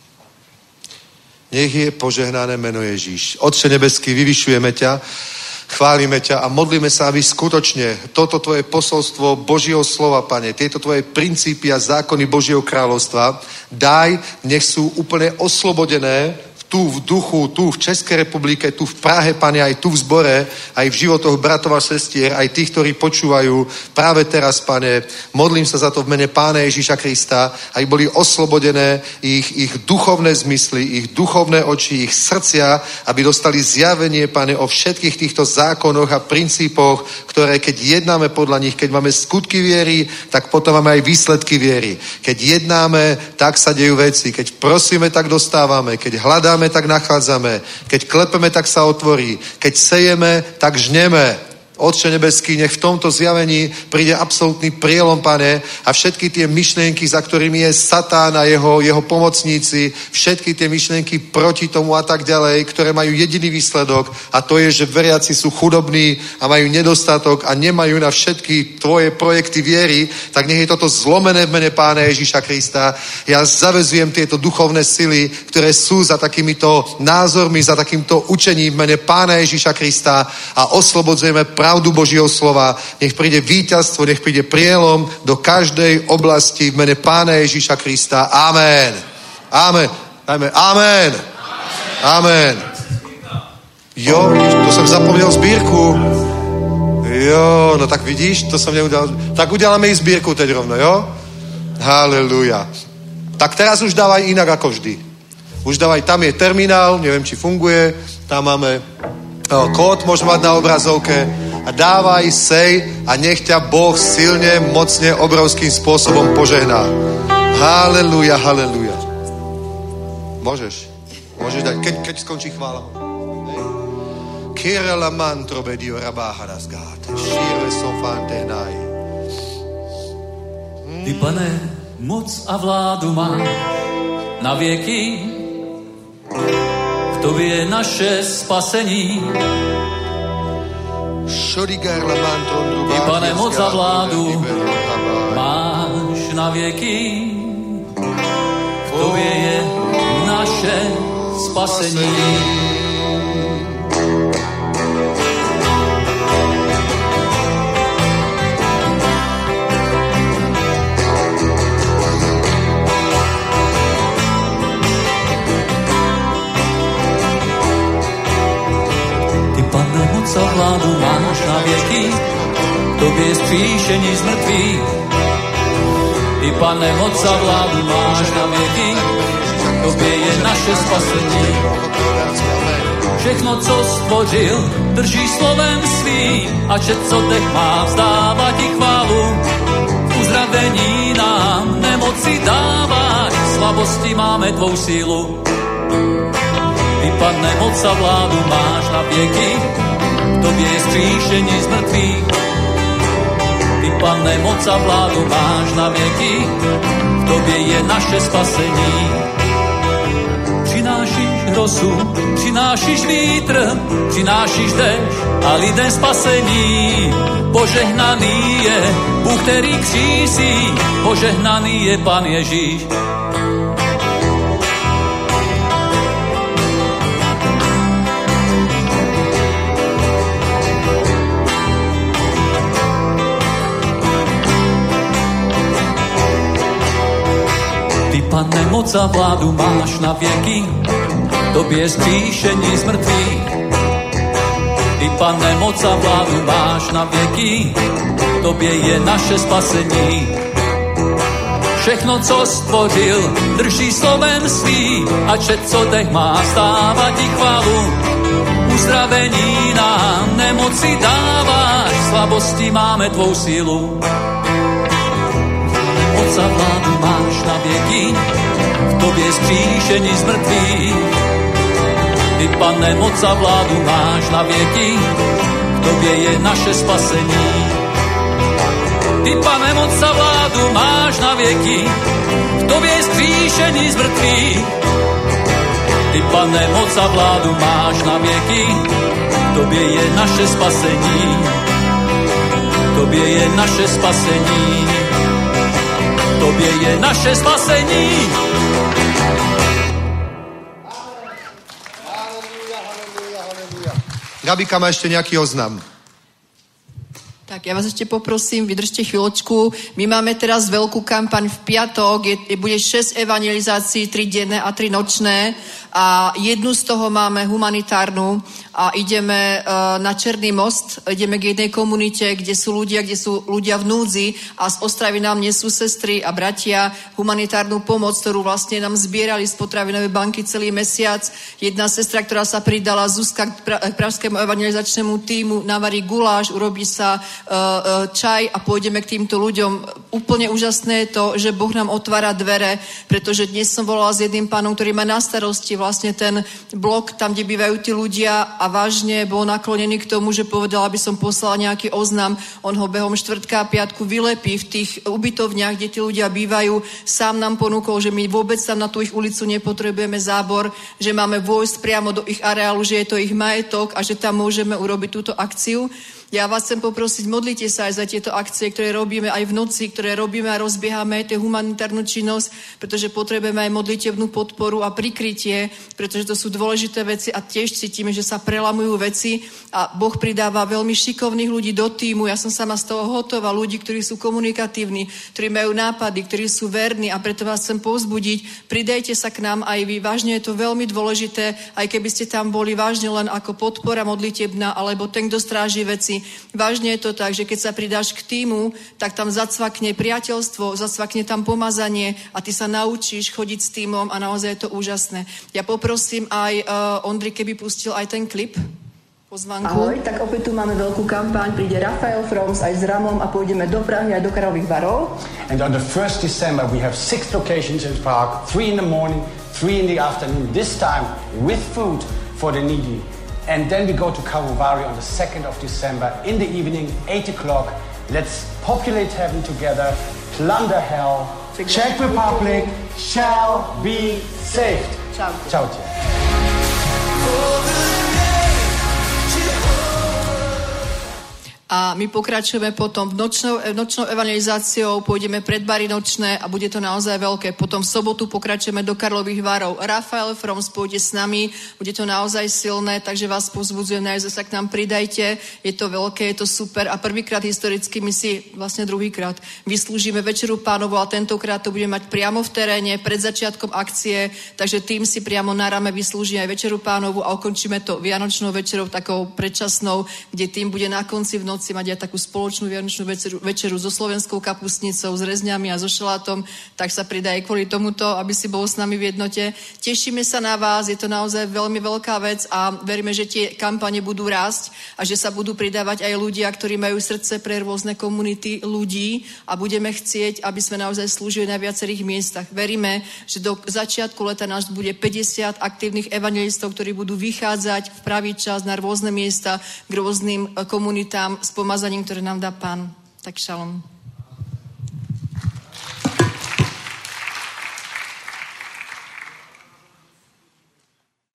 Nech je požehnané meno Ježíš. Otče nebeský, vyvyšujeme ťa, chválime ťa a modlíme sa, aby skutočne toto tvoje posolstvo Božieho slova, Pane, tieto tvoje princípy a zákony Božieho kráľovstva, daj, nech sú úplne oslobodené tu v duchu, tu v Českej republike, tu v Prahe, Pane, aj tu v zbore, aj v životoch bratov a sestier, aj tých, ktorí počúvajú práve teraz, Pane. Modlím sa za to v mene Pána Ježíša Krista, aby boli oslobodené ich, ich duchovné zmysly, ich duchovné oči, ich srdcia, aby dostali zjavenie, Pane, o všetkých týchto zákonoch a princípoch, ktoré keď jednáme podľa nich, keď máme skutky viery, tak potom máme aj výsledky viery. Keď jednáme, tak sa dejú veci. Keď prosíme, tak dostávame. Keď hľadáme, tak nachádzame. Keď klepeme, tak sa otvorí. Keď sejeme, tak žneme. Otče nebeský, nech v tomto zjavení príde absolútny prielom, Pane, a všetky tie myšlienky, za ktorými je Satán a jeho, jeho pomocníci, všetky tie myšlienky proti tomu a tak ďalej, ktoré majú jediný výsledok, a to je, že veriaci sú chudobní a majú nedostatok a nemajú na všetky tvoje projekty viery, tak nech je toto zlomené v mene Pána Ježíša Krista. Ja zavezujem tieto duchovné sily, ktoré sú za takýmito názormi, za takýmto učením v mene Pána Ježíša Krista a oslobodzujeme práve pravdu Božieho slova, nech príde víťazstvo, nech príde prielom do každej oblasti v mene Pána Ježíša Krista. Amen. Amen. Amen. Amen. Amen. Jo, to som zapomněl sbírku. Jo, no tak vidíš, to som neudělal. Tak uděláme i sbírku teď rovno, jo? Haleluja. Tak teraz už dávaj inak ako vždy. Už dávaj, tam je terminál, neviem, či funguje, tam máme o, kód, môžeme mať na obrazovke a dávaj, sej a nech ťa Boh silne, mocne, obrovským spôsobom požehná. Haleluja, haleluja. Môžeš, môžeš dať, keď, keď skončí chvála. Kirela mantro bedio rabáharas gáte, šíre sofante naj. Ty, Pane, moc a vládu má na věky, v tobě je naše spasení. Ty, Pane, moc a vládu máš na věky, v tobě je naše spasení. Co vládu máš na věky, tobě je vzkříšení z mrtvých. Ty, Pane, moc a vládu máš na věky, tobě je naše spasení. Všechno, co stvořil, drží slovem svým, a že co dech má, vzdává ti chválu. Uzdravení nám nemoci dáváš, slabosti máme tvou sílu. Ty, Pane, moc a vládu máš na věky, tobě je vzkříšení z mrtvých. Ty, Pane, moc a vládu máš na věky, v tobě je naše spasení. Přinášíš rosu, přinášíš vítr, přinášíš dešť a lidem spasení. Požehnaný je Bůh, který křísí, požehnaný je Pán Ježíš. Pane, moc a vládu máš na věky, tobě je vzkříšení z mrtvých. Ty, Pane, moc a vládu máš na věky, tobě je naše spasení. Všechno, co stvořil, drží slovem svým, a že co dech má, stává ti chválu. Uzdravení nám nemoci dáváš, slabosti máme tvou sílu. Moc a vládu máš na věky, v tobě je vzkříšení z mrtvých. Ty, Pane, moc a vládu máš na věky, v tobě je naše spasení. Ty, Pane, moc a vládu máš na věky, v tobě je vzkříšení z mrtvých. Ty, Pane, moc a vládu máš na věky, v tobě je naše spasení. V tobě je naše spasení. Tobě je naše spasení. Haleluja, haleluja, haleluja. Gabika má ešte nejaký oznam. Tak ja vás ešte poprosím, vydržte chvíľočku. My máme teraz veľkú kampaň v piatok, je, bude šesť evangelizácií, tri denné a tri nočné a jednu z toho máme humanitárnu a ideme uh, na Černý most, ideme k jednej komunite, kde sú ľudia, kde sú ľudia v núdzi a z Ostravy nám nesú sestry a bratia humanitárnu pomoc, ktorú vlastne nám zbierali z potravinovej banky celý mesiac. Jedna sestra, ktorá sa pridala, Zuzka, k pražskému evangelizačnému týmu, navarí guláš, urobí sa čaj a pôjdeme k týmto ľuďom. Úplne úžasné je to, že Boh nám otvára dvere, pretože dnes som volala s jedným pánom, ktorý má na starosti vlastne ten blok, tam, kde bývajú tí ľudia a vážne bol naklonený k tomu, že povedal, aby som poslala nejaký oznam. On ho behom štvrtka a piatku vylepí v tých ubytovniach, kde tí ľudia bývajú. Sám nám ponúkol, že my vôbec tam na tú ich ulicu nepotrebujeme zábor, že máme vojsť priamo do ich areálu, že je to ich majetok a že tam môžeme urobiť túto akciu. Ja vás chcem poprosiť, modlite sa aj za tieto akcie, ktoré robíme aj v noci, ktoré robíme a rozbiehame, tie humanitárnu činnosť, pretože potrebujeme aj modlitebnú podporu a prikrytie, pretože to sú dôležité veci a tiež cítime, že sa prelamujú veci a Boh pridáva veľmi šikovných ľudí do týmu. Ja som sama z toho hotová, ľudí, ktorí sú komunikatívni, ktorí majú nápady, ktorí sú verní a preto vás chcem povzbudiť. Pridajte sa k nám aj vy. Vážne je to veľmi dôležité, aj keby ste tam boli vážne len ako podpora modlitebná alebo ten, kto stráži veci. Vážne je to tak, že keď sa pridáš k týmu, tak tam zacvakne priateľstvo, zacvakne tam pomazanie a ty sa naučíš chodiť s týmom a naozaj je to úžasné. Ja poprosím aj uh, Ondri, keby pustil aj ten klip. Pozvánku. Ahoj, tak opäť tu máme veľkú kampaň, príde Rafael Froms aj s Ramom a pôjdeme do Prahy aj do Karlových Varov. And on the first December we have six locations in Prague, three in the morning, three in the afternoon, this time with food for the needy. And then we go to Karlovy Vary on the second of December in the evening, eight o'clock. Let's populate heaven together, plunder hell. Czech Republic shall be saved. Čau. Čaute. A my pokračujeme potom v nočnou, nočnou evangelizáciou, pôjdeme pred bary nočné a bude to naozaj veľké. Potom v sobotu pokračujeme do Karlových Varov. Rafael Froms pôjde s nami, bude to naozaj silné, takže vás povzbudzujem, naozaj sa k nám pridajte. Je to veľké, je to super a prvýkrát historicky my si vlastne druhýkrát vyslúžime Večeru Pánovu a tentokrát to budeme mať priamo v teréne pred začiatkom akcie, takže tým si priamo na rame vyslúži aj Večeru Pánovu a ukončíme to vianočnou večerou takou predčasnou, kde tým bude na konci v noci si mať aj takú spoločnú vianočnú večeru, večeru so slovenskou kapustnicou, s rezňami a so šalátom, tak sa pridá aj kvôli tomuto, aby si bol s nami v jednote. Tešíme sa na vás, je to naozaj veľmi veľká vec a veríme, že tie kampane budú rásť a že sa budú pridávať aj ľudia, ktorí majú srdce pre rôzne komunity ľudí a budeme chcieť, aby sme naozaj slúžili na viacerých miestach. Veríme, že do začiatku leta nás bude päťdesiat aktívnych evangelistov, ktorí budú vychádzať v pravý čas na rôzne miesta k rôznym komunitám s pomazaním, ktoré nám dá Pán. Tak šalom.